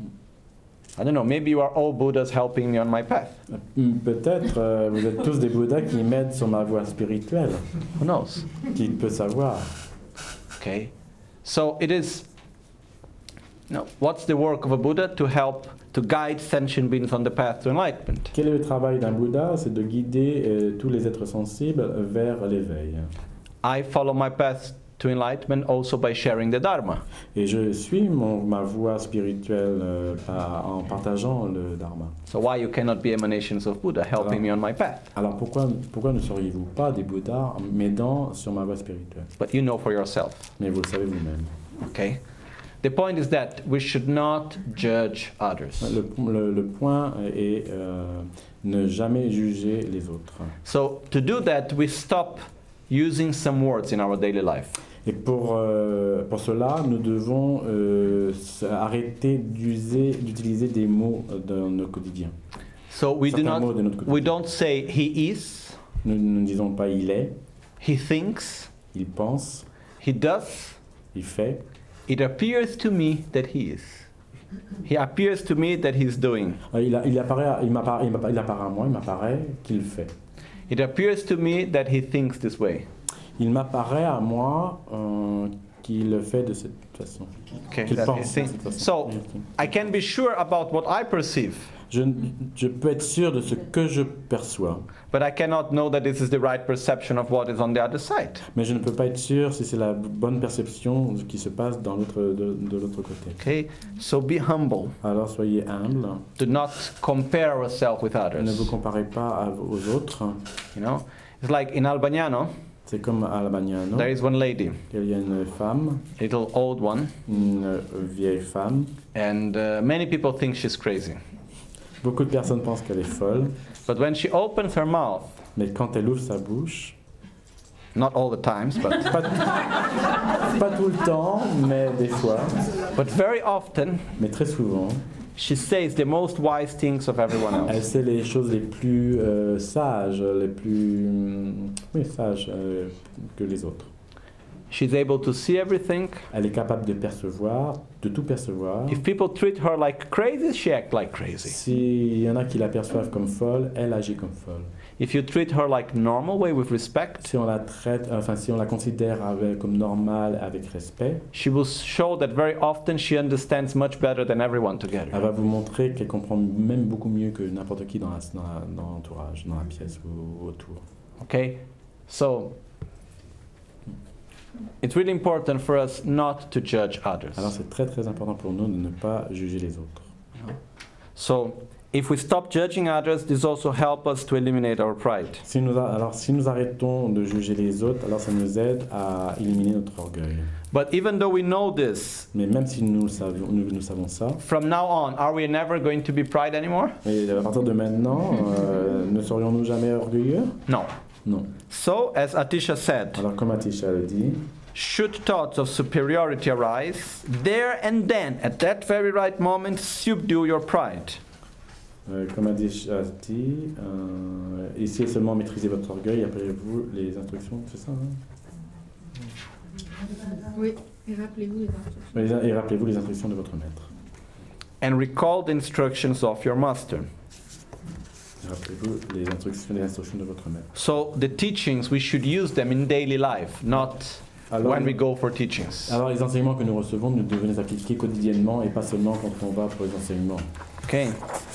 I don't know, maybe you are all Buddhas helping me on my path. Peut-être euh, vous êtes tous des Bouddhas qui m'aident sur ma voie spirituelle. Who knows? Qui peut savoir? Okay. So it is, no, what's the work of a Buddha? To help, to guide sentient beings on the path to enlightenment. Quel est le travail d'un Bouddha? C'est de guider euh, tous les êtres sensibles vers l'éveil. I follow my path to enlightenment also by sharing the Dharma. Et je suis mon, ma voie spirituelle euh, par- en partageant le Dharma. So why you cannot be emanations of Buddha helping me on my path? Alors pourquoi, pourquoi ne seriez-vous pas des Bouddhas m'aidant sur ma voie spirituelle? But you know for yourself. Mais vous le savez vous-même. Okay. The point is that we should not judge others. Le, le- le point est euh, ne jamais juger les autres. So to do that, we stop using some words in our daily life. Et pour, euh, pour cela, nous devons euh, arrêter d'user, d'utiliser des mots dans notre quotidien. So we do Certains not, mots de notre quotidien. we don't say he is, Nous nous ne disons pas il est, he thinks, il pense, he does. il fait. It appears to me that he is. He appears to me that he's doing. Euh, Il, a- il apparaît, il, m'apparaît, il m'apparaît- il apparaît à moi, il m'apparaît qu'il fait. It appears to me that he thinks this way. Il m'apparaît à moi euh, qu'il le fait de cette façon. Okay, Qu'il that pense he de thinks. cette façon. So I can be sure about what I perceive, Je, je peux être sûr de ce que je perçois, but I cannot know that this is the right perception of what is on the other side. mais je ne peux pas être sûr si c'est la bonne perception de ce qui se passe dans l'autre, de, de l'autre côté. Okay, so be humble. Alors soyez humble, Do not compare ourselves with ne others. vous comparez pas à- aux autres. You know, it's like in Albagnano, C'est comme à Albagnano, there is one lady, il y a une femme, little old one, une vieille femme. and uh, many people think she's crazy. Beaucoup de personnes pensent qu'elle est folle, But when she opens her mouth, mais quand elle ouvre sa bouche, not all the times, but pas, pas tout le temps, mais des fois, but very often, mais très souvent, she says the most wise things of everyone elle else. sait les choses les plus euh, sages, les plus hum, oui, sages euh, que les autres. She's able to see everything. Elle est capable de percevoir, de tout percevoir. If people treat her like crazy, she acts like crazy. S'il y en a qui la perçoivent comme folle, elle agit comme folle. If you treat her like normal way with respect, Si on la traite, enfin si on la considère avec- comme normale avec respect, she will show that very often she understands much better than everyone elle together. va vous montrer qu'elle comprend même beaucoup mieux que n'importe qui dans la- dans la- dans l'entourage, dans la pièce ou autour. Okay? So it's really important for us not to judge others. Alors c'est très très important pour nous de ne pas juger les autres. So if we stop judging others, this also helps us to eliminate our pride. Si nous a- alors si nous arrêtons de juger les autres, alors ça nous aide à éliminer notre orgueil. But even though we know this, Mais même si nous, le savions, nous, nous savons ça, from now on, are we never going to be pride anymore? et à partir de maintenant, euh, ne serions-nous jamais orgueilleux? No. Non. So, as Atisha said, Alors comme Atisha le dit, should thoughts of superiority arise, there and then, at that very right moment, subdue your pride. euh, comme Atisha dit, euh, essayez seulement de maîtriser votre orgueil, appelez-vous les instructions, c'est ça hein? Oui, et rappelez-vous les instructions. Et rappelez-vous les instructions de votre maître. And recall the instructions of your master. Rappelez-vous les instructions, les instructions de votre maître. So, the teachings, we should use them in daily life, not Alors, when we go for teachings. alors les enseignements que nous recevons, nous devons les appliquer quotidiennement et pas seulement quand on va pour les enseignements. Okay.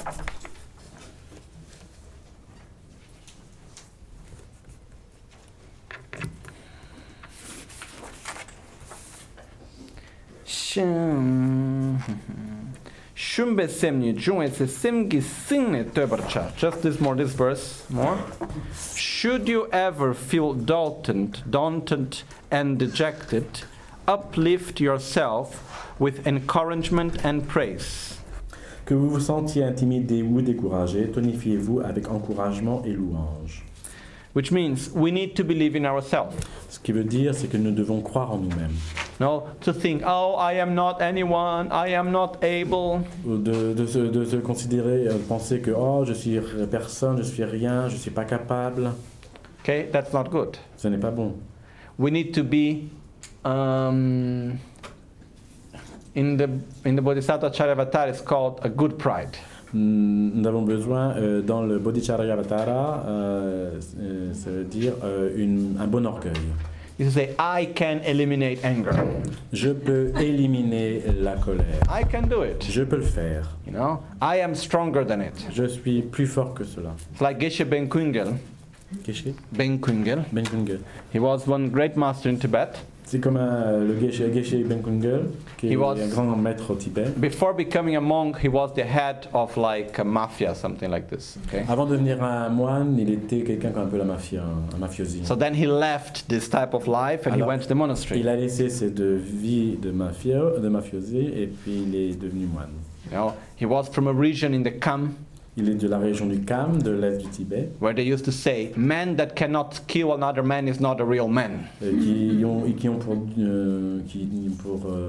Shum- Shumbe semni junwe se semgi singne töbercha. Just this more, this verse more. Should you ever feel daunted, daunted and dejected, uplift yourself with encouragement and praise. Que vous vous sentiez intimidé ou découragé, tonifiez-vous avec encouragement et louange. Which means we need to believe in ourselves. Ce qui veut dire, c'est que nous devons croire en nous-mêmes. No, to think, oh, I am not anyone, I am not able. Ou De, de, se, de se considérer, euh, penser que oh, je suis personne, je suis rien, je suis pas capable. Okay, that's not good. Ce n'est pas bon. We need to be um, in the in the Bodhisattva Charyavatara. It's called a good pride. Nous avons besoin, euh, dans le Bodhicharayavatara, euh, euh, ça veut dire euh, une, un bon orgueil. You say, I can eliminate anger. Je peux éliminer la colère. I can do it. Je peux le faire. You know, I am stronger than it. Je suis plus fort que cela. It's like Geshe Ben Kungel. Geshe Ben Kungel. Ben Kungel. He was one great master in Tibet. C'est comme un, le Geshe, Geshe Ben Kungel, qui He est was- un grand maître au Tibet. Before becoming a monk, he was the head of like a mafia, something like this. Okay. Avant de devenir un moine, il était quelqu'un comme un peu la mafia, un mafiosi. So then he left this type of life and he Alors, went to the monastery. Il a laissé cette vie de, mafia, de mafiosi et puis il est devenu moine. You know, he was from a region in the Kham. Il est de la région du Kham, de l'est du Tibet, where they used to say, man that cannot kill another man is not a real man. euh, qui ont, et qui ont pour, euh, qui, pour euh,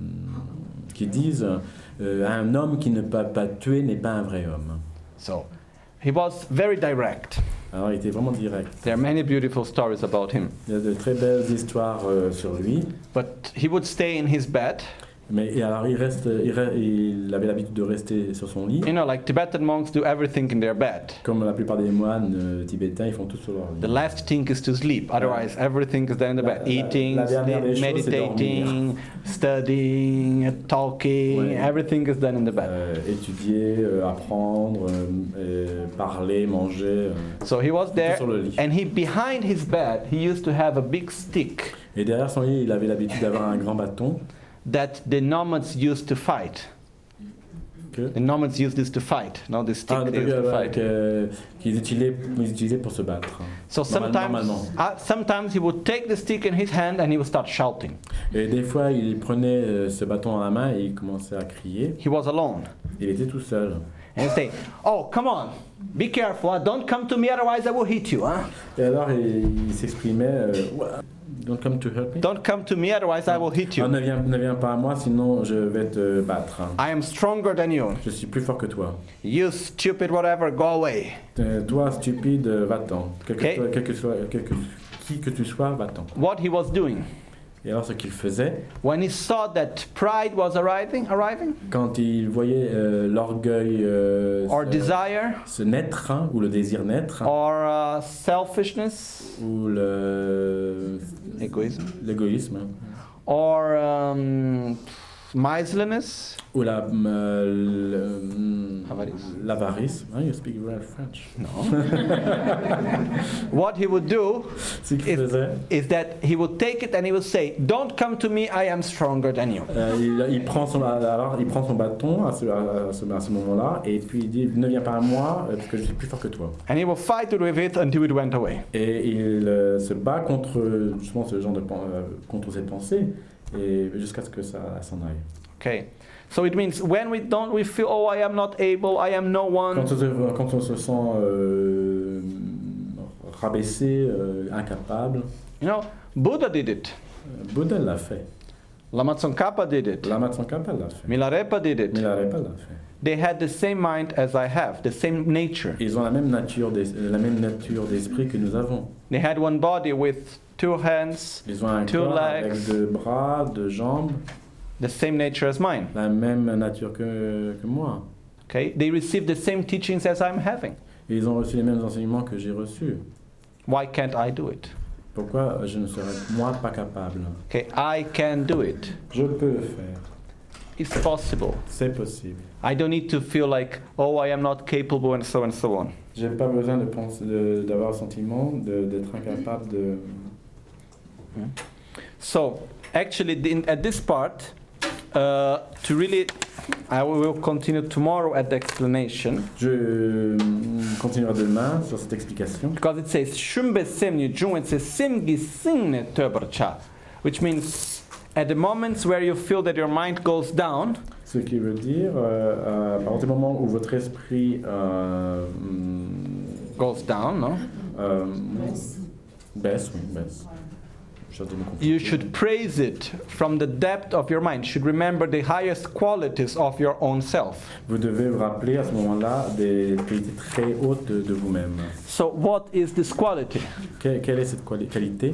qui disent euh, un homme qui ne peut pas tuer n'est pas un vrai homme. So he was very direct. Alors il était vraiment direct. There are many beautiful stories about him. Il y a de très belles histoires euh, sur lui. But he would stay in his bed. Mais et alors il reste, il, re- il avait l'habitude de rester sur son lit, You know, like Tibetan monks do everything in their bed. comme la plupart des moines euh, tibétains, ils font tout sur leur The lit. last thing is to sleep. Otherwise, everything is done in the La- bed. la- Eating, la dernière des choses, c'est meditating, studying, talking. Ouais. Everything is done in the bed. Euh, étudier, euh, apprendre, euh, euh, parler, manger, euh, So he was tout there, sur le lit. and he behind his bed he used to have a big stick Et derrière son lit, il avait l'habitude d'avoir un grand bâton that the nomads used to fight. que, The nomads used this to fight. No, this stick ah, they used to ouais, fight. que- qu'ils utilisaient, ils utilisaient pour se battre. So Normal- sometimes, normalement. uh, sometimes he would take the stick in his hand and he would start shouting. Et des fois, il prenait euh, ce bâton dans la main et il commençait à crier. He was alone. Il était tout seul. And he'd say, "Oh, come on, be careful! Huh? Don't come to me, otherwise I will hit you. Huh? Et alors, il, il s'exprimait euh, What? Don't come to hurt me. Don't come to me, otherwise I will hit Ah, you. ne, viens, ne viens pas à moi, sinon je vais te battre. I am stronger than you. Je suis plus fort que toi. You stupid whatever, go away." Euh, toi, stupide, euh, va-t'en. Quel que, Ok. soit, quel que soit, quel que- qui que tu sois, va-t'en. What he was doing Et alors, ce qu'il faisait, when he saw that pride was arriving, arriving, quand il voyait euh, l'orgueil euh, or se, desire, se naître, hein, ou le désir naître, or uh, selfishness, ou le- egoism, l'égoïsme, or um, miserliness, ou la, euh, le- Avarice. l'avarice. Hein, you speak well French. no. What he would do Ce qu'il is, faisait, is that he would take it and he would say, "Don't come to me, I am stronger than you." euh, il, il prend son, alors, il prend son bâton à ce, à ce, à ce moment-là, et puis il dit ne viens pas à moi, euh, parce que je suis plus fort que toi. And he will fight with it until it went away. Et il euh, se bat contre justement ce genre de pen- euh, contre cette pensée, et jusqu'à ce que ça s'en aille. Okay. So it means when we don't, we feel, "Oh, I am not able, I am no one." Quand on se, quand on se sent euh, rabaissé, euh, incapable, You know, Buddha did it. euh, Bouddha l'a fait, Lama Tsongkhapa did it. Lama Tsongkhapa l'a fait, Milarepa did it. Milarepa l'a fait. They had the same mind as I have, the same nature. Ils ont la même nature, d'es- la même nature d'esprit que nous avons. They had one body with two hands, Ils ont un Two corps legs. avec deux bras, deux jambes, the same nature as mine. la même nature que, que moi. Okay? They received the same teachings as I'm having. Et ils ont reçu les mêmes enseignements que j'ai reçus. Why can't I do it? Pourquoi je ne serais moi pas capable? Okay, I can do it. Je peux le faire. It's possible. C'est possible. I don't need to feel like, oh, I am not capable and so and so on. J'ai pas besoin de penser, de- d'avoir le sentiment de- d'être incapable de. So, actually, in, at this part, uh, to really, I will continue tomorrow at the explanation. Je euh, continuerai demain sur cette explication. Because it says Shumbe Semni Jung, it says Simgi Singne Töbercha, which means at the moments where you feel that your mind goes down, Ce qui veut dire, euh, euh, à partir du moment où votre esprit euh, hum, goes down, no? euh, baisse, oui, baisse. Je dis me comprendre. You should praise it from the depth of your mind. You should remember the highest qualities of your own self. Vous devez vous rappeler à ce moment-là des qualités très hautes de, de vous-même. So what is this quality? Que- quelle est cette quali- qualité?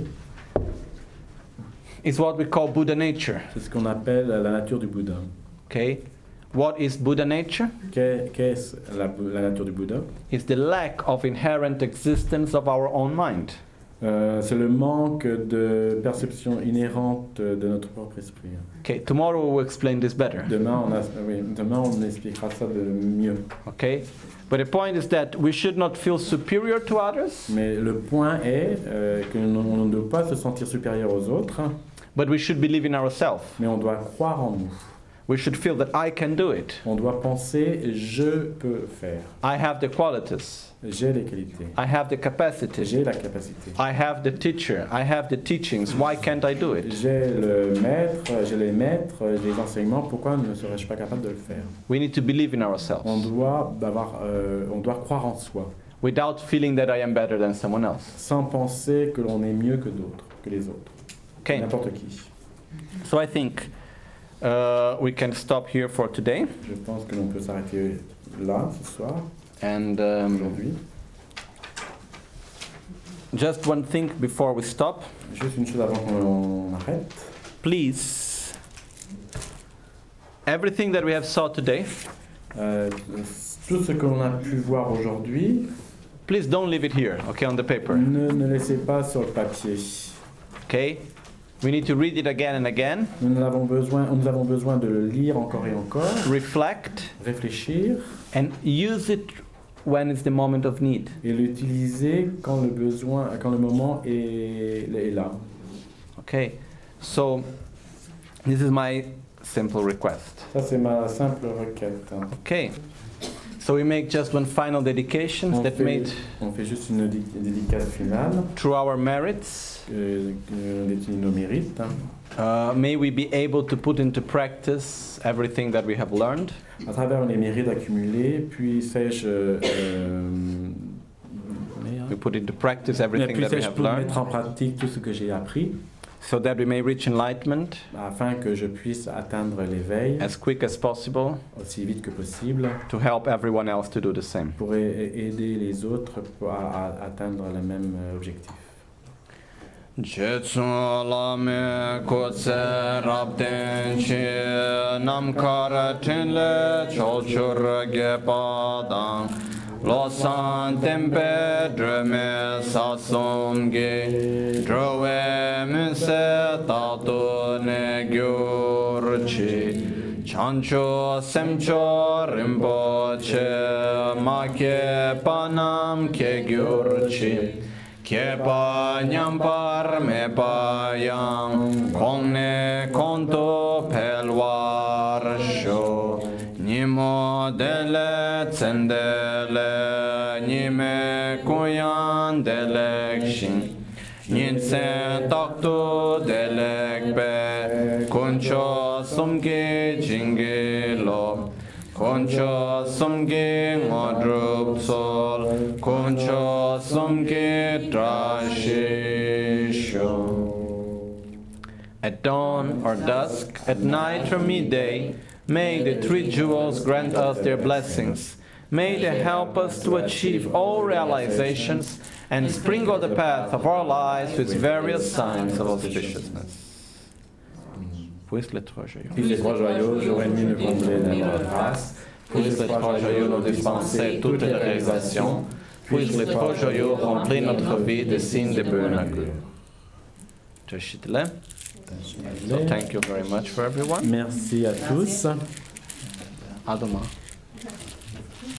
It's what we call Buddha nature. C'est ce qu'on appelle la nature du Bouddha. Okay? What is Buddha nature? Qu'est- Qu'est-ce la, la nature du Bouddha? It's the lack of inherent existence of our own mind. Euh, c'est le manque de perception inhérente de notre propre esprit. Okay, tomorrow we will explain this better. Demain, on, a, oui, demain, on expliquera ça de mieux. Okay? But the point is that we should not feel superior to others, Mais le point est euh, que l'on on ne doit pas se sentir supérieur aux autres, but we should believe in ourselves. mais on doit croire en nous. We should feel that I can do it. On doit penser, je peux faire. I have the qualities. J'ai les qualités. I have the capacity. J'ai la capacité. I have the teacher. I have the teachings. Why can't I do it? J'ai le maître, j'ai les maîtres, j'ai les enseignements. Pourquoi ne serais-je pas capable de le faire? We need to believe in On ourselves doit, avoir, euh, on doit croire en soi, without feeling that I am better than someone else. sans penser que l'on est mieux que d'autres, que les autres, Okay. n'importe qui. So I think uh, we can stop here for today. Je pense que l'on peut s'arrêter là ce soir, And um, aujourd'hui. just one thing before we stop. Juste une chose avant qu'on arrête. Please, everything that we have saw today, Euh, tout ce que l'on a pu voir aujourd'hui, please don't leave it here, okay, on the paper. ne, ne laissez pas sur le papier. Okay? We need to read it again and again, Nous avons besoin, nous avons besoin de le lire encore et encore, reflect, réfléchir and use it when it's the moment of need. et l'utiliser quand le besoin, quand le moment est, est là. Okay? So, this is my simple request. Ça, c'est ma simple requête. Okay? So we make just one final dedication On that fait, made on fait juste une dé- dédicace finale, through our merits. euh, que définit nos mérites. Uh, may we be able to put into practice everything that we have learned. À travers les mérites accumulés, puissais-je euh, We put into practice everything that we puissais-je have learned, mettre en pratique tout ce que j'ai appris, so that we may reach enlightenment afin que je puisse atteindre l'éveil as quick as possible aussi vite que possible, to help everyone else to do the same. pour a- aider les autres pour- à, à atteindre le même euh, objectif. Jetsu lame kotse rabden chi nam kara tinle chochur gepadang losan tempe dreme sasum ge drove minse tato ne gyurchi chancho semcho rimpoche make panam ke gyurchi Kepa nyampar me payang kongne konto pelwar sho nimo dele tsendele nime kuyan delekshin ninsen takto delekbe koncho sumge jingelo Concho sumge ngodrup sol, concho sumge drashisho. At dawn or dusk, at night or midday, may the three jewels grant us their blessings. May they help us to achieve all realizations and sprinkle the path of our lives with various signs of auspiciousness. Puisse les trois joyaux. Puis les trois joyaux, jour et nuit nous combler de notre grâce. Puisse les trois joyaux nous dispenser toutes les réalisations. Puisse les trois joyaux remplir notre vie de signes de bonheur. So thank you very much for everyone. Merci à tous. À demain.